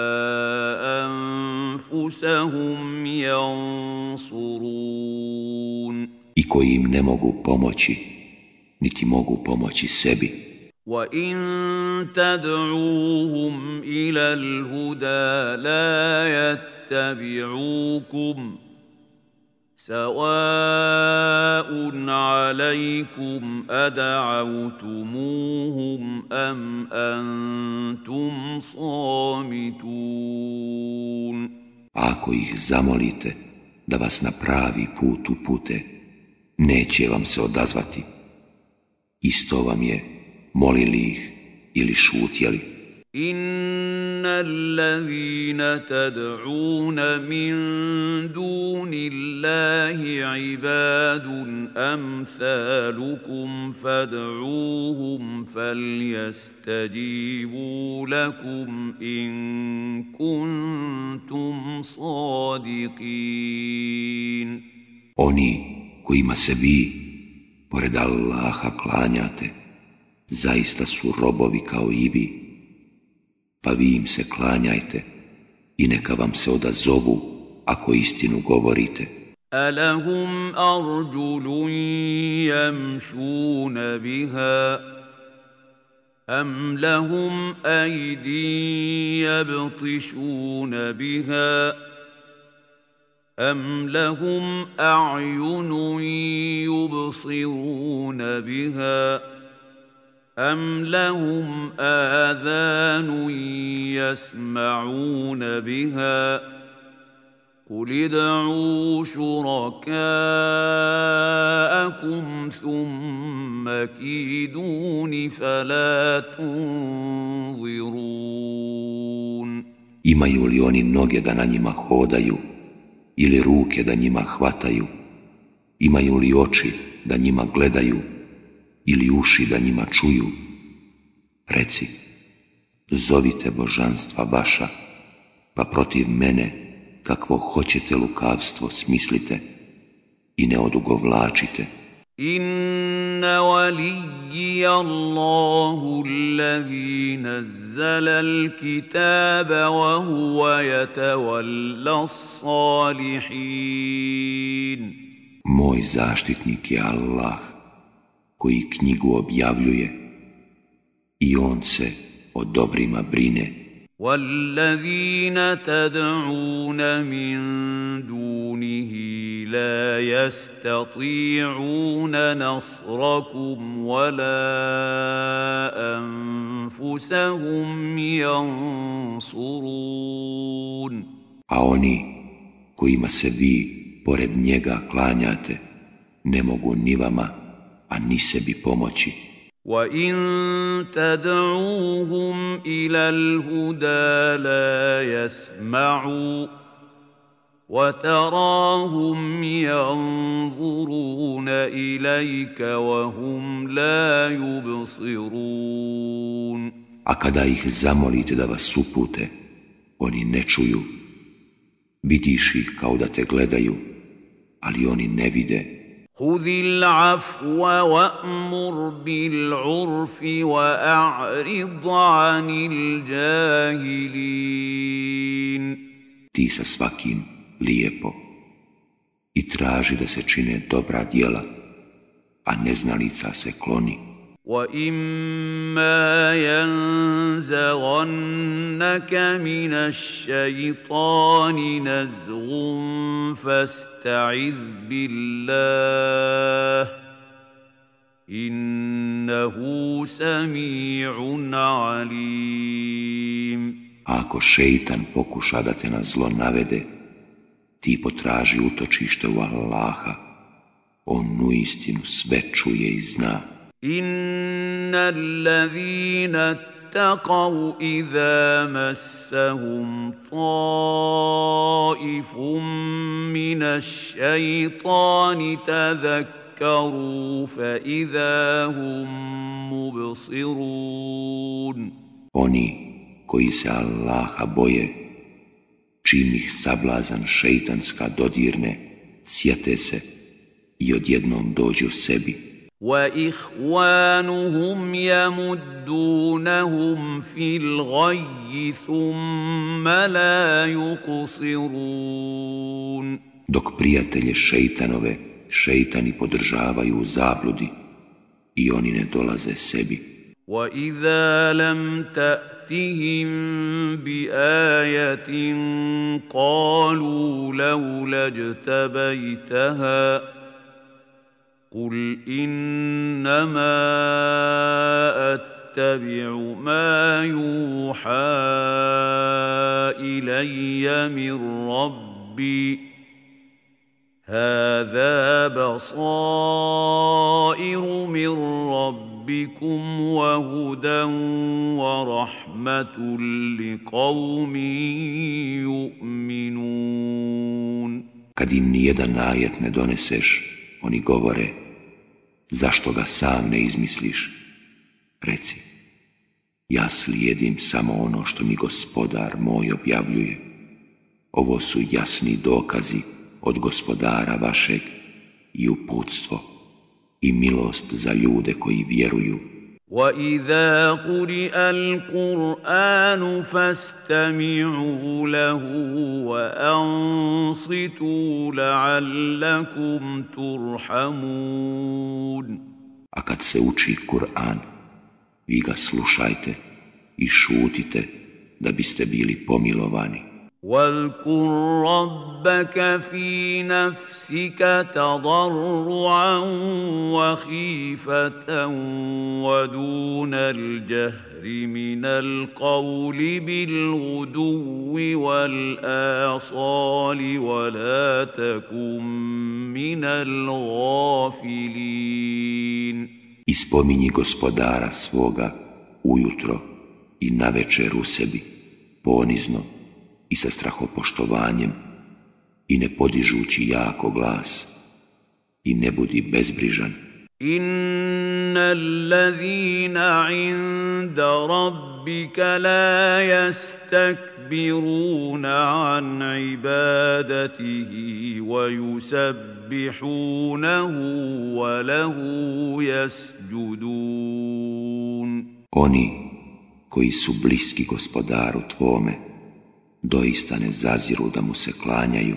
أَنفُسَهُمْ يَنصُرُونَ. I koji im ne mogu pomoći, niti mogu pomoći sebi. وَإِن تَدْعُوهُمْ إِلَى الْهُدَى لَا يَتَّبِعُوكُمْ سَوَاءٌ عَلَيْكُمْ أَدَعَوْتُمُوهُمْ أَمْ أَنْتُمْ صَامِتُونَ. Ako ih zamolite da vas na pravi put upute, neće vam se odazvati. Isto vam je, molili ih ili šutjeli. إِنَّ الَّذِينَ تَدْعُونَ مِن دُونِ اللَّهِ عِبَادٌ أَمْثَالُكُمْ فَادْعُوهُمْ فَلْيَسْتَجِيبُوا لَكُمْ إِن كُنتُمْ صَادِقِينَ. Oni kojima se vi, pored Allaha, klanjate, zaista su robovi kao i vi, pa vi im se klanjajte i neka vam se odazovu ako istinu govorite. أَلَهُمْ أَرْجُلٌ يَمْشُونَ بِهَا أَمْ لَهُمْ أَيْدٍ يَبْطِشُونَ بِهَا أَمْ لَهُمْ أَعْيُنٌ يُبْصِرُونَ بِهَا أَمْ لَهُمْ آذَانٌ يَسْمَعُونَ بِهَا قُلِ ادْعُوا شُرَكَاءَكُمْ ثُمَّ كِيدُونِ فَلَا تُنظِرُونَ. Imaju li oni noge da na njima hodaju ili ruke da njima hvataju? Imaju li oči da njima gledaju ili uši da njima čuju? Reci, zovite božanstva vaša, pa protiv mene kakvo hoćete lukavstvo smislite i ne odugovlačite. Inna waliyya Allahu alladhi nazzala al-kitaba wa huwa yatawalla as-salihin. Moj zaštitnik je Allah, koji knjigu objavljuje i on se o dobrima brine. وَالَّذِينَ تَدْعُونَ مِن دُونِهِ لَا يَسْتَطِيعُونَ نَصْرَكُمْ وَلَا أَنفُسَهُمْ يَنصُرُونَ. A oni kojima se vi pored njega klanjate ne mogu ni vama, a ni sebi pomoći. وَإِن تَدْعُوهُمْ إِلَى الْهُدَى لَا يَسْمَعُوا وَتَرَاهُمْ يَنظُرُونَ إِلَيْكَ وَهُمْ لَا يُبْصِرُونَ. A kada ih zamolite da vas upute, oni ne čuju. Vidiš ih kao da te gledaju, ali oni ne vide. خذ العفو وأمر بالعرف وأعرض عن الجاهلين. Ti sa svakim lijepo i traži da se čine dobra djela, a neznalica se kloni. وَإِمَّا يَنزَغَنَّكَ مِنَ الشَّيْطَانِ نَزْغٌ فَاسْتَعِذْ بِاللَّهِ إِنَّهُ سَمِيعٌ عَلِيمٌ. Ako šeitan pokuša da te na zlo navede, ti potraži utočište u Allaha, on uistinu sve čuje i zna. إِنَّ الَّذِينَ اتَّقَوْا إِذَا مَسَّهُمْ طَائِفٌ مِّنَ الشَّيْطَانِ تَذَكَّرُوا فَإِذَا هُم مُّبْصِرُونَ. Oni koji se Allaha boje, čim ih sablazan šeitanska dodirne, sjete se i odjednom dođu sebi. وَإِخْوَانُهُمْ يَمُدُّونَهُمْ فِي الْغَيِّ ثُمَّ لَا يُقْصِرُونَ. Dok prijatelje šeitanove šeitani podržavaju u zabludi i oni ne dolaze sebi. وَإِذَا لَمْ تَأْتِهِمْ بِآيَةٍ قَالُوا لَوْلَا اجْتَبَيْتَهَا قُلْ إِنَّمَا أَتَّبِعُ مَا يُوحَى إِلَيَّ مِنْ رَبِّي هَذَا بَصَائِرُ مِنْ رَبِّكُمْ وَهُدًى وَرَحْمَةٌ لِقَوْمٍ يُؤْمِنُونَ. Kad im nijedan ajet ne doneseš, oni govore, zašto ga sam ne izmisliš? Reci, ja slijedim samo ono što mi Gospodar moj objavljuje. Ovo su jasni dokazi od Gospodara vašeg i uputstvo i milost za ljude koji vjeruju. وَإِذَا قُرِئَ الْقُرْآنُ فَاسْتَمِعُوا لَهُ وَأَنصِتُوا لَعَلَّكُمْ تُرْحَمُونَ. A kad se uči Kur'an, vi ga slušajte i šutite da biste bili pomilovani. وَاذْكُرْ رَبَّكَ فِي نَفْسِكَ تَضَرُّعًا وَخِيفَةً وَدُونَ الْجَهْرِ مِنَ الْقَوْلِ بِالْغُدُوِّ وَالْآصَالِ وَلَا تَكُن مِّنَ الْغَافِلِينَ. I spominji Gospodara svoga ujutro i navečer u sebi, ponizno i sa strahopoštovanjem i ne podižući jako glas i ne budi bezbrižan. Inna allazina inda rabbika la yastakbiruna an ibadatihi wa yusabbihunahu wa lahu yasjudun. Oni koji su bliski Gospodaru tvome doista ne zaziru da mu se klanjaju,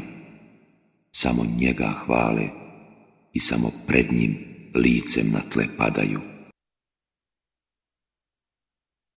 samo njega hvale i samo pred njim licem na tle padaju.